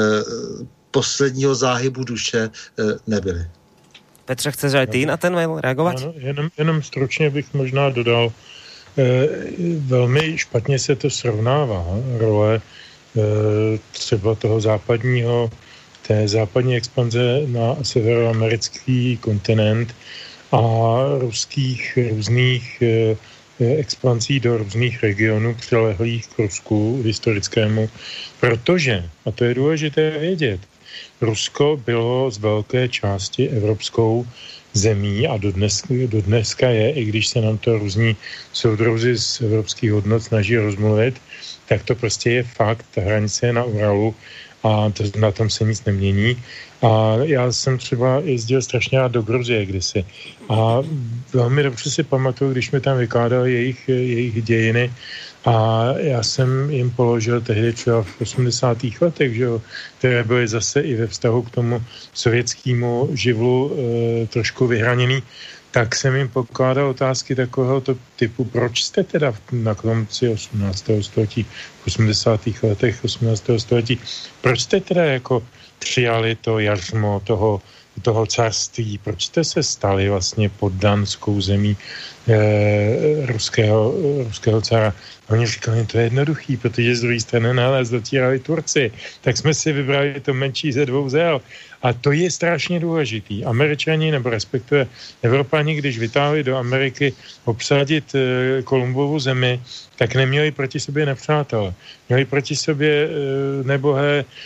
posledního záhybu duše nebyly.
Petře, chceš aj ty na ten mail reagovat?
Ano, jenom, jenom stručně bych možná dodal, eh, velmi špatně se to srovnává, role eh, třeba toho západního, té západní expanze na severoamerický kontinent a ruských různých eh, expanzí do různých regionů přilehlých k Rusku historickému, protože, a to je důležité vědět, Rusko bylo z velké části evropskou zemí a dodnes, dodneska je, i když se nám to různí soudruzi z evropských hodnot snaží rozmluvit, tak to prostě je fakt, ta hranice je na Uralu a to, na tom se nic nemění. A já jsem třeba jezdil strašně rád do Gruzie kdysi a velmi dobře si pamatuju, když mi tam vykládali jejich, jejich dějiny, a já jsem jim položil tehdy třeba v osmdesátých letech, že jo, které byly zase i ve vztahu k tomu sovětskému živlu e, trošku vyhraněný, tak jsem jim pokládal otázky takového typu, proč jste teda na konci osmnáctého století, v osmdesátých letech osmnáctého století, proč jste teda jako přijali to jařmo toho, toho carství, proč jste se stali vlastně poddanskou zemí e, ruského, ruského cara. A oni říkali, to je jednoduchý, protože z druhé strany nás dotírali Turci, tak jsme si vybrali to menší ze dvou zel. A to je strašně důležitý. Američani, nebo respektive Evropani, když vytáhli do Ameriky obsadit e, Kolumbovu zemi, tak neměli proti sobě nepřátele. Měli proti sobě e, nebohé, e,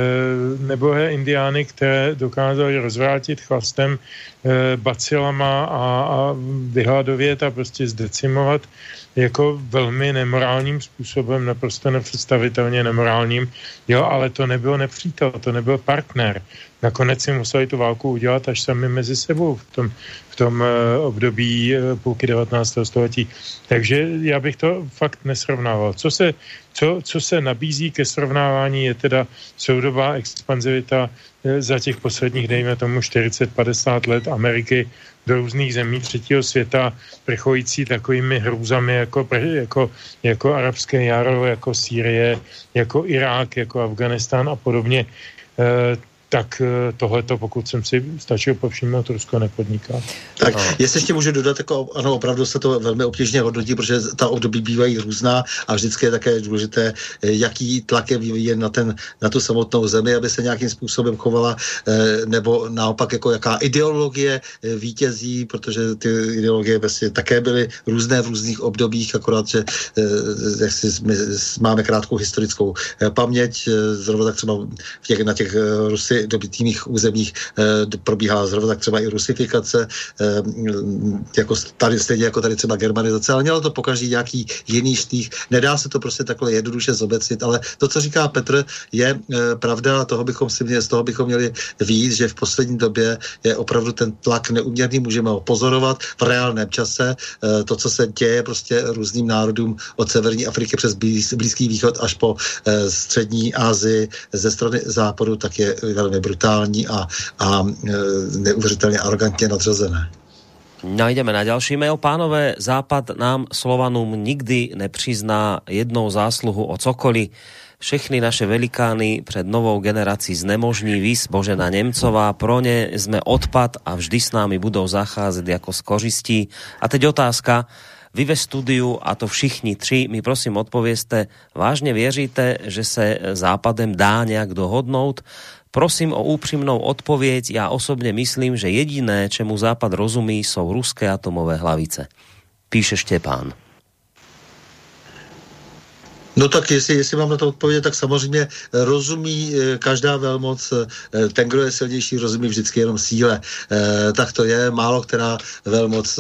nebohé indiány, které dokázali rozvrátit chlastem, e, bacilama a, a vyhladovět a prostě zdecimovat jako velmi nemorálním způsobem, naprosto nepředstavitelně nemorálním. Jo, ale to nebyl nepřítel, to nebyl partner. Nakonec si museli tu válku udělat až sami mezi sebou v tom, v tom uh, období uh, půlky devatenáctého století. Takže já bych to fakt nesrovnával. Co se, co, co se nabízí ke srovnávání, je teda soudobá expanzivita uh, za těch posledních, dejme tomu, čtyřicet padesát let Ameriky do různých zemí třetího světa, prchající takovými hrůzami jako, jako, jako arabské jaro, jako Sýrie, jako Irák, jako Afganistán a podobně. Uh, tak tohleto, pokud jsem si stačil povšimnout, Rusko nepodniká.
Tak, no. Jestli ještě můžu dodat, jako, ano, opravdu se to velmi obtížně hodnotí, protože ta období bývají různá a vždycky je také důležité, jaký tlak je vyvíjen na, ten, na tu samotnou zemi, aby se nějakým způsobem chovala, nebo naopak, jako jaká ideologie vítězí, protože ty ideologie vlastně také byly různé v různých obdobích, akorát, že jak si, my máme krátkou historickou paměť, zrovna tak třeba v těch, na těch Rusy dobytých územích e, probíhá zrovna tak třeba i rusifikace, e, jako tady, stejně jako tady třeba germanizace, ale mělo to pokaždý nějaký jiný štých. Nedá se to prostě takhle jednoduše zobecnit, ale to, co říká Petr, je e, pravda, toho bychom si měli, z toho bychom měli víc, že v poslední době je opravdu ten tlak neuměrný, můžeme ho pozorovat v reálném čase. E, to, co se děje prostě různým národům od severní Afriky přes blíz, Blízký východ až po e, střední Asii ze strany západu, tak je velmi brutální a, a neuvěřitelně arrogantně nadřazené.
No, ideme na ďalší mail. Pánové, Západ nám Slovanům nikdy nepřizná jednou zásluhu o cokoliv. Všechny naše velikány před novou generací znemožní, vys Božena Nemcová, pro ne sme odpad a vždy s námi budou zacházet jako s kořistí. A teď otázka. Vy ve studiu, a to všichni tři, mi prosím odpovězte, vážně věříte, že se Západem dá nějak dohodnout? Prosím o úprimnou odpověď. Já osobně myslím, že jediné, čemu Západ rozumí, jsou ruské atomové hlavice. Píše Štěpán.
No tak jestli, jestli mám na to odpovědět, tak samozřejmě rozumí každá velmoc, ten, kdo je silnější, rozumí vždycky jenom síle. Tak to je, málo která velmoc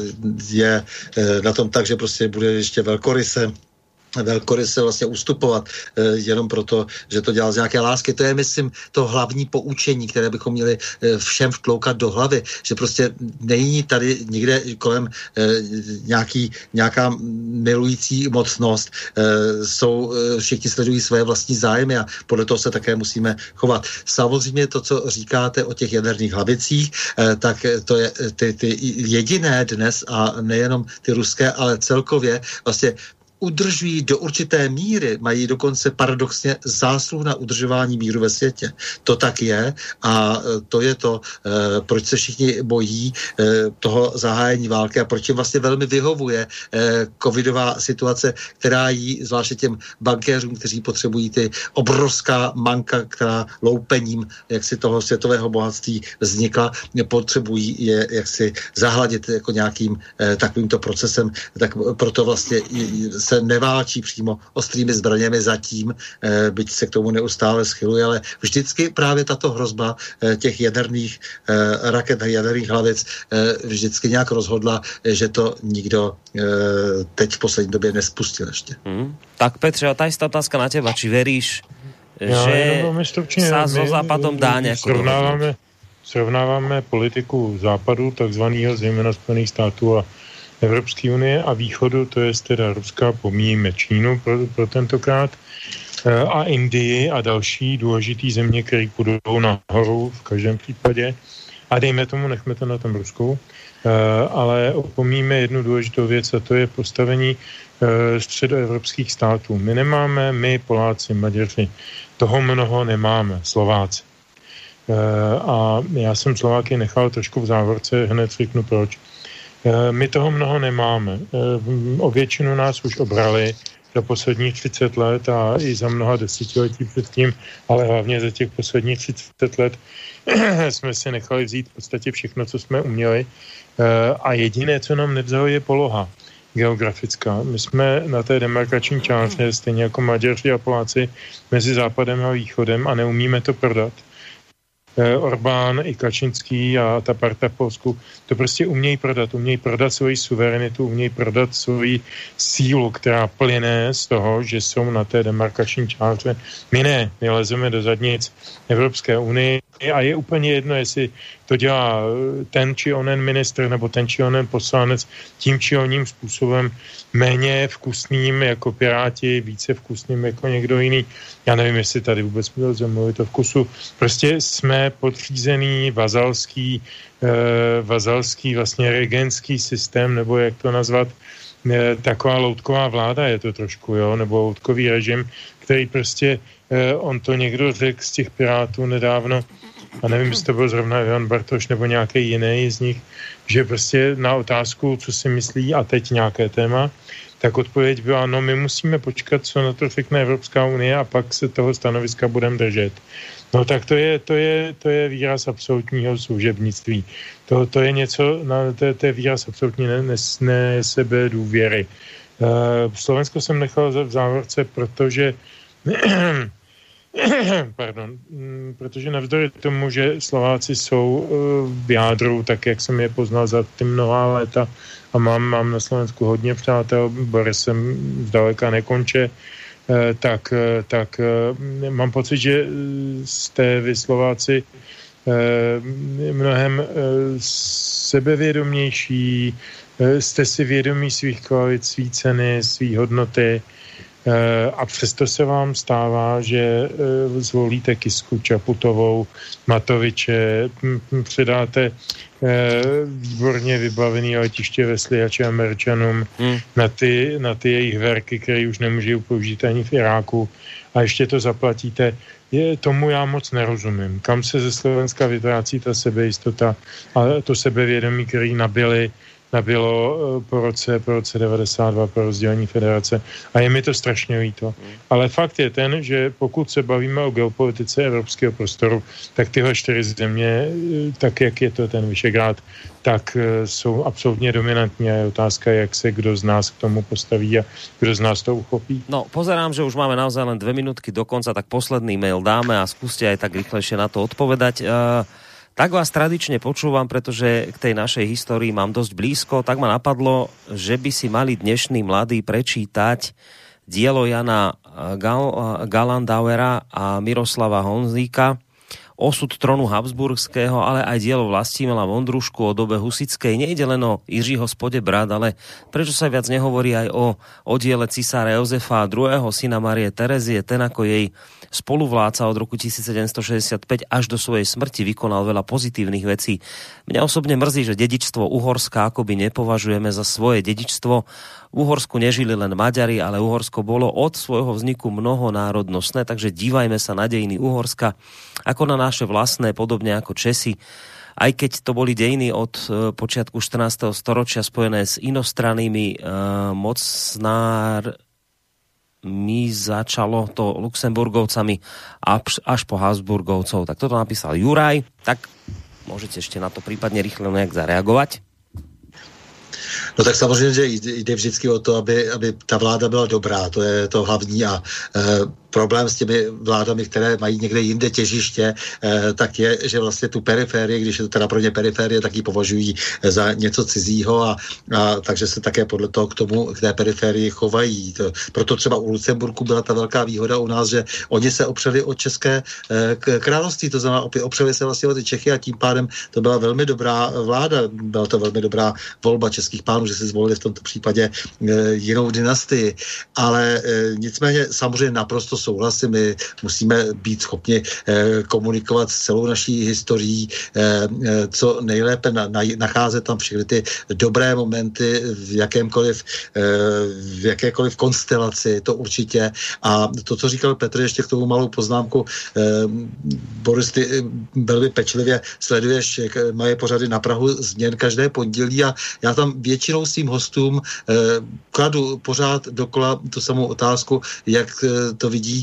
je na tom tak, že prostě bude ještě velkoryse velkoryse vlastně ustupovat e, jenom proto, že to dělá z nějaké lásky. To je, myslím, to hlavní poučení, které bychom měli e, všem vtloukat do hlavy, že prostě není tady nikde kolem e, nějaký, nějaká milující mocnost. E, jsou, e, všichni sledují své vlastní zájmy a podle toho se také musíme chovat. Samozřejmě to, co říkáte o těch jaderných hlavicích, e, tak to je ty, ty jediné dnes a nejenom ty ruské, ale celkově vlastně udržují do určité míry, mají dokonce paradoxně zásluh na udržování míru ve světě. To tak je a to je to, proč se všichni bojí toho zahájení války a proč jim vlastně velmi vyhovuje covidová situace, která jí, zvláště těm bankéřům, kteří potřebují ty obrovská manka, která loupením jaksi toho světového bohatství vznikla, potřebují je jaksi zahladit jako nějakým takovýmto procesem, tak proto vlastně se neválčí přímo ostrými zbraněmi zatím, eh, byť se k tomu neustále schyluje, ale vždycky právě tato hrozba eh, těch jaderných eh, raket a jaderných hlavic eh, vždycky nějak rozhodla, eh, že to nikdo eh, teď v poslední době nespustil ještě. Hmm.
Tak Petře, a tá istá otázka na teba, či veríš,
ja,
že
stručne,
sa so Západom dá nejako
srovnávame, srovnáváme politiku Západu, takzvaného zejména Spojených států a Evropské unie a východu, to je teda Ruska, pomíjíme Čínu pro, pro tentokrát, a Indii a další důležitý země, které půjdou nahoru v každém případě. A dejme tomu, nechme to na tom Rusku, ale opomíjíme jednu důležitou věc a to je postavení středoevropských států. My nemáme, my Poláci, Maďaři, toho mnoho nemáme, Slováci. A já jsem Slováky nechal trošku v závorce, hned řeknu proč. My toho mnoho nemáme. O většinu nás už obrali za posledních třicet let a i za mnoha desetiletí předtím, ale hlavně za těch posledních třicet let jsme si nechali vzít v podstatě všechno, co jsme uměli. A jediné, co nám nevzalo, je poloha geografická. My jsme na té demarkační čáře, stejně jako Maďaři a Poláci, mezi západem a východem a neumíme to prodat. Orbán i Kačinský a ta parta v Polsku to prostě umějí prodat. Umějí prodat svoji suverenitu, umějí prodat svoji sílu, která plyne z toho, že jsou na té demarkační čáře. My ne, my lezeme do zadnic Evropské unie a je úplně jedno, jestli to dělá ten či onen ministr nebo ten či onen poslanec tím či oným způsobem méně vkusným jako Piráti, více vkusným jako někdo jiný. Já nevím, jestli tady vůbec můžeme mluvit o vkusu. Prostě jsme podřízený vazalský, eh, vazalský vlastně regentský systém, nebo jak to nazvat, eh, taková loutková vláda je to trošku, jo, nebo loutkový režim, který prostě, eh, on to někdo řekl z těch Pirátů nedávno, a nevím, jestli to byl zrovna Jan Bartoš nebo nějaký jiný z nich, že prostě na otázku, co si myslí a teď nějaké téma, tak odpověď byla, no my musíme počkat, co na to řekne Evropská unie a pak se toho stanoviska budeme držet. No tak to je, to je, to je výraz absolutního služebnictví. To, to je něco, no, to, to je výraz absolutní nesebe důvěry. Uh, Slovensko jsem nechal v závorce, protože pardon, protože navzdory tomu, že Slováci jsou v jádru, tak jak jsem je poznal za ty mnohá léta a mám, mám na Slovensku hodně přátel, Borisem zdaleka nekonče, tak, tak mám pocit, že jste vy Slováci mnohem sebevědomější, jste si vědomí svých kvalit, svý ceny, svý hodnoty, a přesto se vám stává, že zvolíte Kisku, Čaputovou, Matoviče, předáte výborně vybavený letiště ve Sliači Američanům hmm. na, ty, na ty jejich verky, které už nemůžou použít ani v Iráku a ještě to zaplatíte. Je, tomu já moc nerozumím. Kam se ze Slovenska vytrácí ta sebejistota a to sebevědomí, který nabili nabilo po roce, po roce devadesát dva po rozdělení federace. A je mi to strašně líto. Ale fakt je ten, že pokud se bavíme o geopolitice evropského prostoru, tak tyhle čtyři země, tak jak je to ten Vyšegrád, tak jsou absolutně dominantní a je otázka, jak se kdo z nás k tomu postaví a kdo z nás to uchopí.
No, pozerám, že už máme naozaj len dve minútky do konca, tak posledný mail dáme a skúste aj tak rýchlejšie na to odpovedať. Uh, tak vás tradične počúvam, pretože k tej našej histórii mám dosť blízko, tak ma napadlo, že by si mali dnešní mladí prečítať dielo Jana Gal- Galandauera a Miroslava Honzíka, Osud tronu Habsburského, ale aj dielo Vlastimila Vondrušku o dobe husickej. Nejde len o Jiřího Spodebrat, ale prečo sa viac nehovorí aj o, o diele cisára Jozefa druhého. syna Marie Terezie, ten ako jej spoluvládca od roku tisícsedemstošesťdesiatpäť až do svojej smrti vykonal veľa pozitívnych vecí. Mňa osobne mrzí, že dedičstvo Uhorska akoby nepovažujeme za svoje dedičstvo. V Uhorsku nežili len Maďari, ale Uhorsko bolo od svojho vzniku mnohonárodnostné, takže dívajme sa na dejiny Uhorska ako na naše vlastné, podobne ako Česi. Aj keď to boli dejiny od e, počiatku štrnásteho storočia spojené s inostrannými e, mocnármi, začalo to Luxemburgovcami až po Habsburgovcov. Tak toto napísal Juraj. Tak môžete ešte na to prípadne rýchle nejak zareagovať.
No tak samozřejmě, že jde vždycky o to, aby, aby ta vláda byla dobrá, to je to hlavní a e, problém s těmi vládami, které mají někde jinde těžiště, eh, tak je, že vlastně tu periférii, když je to teda pro ně periférie, tak ji považují za něco cizího a, a takže se také podle toho k tomu, k té periférii chovají. To, proto třeba u Lucemburku byla ta velká výhoda u nás, že oni se opřeli o české eh, království, to znamená opřeli se vlastně o ty Čechy a tím pádem to byla velmi dobrá vláda, byla to velmi dobrá volba českých pánů, že si zvolili v tomto případě eh, jinou dynastii. Ale eh, nicméně samozřejmě naprosto souhlasím, my musíme být schopni eh, komunikovat s celou naší historií, eh, co nejlépe na, na, nacházet tam všechny ty dobré momenty v jakémkoliv, eh, v jakékoliv konstelaci, to určitě. A to, co říkal Petr, ještě k tomu malou poznámku, eh, Boris, ty velmi pečlivě sleduješ moje pořady na Prahu změn každé pondělí a já tam většinou svým hostům eh, kladu pořád dokola tu samou otázku, jak eh, to vidí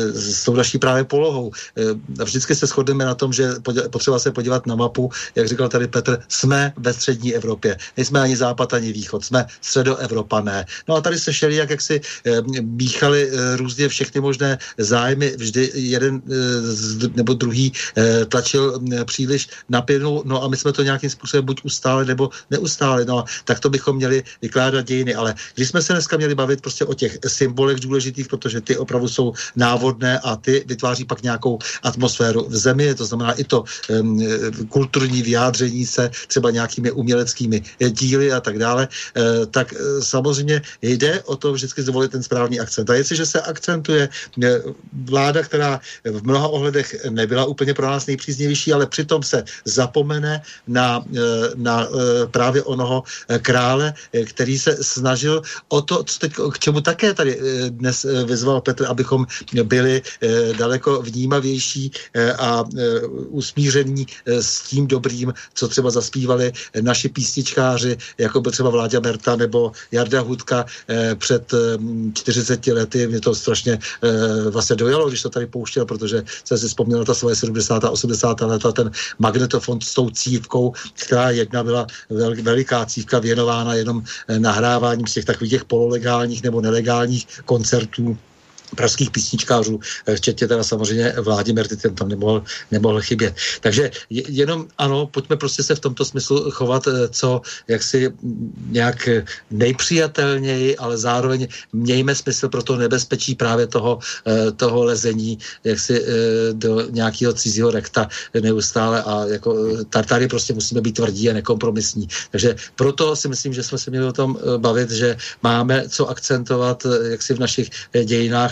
s tou naší právě polohou. Vždycky se shodneme na tom, že potřeba se podívat na mapu, jak říkal tady Petr, jsme ve střední Evropě. Nejsme ani západ, ani východ, jsme středoevropané. No a tady se šeli, jak, jak si míchali různě všechny možné zájmy, vždy jeden nebo druhý tlačil příliš napěrnou, no a my jsme to nějakým způsobem buď ustáli, nebo neustáli. No tak to bychom měli vykládat dějiny. Ale když jsme se dneska měli bavit prostě o těch symbolech důležitých, protože ty opravdu jsou návodné a ty vytváří pak nějakou atmosféru v zemi, to znamená i to um, kulturní vyjádření se třeba nějakými uměleckými díly a tak dále, e, tak e, samozřejmě jde o to vždycky zvolit ten správný akcent. A jestliže se akcentuje e, vláda, která v mnoha ohledech nebyla úplně pro nás nejpříznivější, ale přitom se zapomene na, e, na e, právě onoho krále, e, který se snažil o to, co teď, k čemu také tady e, dnes e, vyzval Petr, abychom byli eh, daleko vnímavější eh, a eh, usmíření eh, s tím dobrým, co třeba zaspívali eh, naši písničkáři, jako byl třeba Vláďa Merta nebo Jarda Hudka eh, před eh, čtyřiceti lety. Mě to strašně eh, vlastně dojalo, když to tady pouštěl, protože jsem si vzpomněl na ta svoje sedmdesátá osmdesátá leta, ten magnetofon s tou cívkou, která jedna byla vel, veliká cívka věnována jenom eh, nahráváním z těch takových těch pololegálních nebo nelegálních koncertů pražských písničkářů, včetně teda samozřejmě Vládi Merty, ten tam nemohl, nemohl chybět. Takže jenom ano, pojďme prostě se v tomto smyslu chovat co jaksi nějak nejpřijatelněji, ale zároveň mějme smysl pro to nebezpečí právě toho, toho lezení jaksi do nějakého cizího rekta neustále a jako tady prostě musíme být tvrdí a nekompromisní. Takže proto si myslím, že jsme se měli o tom bavit, že máme co akcentovat jaksi v našich dějinách,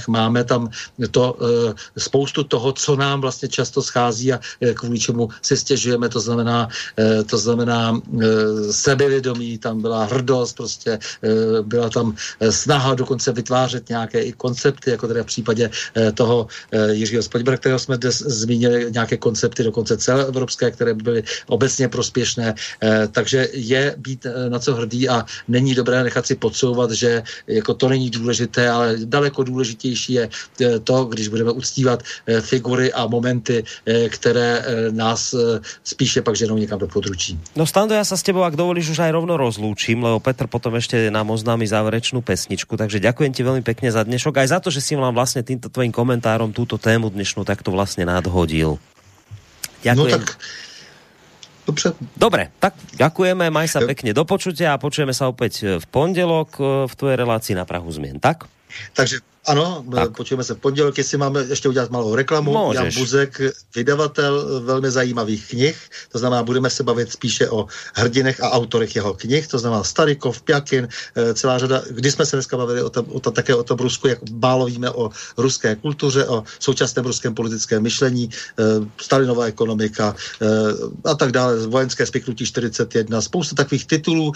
máme tam to, spoustu toho, co nám vlastně často schází a kvůli čemu si stěžujeme, to znamená, to znamená sebevědomí, tam byla hrdost, prostě byla tam snaha dokonce vytvářet nějaké i koncepty, jako teda v případě toho Jiřího Spadibera, kterého jsme dnes zmínili, nějaké koncepty dokonce celoevropské, které by byly obecně prospěšné. Takže je být na co hrdý a není dobré nechat si podsouvat, že jako to není důležité, ale daleko důležitější je to, když budeme uctívat figury a momenty, které nás spíše pak ženou někam do područí.
No Stando, ja sa s tebou, ak dovolíš, už aj rovno rozlúčim, lebo Petr potom ešte nám oznámi záverečnú pesničku, takže ďakujem ti veľmi pekne za dnešok, aj za to, že si nám vlastne týmto tvojim komentárom túto tému dnešnú takto vlastne nadhodil. Ďakujem.
No tak, dobře.
Dobre, tak ďakujeme, maj sa pekne do počutia a počujeme sa opäť v pondelok v tvojej relácii Na prahu zmien, tak?
Takže ano, tak. Počujeme se v pondělek, jestli máme ještě udělat malou reklamu.
Můžeš.
Jan Buzek, vydavatel velmi zajímavých knih, to znamená, budeme se bavit spíše o hrdinech a autorech jeho knih, to znamená Starykov, Pjakin, celá řada, když jsme se dneska bavili o tom, o tom, také o tom Rusku, jak málo víme o ruské kultuře, o současném ruském politickém myšlení, Stalinová ekonomika a tak dále, vojenské spiknutí čtyřicet jedna, spousta takových titulů,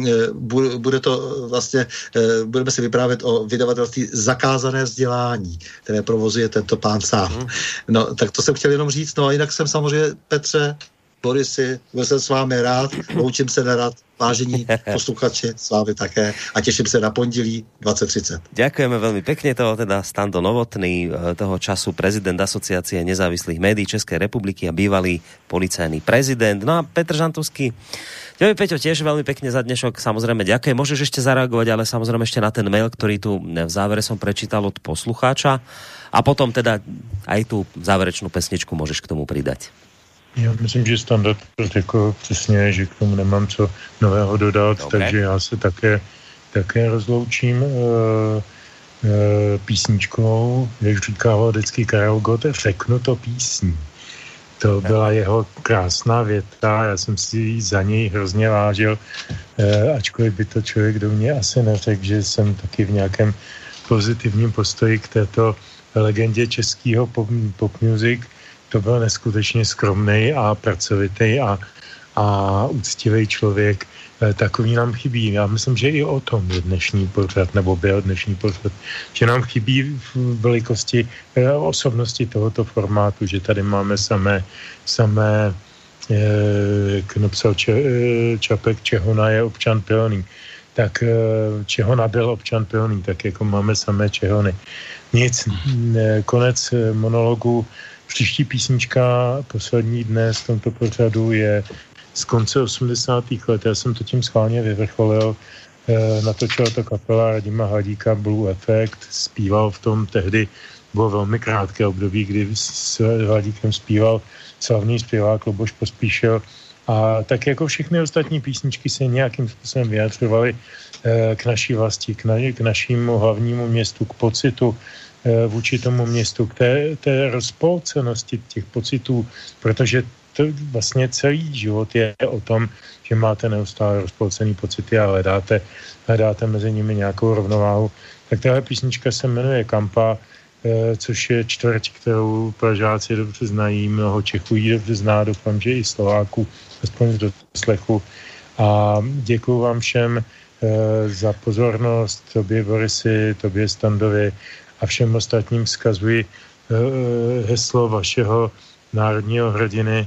bude to vlastně, budeme si vyprávět o vydavatelství Zakázané vzdělání, které provozuje tento pán sám. No, tak to jsem chtěl jenom říct. No a jinak jsem samozřejmě, Petře, Borisy, byl jsem s vámi rád, loučím se nerad, vážení posluchači, s vámi také a těším se na pondělí dvacet třicet.
Ďakujeme veľmi pekne, toho teda Stando Novotný, toho času prezident Asociácie nezávislých médií Českej republiky a bývalý policajný prezident. No a Petr Žantovský, tebe, Peťo, tiež veľmi pekne za dnešok, samozrejme ďakujem. Môžeš ešte zareagovať, ale samozrejme ešte na ten mail, ktorý tu v závere som prečítal od poslucháča a potom teda aj tú záverečnú pesničku môžeš k tomu pridať.
Já myslím, že Standa řekl přesně, že k tomu nemám co nového dodat, Dobre. Takže já se také, také rozloučím e, e, písničkou, jak říkával vždycky Karel Gott, řeknu to písní. To byla jeho krásná věta, já jsem si ji za něj hrozně vážil, e, ačkoliv by to člověk do mě asi neřekl, že jsem taky v nějakém pozitivním postoji k této legendě českého pop, pop music. To byl neskutečně skromnej a pracovitý a, a úctivý člověk. E, takový nám chybí. Já myslím, že i o tom je dnešní pořad, nebo byl dnešní pořad, že nám chybí v velikosti e, osobnosti tohoto formátu, že tady máme samé, samé e, jak napsal Če, e, Čapek, Čehona je občan pilný. Tak e, Čehona byl občan pilný, tak jako máme samé Čehony. Nic, e, konec monologu. Příští písnička, poslední dnes v tomto pořadu, je z konce osmdesátých let. Já jsem to tím schválně vyvrcholil. E, natočila to kapela Radima Hladíka, Blue Effect. Zpíval v tom tehdy, bylo velmi krátké období, kdy s Hladíkem zpíval slavný zpěvák Luboš Pospíšil. A tak jako všechny ostatní písničky se nějakým způsobem vyjadřovaly e, k naší vlasti, k, na, k našímu hlavnímu městu, k pocitu vůči tomu městu, k té, té rozpolcenosti těch pocitů, protože to vlastně celý život je o tom, že máte neustále rozpolcený pocity a hledáte, hledáte mezi nimi nějakou rovnováhu. Tak tahle písnička se jmenuje Kampa, což je čtvrť, kterou Pražáci dobře znají, mnoho Čechů ji dobře zná, doufám, že i Slováků, aspoň z doslechu. A děkuju vám všem za pozornost, tobě Borisy, tobě Standovi, a všem ostatním vzkazuji uh, heslo vašeho národního hrdiny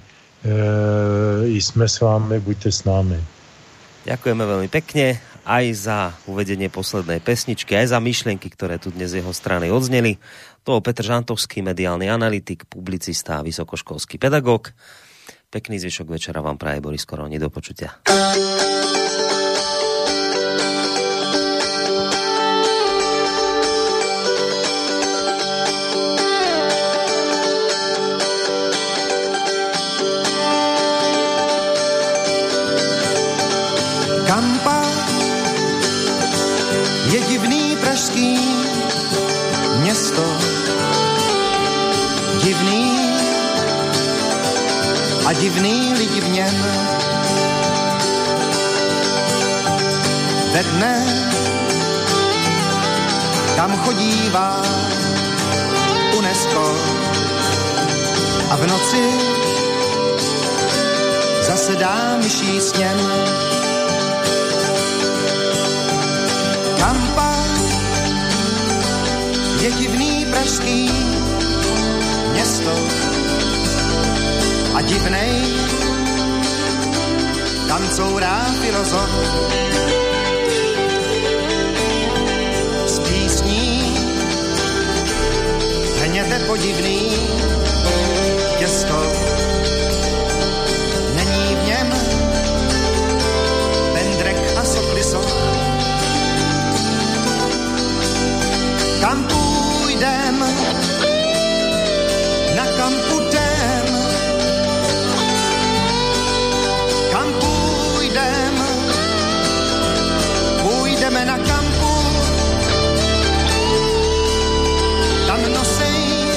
uh, jsme s vámi, buďte s námi.
Ďakujeme veľmi pekne aj za uvedenie poslednej pesničky, aj za myšlienky, ktoré tu dnes z jeho strany odzneli. To Petr Žantovský, mediálny analytik, publicista a vysokoškolský pedagóg. Pekný zvyšok večera vám praje Boris Koroni, do počutia.
Kampa je divný pražský město, divný a divný lidi v něm. Ve dne tam chodívá dreskor a v noci zase dá myší sněm. Kampa je divný pražský město a divnej tam courá filozof z písní hněte podivný těsto. Není v něm pendrek a sokliso. Kam půjdem, na kam půjdem, kam půjdem, půjdeme na kampu, tam nosej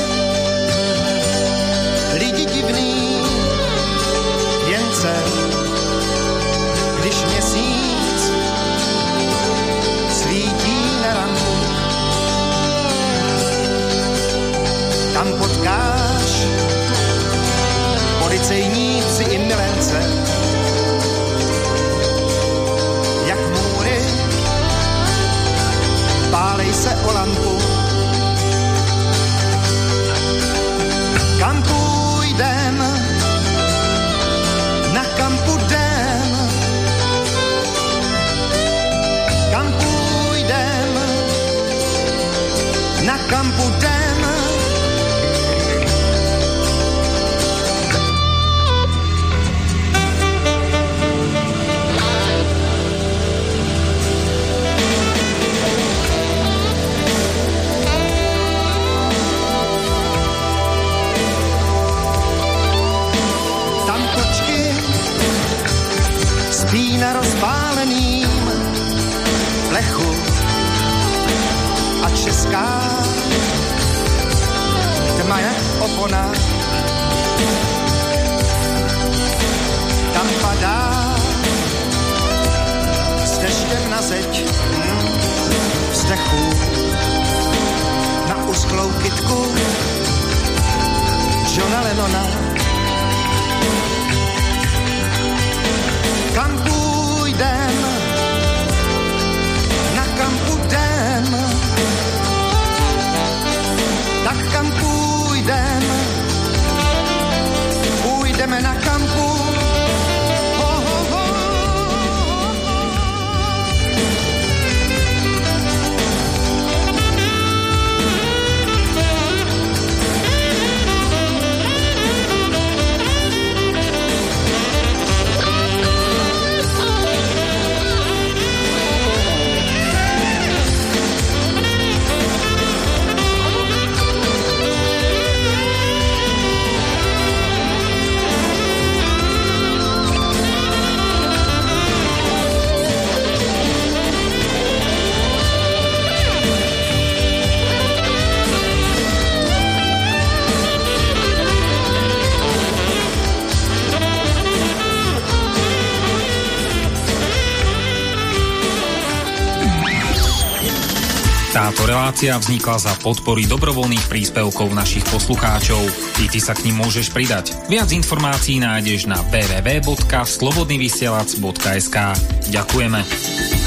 lidi divný věnce, když měsíc svítí na rampu. Tam potkáš policejníci i milence, jak můry, pálej se o lampu. Kam půjdem, na kam půjdem, kam půjdem, na kam půjdem. Na rozpáleným plechu a česká tma je opona. Tam padá s deštěm na zeď vzdechu na usklou kytku Johna Lennona. Kam půjdem, na kam půjdem, tak kam půjdem, půjdeme na kampu. Ho, ho, ho.
Táto relácia vznikla za podpory dobrovoľných príspevkov našich poslucháčov. I ty sa k nim môžeš pridať. Viac informácií nájdeš na w w w bodka slobodnyvysielac bodka es ka. Ďakujeme.